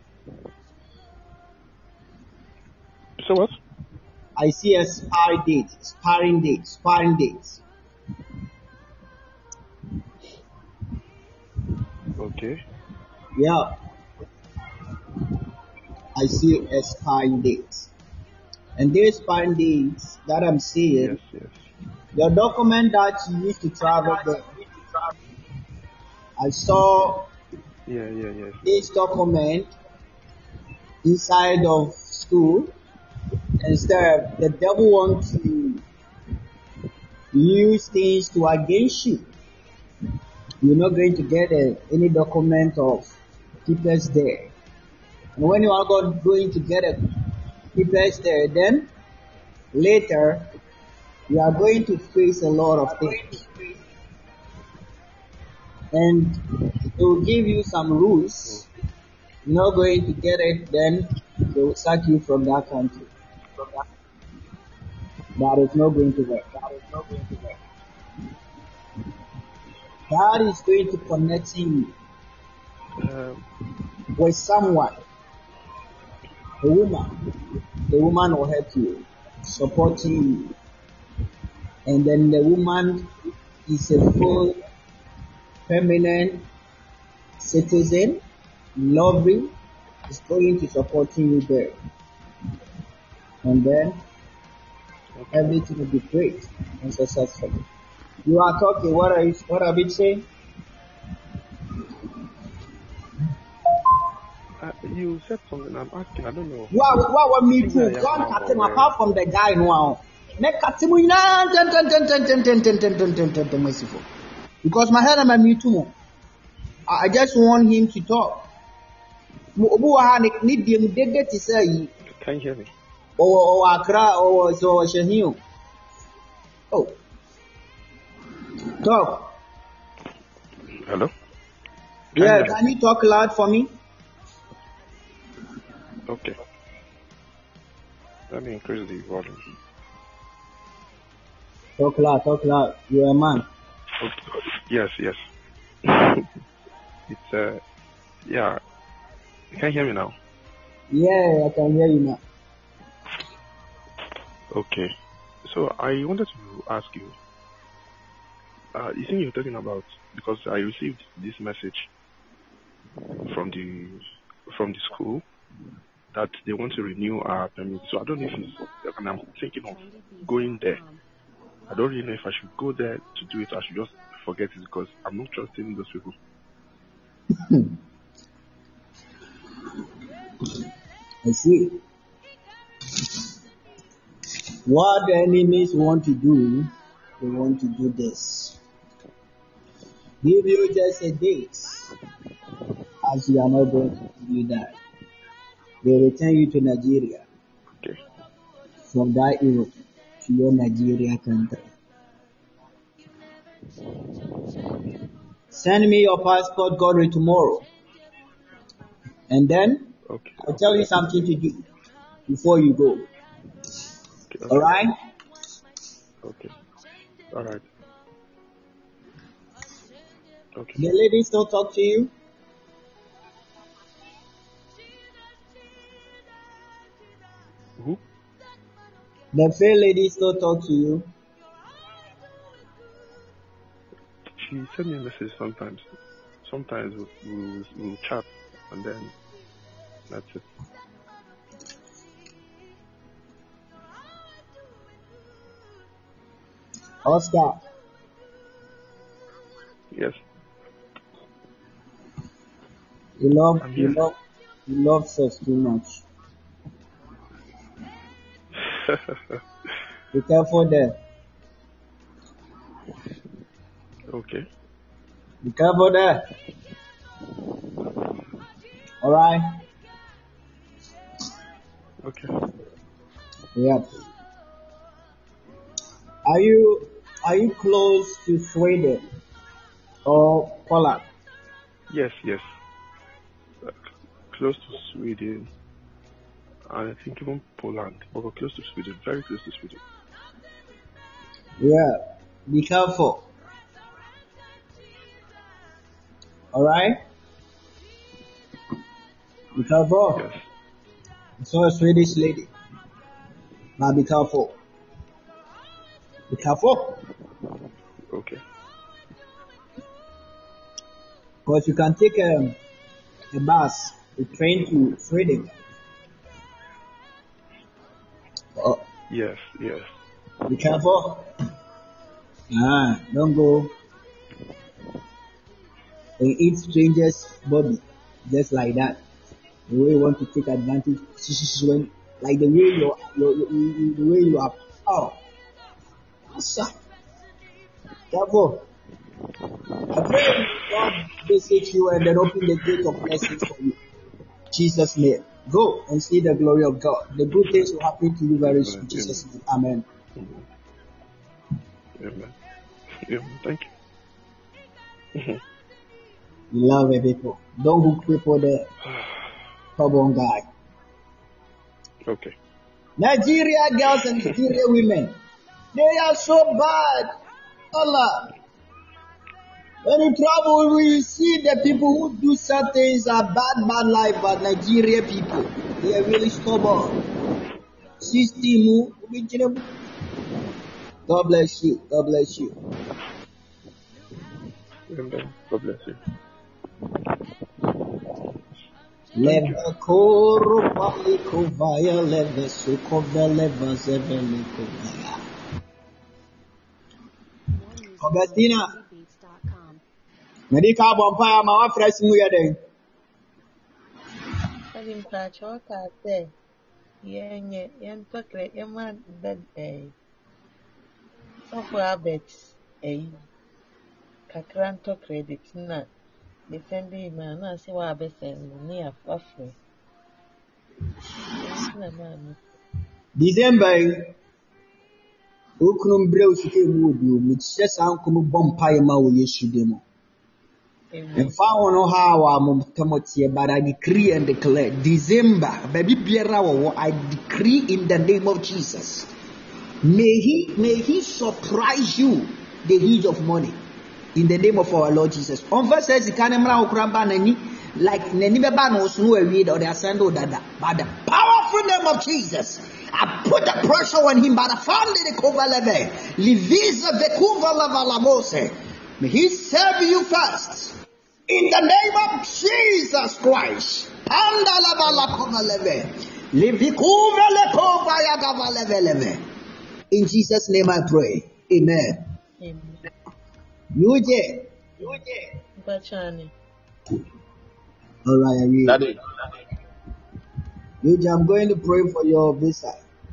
J: So what?
E: I see a expiring date, expiring date, expiring dates.
J: Okay.
E: Yeah. I see expiring dates. And these expiring dates that I'm seeing,
J: Yes, yes.
E: your document that you used to travel there. I saw
J: Yeah, yeah, yes.
E: this document inside of school. Instead, the devil wants to use things to against you. You're not going to get a, any document of papers there. And when you are going to get a papers there, then later you are going to face a lot of things. And it will give you some rules. You're not going to get it, then they will sack you from that country. That is not going to work. That is not going to work. God is going to connect you
J: Um,
E: with someone, a woman. The woman will help you, supporting you. And then the woman is a full, permanent citizen, loving, is going to supporting you there. And then everything will be great and successful. You are talking, what are you, what are we saying?
J: uh, you said something. I'm asking. I don't know.
E: Wow, wow, what me
J: Think
E: too.
J: I am
E: Don't
J: now
E: cut him
J: aware.
E: apart from the guy now. Make cut him in ten, ten, ten, ten, ten, ten, ten, ten, ten, ten, ten, ten, merciful. Because my head and my me too. I I just want him to talk. Mo- obu wa ha ne- ne deɛ mu dede te sɛ yi.
J: Can you hear me?
E: Oh, oh, Accra, oh, so Shehiu. Oh, talk.
K: Hello?
E: Yeah, can you talk loud for me?
K: Okay. Let me increase the volume.
E: Talk loud, talk loud. You're a man.
K: Okay. Yes, yes. It's, uh, yeah. You can hear me now?
E: Yeah, I can hear you now.
K: Okay. So I wanted to ask you, uh, you think you're talking about, because I received this message from the from the school that they want to renew our permit. So I don't know if it's, and I'm thinking of going there. I don't really know if I should go there to do it or I should just forget it because I'm not trusting those people.
E: I see. What the enemies want to do, they want to do this. Give you just a date. As you are not going to do that, they return you to Nigeria.
K: Okay.
E: From that Europe to your Nigeria country. Send me your passport, Godly, tomorrow. And then,
K: okay.
E: I'll tell you something to do before you go.
K: Okay, okay.
E: Alright?
K: Okay. Alright. Okay.
E: The lady still talk to you?
K: Who?
E: The fair lady still talk to you?
K: She sent me a message sometimes. Sometimes we'll, we'll, we'll chat and then that's it.
E: Oscar.
K: Yes.
E: You love, you love, you love sex too much. Be careful there.
K: Okay.
E: Be careful there. Alright?
K: Okay.
E: Yep. Are you, are you close to Sweden or Poland?
K: Yes, yes. Uh, close to Sweden. And I think even Poland. But we're close to Sweden. Very close to Sweden.
E: Yeah. Be careful. Alright? Be careful.
K: Yes.
E: I saw a Swedish lady. Now be careful. Be careful.
K: Okay.
E: Because you can take a, a bus, a train to Sweden. Oh.
K: Yes, yes.
E: Be careful. Ah, don't go and eat strangers' body just like that. The way you want to take advantage, when, like the way you, you, you, the way you are. Oh, sir, careful. I pray God visit you and then open the gate of blessings for you. Jesus' name. Go and see the glory of God. The good things will happen to you very soon. Jesus' name. Amen.
K: Amen. Amen. Amen. Thank you.
E: You love it, people. Don't hook people there. Stubborn guy.
K: Okay.
E: Nigeria girls and Nigeria women, they are so bad. Allah. When you travel, we see the people who do certain things are bad, bad life, but Nigeria people, they are really stubborn. System, God bless you. God bless you.
K: Amen. God bless you.
E: Leva koro pali kovaya leve sukove leva zevele kovaya. Augustina, medical vampire, my fresh new year.
L: Having patch or cat there. Yen, yen, tokre, eman, bed, eh. So for a bet, eh. Kakranto credit, na. Defending man, I see what I bet and near Waffle. Na mami.
E: December, Okunum Brew Suke would you, which says Uncle Bompire Maui Yeshudemo. And found how I'm Tamotia, but I decree and declare December, baby Biera, I decree in the name of Jesus. May he may he surprise you the huge of money in the name of our Lord Jesus. On verse says, like Nenibeba knows no read or the ascendo dada. By the powerful name of Jesus, I put the pressure on him by the family the cover level. Livisa the cover level. May he serve you first. In the name of Jesus Christ. Panda level cover level. Livikuva le cover yagava level. In Jesus' name I pray. Amen.
L: Amen.
E: Yuje.
L: Yuje. Bachani.
E: All right, I will.
G: Daddy.
E: Yuje, I'm going to pray for your visa.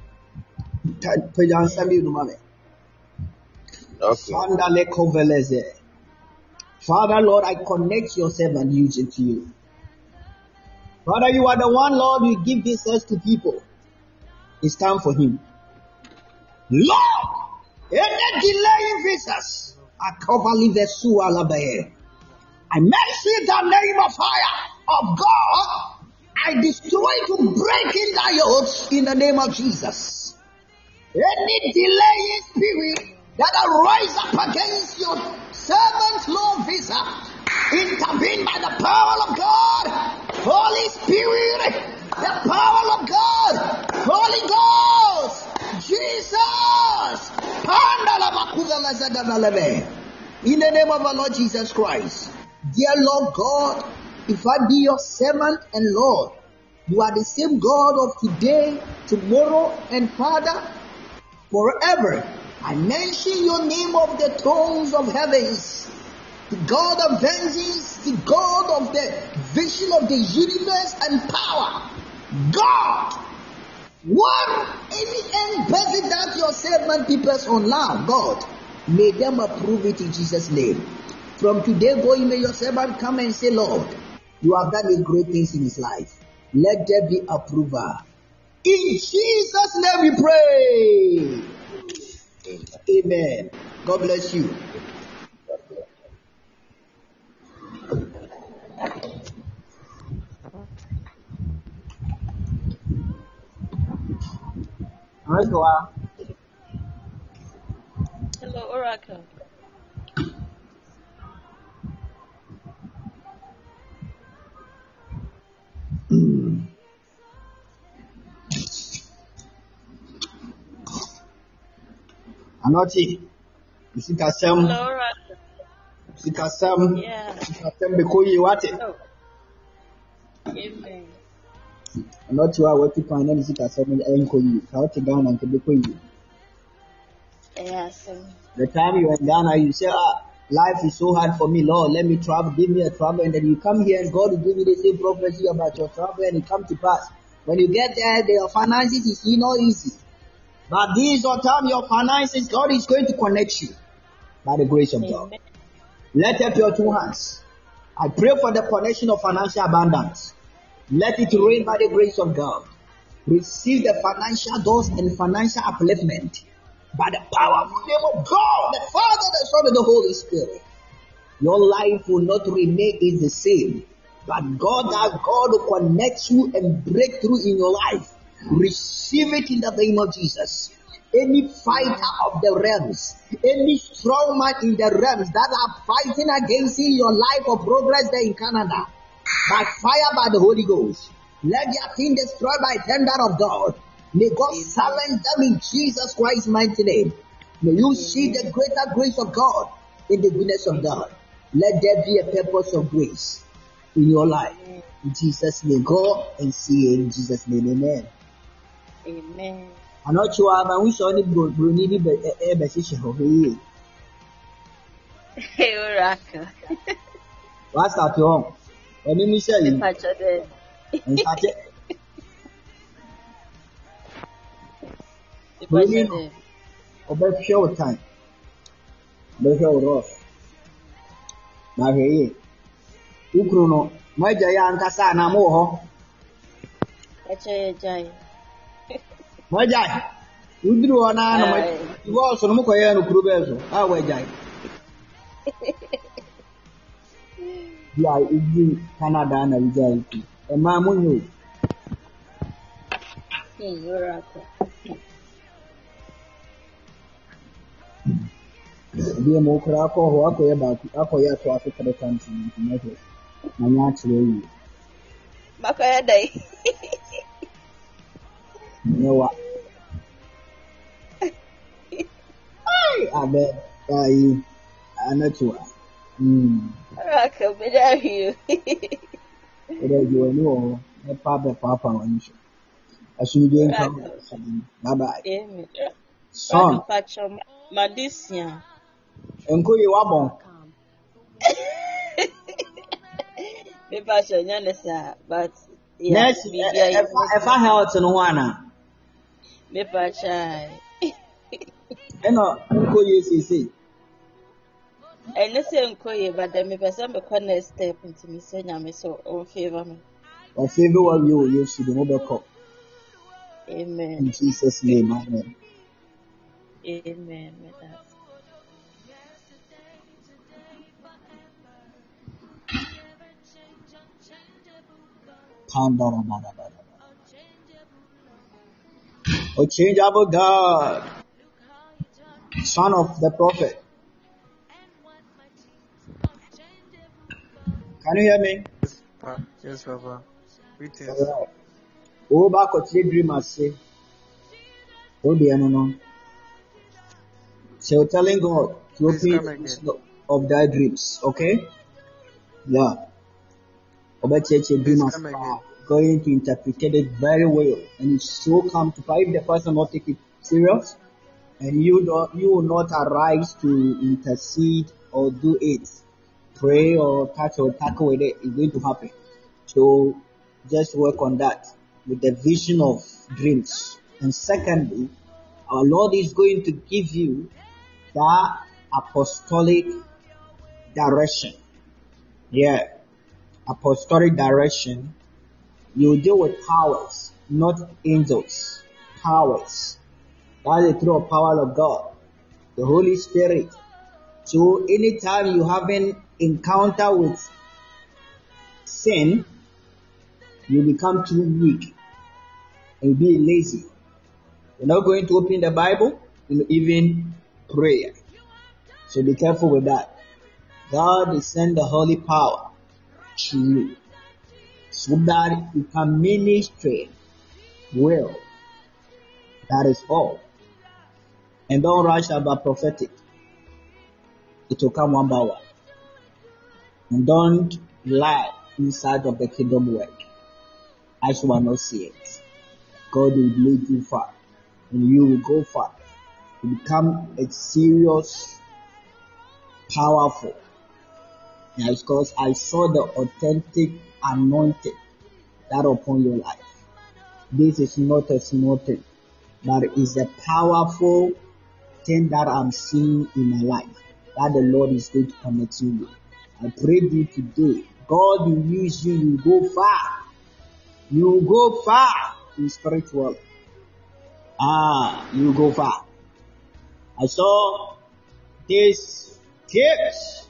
E: Okay. Father, Lord, I connect your servant Yuje to you. Father, you are the one, Lord, you give this earth to people. It's time for him. Lord, any delaying visas, I cover the sewer labaye. I mention the name of fire of God. I destroy to break in the yokes in the name of Jesus. Any delaying spirit that arise up against your servant's Lord visa, intervene by the power of God. Holy Spirit, the power of God, Holy Ghost, Jesus. In the name of our Lord Jesus Christ. Dear Lord God, if I be your servant and Lord, you are the same God of today, tomorrow, and Father, forever. I mention your name of the thrones of heavens, the God of vengeance, the God of the vision of the universe and power. God, what any embassy that your servant peoples on land, God, may them approve it in Jesus' name. From today going, may your servant come and say, Lord, you have done a great things in his life. Let there be approval. In Jesus' name we pray. Amen. God bless you.
L: Hello, Oracle.
E: Anoti, Sikasem, Sikasem, Sikasem, because you want it.
L: Amen.
E: Anoti, I want to find any Sikasem and Enko you. How to down and to be you.
L: Yes.
E: The time you were in Ghana, you say, ah, life is so hard for me, Lord. Let me travel, give me a travel, and then you come here and God will give you the same prophecy about your travel, and it come to pass. When you get there, your finances is not easy. But this or time, your finances, God is going to connect you by the grace of God. Amen. Let up your two hands. I pray for the connection of financial abundance. Let it rain by the grace of God. Receive the financial doors and financial upliftment by the powerful name of God, the Father, the Son, and the Holy Spirit. Your life will not remain is the same, but God, that God will connect you and break through in your life. Receive it in the name of Jesus. Any fighter of the realms, any strong man in the realms that are fighting against your life or progress there in Canada, by fire, by the Holy Ghost, let their thing destroyed by thunder of God. May God silence them in Jesus Christ's mighty name. May you see the greater grace of God in the goodness of God. Let there be a purpose of grace in your life. In Jesus' name, go and see it in Jesus' name. Amen.
L: Amen.
E: I'm not sure I wish only Bruni be a position of you.
L: Hey, Oracle.
E: What's that wrong? Let me show you. And such it. Bruni, over show time. The show rough. Now, here, Ukruno, my giant Casana Moho. Wajai. Udru ona no
L: Aye.
E: you also no koye no kurubezo. Ah wajai. Yeah, in Canada na wajai. E ma munyo.
L: Hmm, you're right.
E: Bi mo kura ko ho akoye ba akoye to afi three times in United. Na nya tire yi.
L: Makaya dai.
E: Newa. Ai abe ai anatua. Mm.
L: Raka, but I you.
E: Ere you know e pa be papa wani. Asumdwe nka. Bye bye.
L: Amen.
E: Son.
L: Patcho Madisia.
E: Enkoye wabon.
L: Me patcho nyanesa, but yeah.
E: Next, if I health no one.
L: Me patcho.
E: Eno enkoye sisi.
L: And let's say enkoye, but then me person be come next step into me say nyame so on favor me.
E: On favor what you you should be call.
L: Amen.
E: In Jesus' name, amen.
L: Amen. With that.
E: O changeable God, son of the prophet. Can you hear me?
M: Yes, Papa. Yes, Papa. Greetings.
E: Alright. Oh, back what you dream I say. Oh, dear, no, no. So you're telling God to
M: Please
E: open
M: come
E: the
M: again.
E: of thy dreams, okay? Yeah. About your dream
M: Please
E: as
M: come
E: far,
M: again.
E: going to interpret it very well, and it's so come to find the person not take it serious, and you don't, you will not arise to intercede or do it, pray or touch or tackle with it. It's going to happen. So just work on that with the vision of dreams. And secondly, our Lord is going to give you that apostolic direction. Yeah, apostolic direction. You deal with powers, not angels. Powers. That's the true power of God, the Holy Spirit. So anytime you have an encounter with sin, you become too weak and be lazy. You're not going to open the Bible and even prayer. So be careful with that. God will send the holy power to you so that you can minister well. That is all. And don't rush about prophetic. It will come one by one. And don't lie inside of the kingdom work. As you will not see it. God will lead you far. And you will go far. You become a serious, powerful. Yeah, because I saw the authentic anointing that upon your life. This is not a small thing, but it's a powerful thing that I'm seeing in my life that the Lord is going to connect you with. I pray you today, God will use you, you go far. You go far in spiritual. Ah, you go far. I saw this tips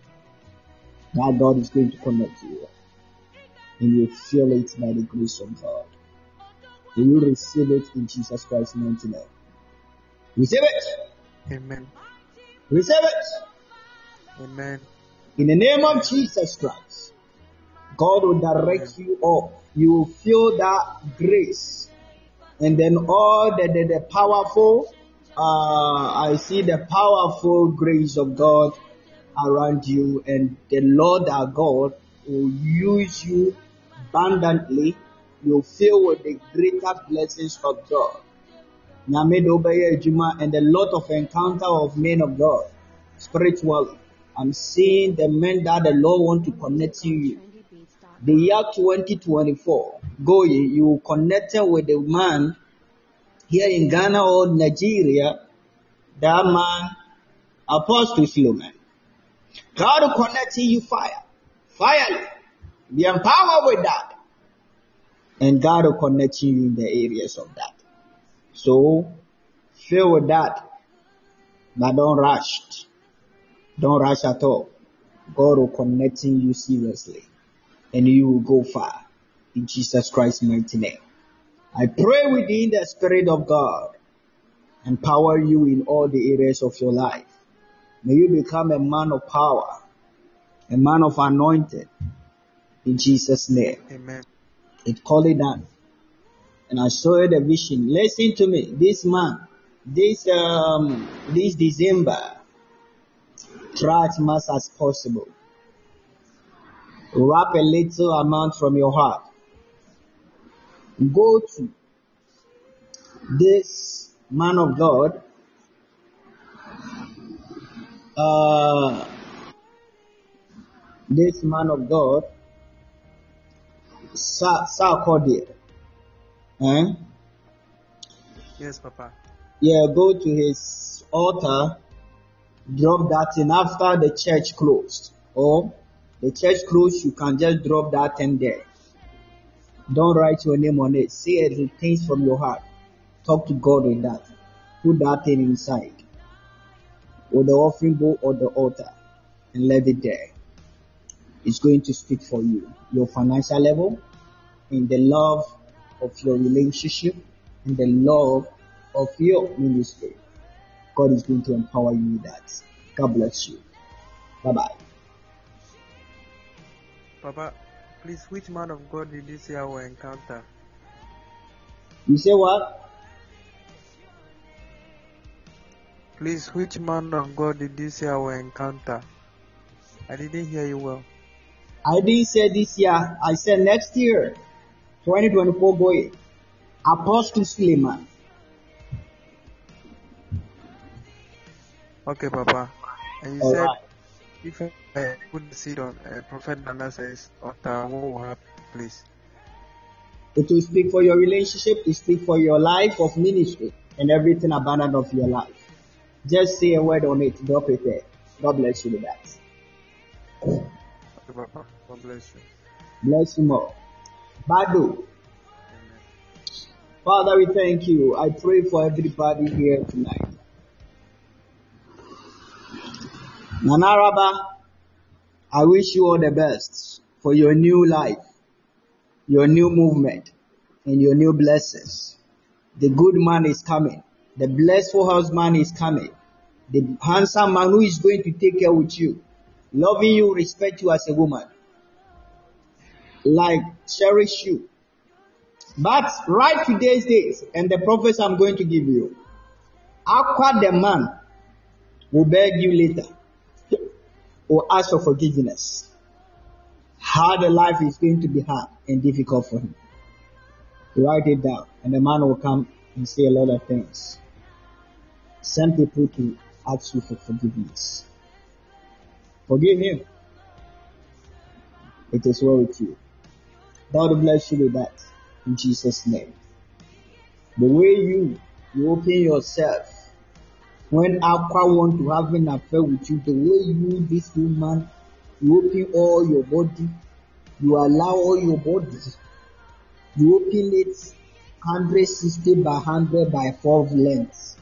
E: that God is going to connect you with. And you feel it by the grace of God. And you receive it in Jesus Christ's mighty name. Receive it.
M: Amen.
E: Receive it.
M: Amen.
E: In the name of Jesus Christ, God will direct you up. You will feel that grace. And then all the, the, the powerful, uh, I see the powerful grace of God around you. And the Lord our God will use you abundantly. You'll fill with the greater blessings of God. And a lot of encounter of men of God spiritually. I'm seeing the men that the Lord want to connect you with. The year twenty twenty-four, go ye, you connected with the man here in Ghana or Nigeria, that man, Apostle Philemon. God will connect you fire, fire. Be empowered with that. And God will connect you in the areas of that. So, fill with that, but don't rush. Don't rush at all. God will connecting you seriously, and you will go far. In Jesus Christ's mighty name. I pray within the Spirit of God, empower you in all the areas of your life. May you become a man of power, a man of anointing. In Jesus' name.
M: Amen.
E: It called it done. And I saw the vision. Listen to me. This man, this um, this December, try as much as possible. Wrap a little amount from your heart. Go to this man of God. Uh, this man of God, Sa Sarkodie. Eh?
M: Yes, Papa.
E: Yeah, go to his altar, drop that in after the church closed. Or the church closed, you can just drop that in there. Don't write your name on it. Say it things from your heart. Talk to God with that. Put that thing inside. Or the offering bowl or the altar. And let it there. It's going to speak for you. Your financial level, in the love of your relationship, and the love of your ministry. God is going to empower you with that. God bless you. Bye-bye.
M: Papa, please, which man of God did you say I will encounter?
E: You say what?
M: Please, which man of God did you say I will encounter? I didn't hear you well.
E: I didn't say this year. I said next year. twenty twenty-four boy. Apostle Suleiman.
M: Okay, Papa. And you
E: All
M: said
E: right.
M: if I put the seed on uh, Prophet Nana says, altar, what will happen, please?
E: It will speak for your relationship. It will speak for your life of ministry and everything abundant of your life. Just say a word on it. Drop it there. God bless you with that.
M: Okay, Papa. God bless you.
E: Bless you more. Badu. Father, we thank you. I pray for everybody here tonight. Nanaraba, I wish you all the best for your new life, your new movement, and your new blessings. The good man is coming. The blessful husband is coming. The handsome man who is going to take care with you, loving you, respect you as a woman, like cherish you. But right today's days, and the prophets I'm going to give you, Aqua the man will beg you later or ask for forgiveness. How the life is going to be hard and difficult for him. Write it down, and the man will come and say a lot of things. Send people to ask you for forgiveness. Forgive him. It is well with you. God bless you with that. In Jesus' name. The way you, you open yourself when Aqua want to have an affair with you, the way you, this woman, you open all your body, you allow all your body, you open it one hundred sixty by one hundred by four lengths.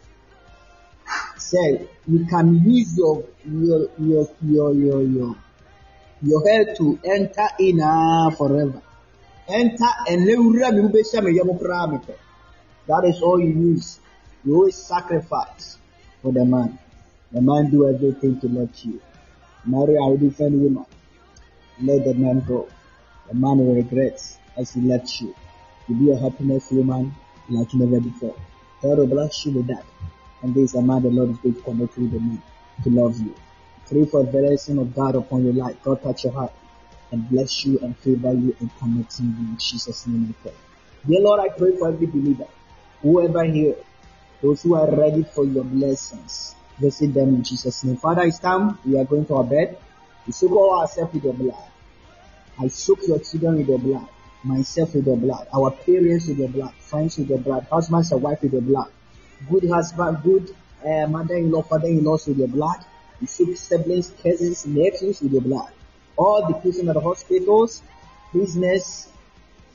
E: Say, you can use your, your, your, your, your, your, your hair to enter in uh, forever. Enter and that is all you use. You always sacrifice for the man. The man do everything to let you. Marry a different woman. Let the man go. The man will regret as he left you. You be a happiness woman like never before. God will bless you with that. And this is a man the Lord is going to connect with the man to love you. Pray for the blessing of God upon your life. God touch your heart and bless you and favor you and connect you in Jesus' name we pray. Dear Lord, I pray for every believer, whoever here, those who are ready for your blessings, visit them in Jesus' name. Father, it's time. We are going to our bed. We soak all ourselves with your blood. I soak your children with your blood, myself with your blood, our parents with your blood, friends with your blood, husbands and wife with your blood, good husband, good uh, mother-in-law, father-in-laws with your blood. We soak siblings, cousins, nephews with your blood. All the people at the hospitals, business,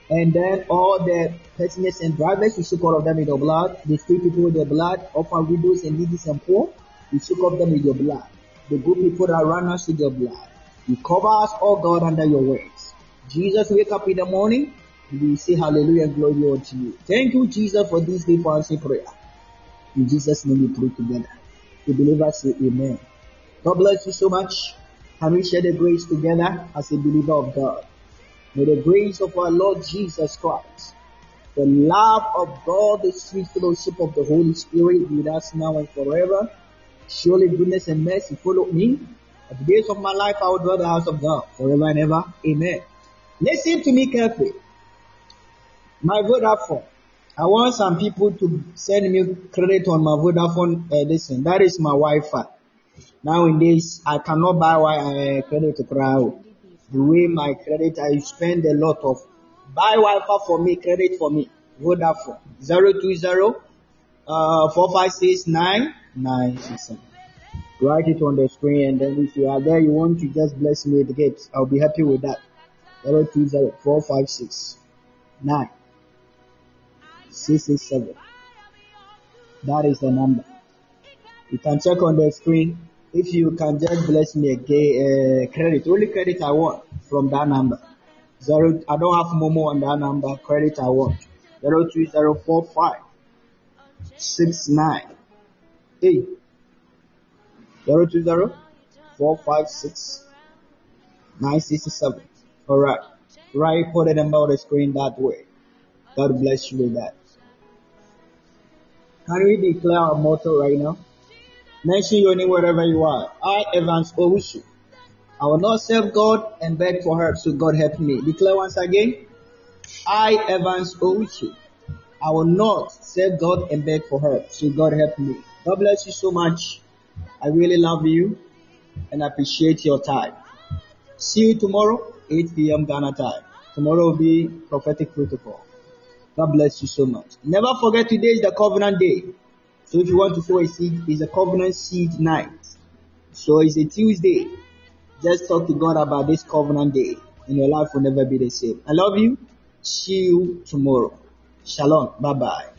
E: And then all the passengers and drivers, you soak all of them in your blood. The three people with your blood, orphan widows and needy and poor, you soak up them with your blood. The good people that run us with your blood. You cover us, oh God, under your words. Jesus, wake up in the morning, and we say hallelujah and glory unto you. Thank you, Jesus, for this day for answering prayer. In Jesus' name we pray together. The believers say amen. God bless you so much. Can we share the grace together as a believer of God? May the grace of our Lord Jesus Christ, the love of God, the sweet fellowship of the Holy Spirit be with us now and forever. Surely goodness and mercy follow me. At the days of my life I will dwell in the house of God forever and ever. Amen. Listen to me carefully. My Vodafone. I want some people to send me credit on my Vodafone. Uh, listen, that is my Wi-Fi. Nowadays, I cannot buy uh, credit to crowd. The way my credit, I spend a lot of. Buy Wi-Fi for me, credit for me. Vodafone. zero two zero, four five six, nine nine six seven. Write it on the screen, and then if you are there, you want to just bless me with the gifts, I'll be happy with that. zero two zero, four five six, nine six six seven. That is the number. You can check on the screen. If you can just bless me again, uh, credit, only credit I want from that number. Zero, I don't have Momo on that number. Credit I want. Zero two zero four five six nine eight. Zero two zero four five six nine six seven. All right. Right, put the number on the screen that way. God bless you with that. Can we declare our motto right now? Mention your name wherever you are. I, Evans Owusu. I will not serve God and beg for help, so God help me. Declare once again. I, Evans Owusu. I will not serve God and beg for help, so God help me. God bless you so much. I really love you and appreciate your time. See you tomorrow, eight p.m. Ghana time. Tomorrow will be prophetic protocol. God bless you so much. Never forget, today is the covenant day. So if you want to sow a seed, it's a covenant seed night. So it's a Tuesday. Just talk to God about this covenant day, and your life will never be the same. I love you. See you tomorrow. Shalom. Bye-bye.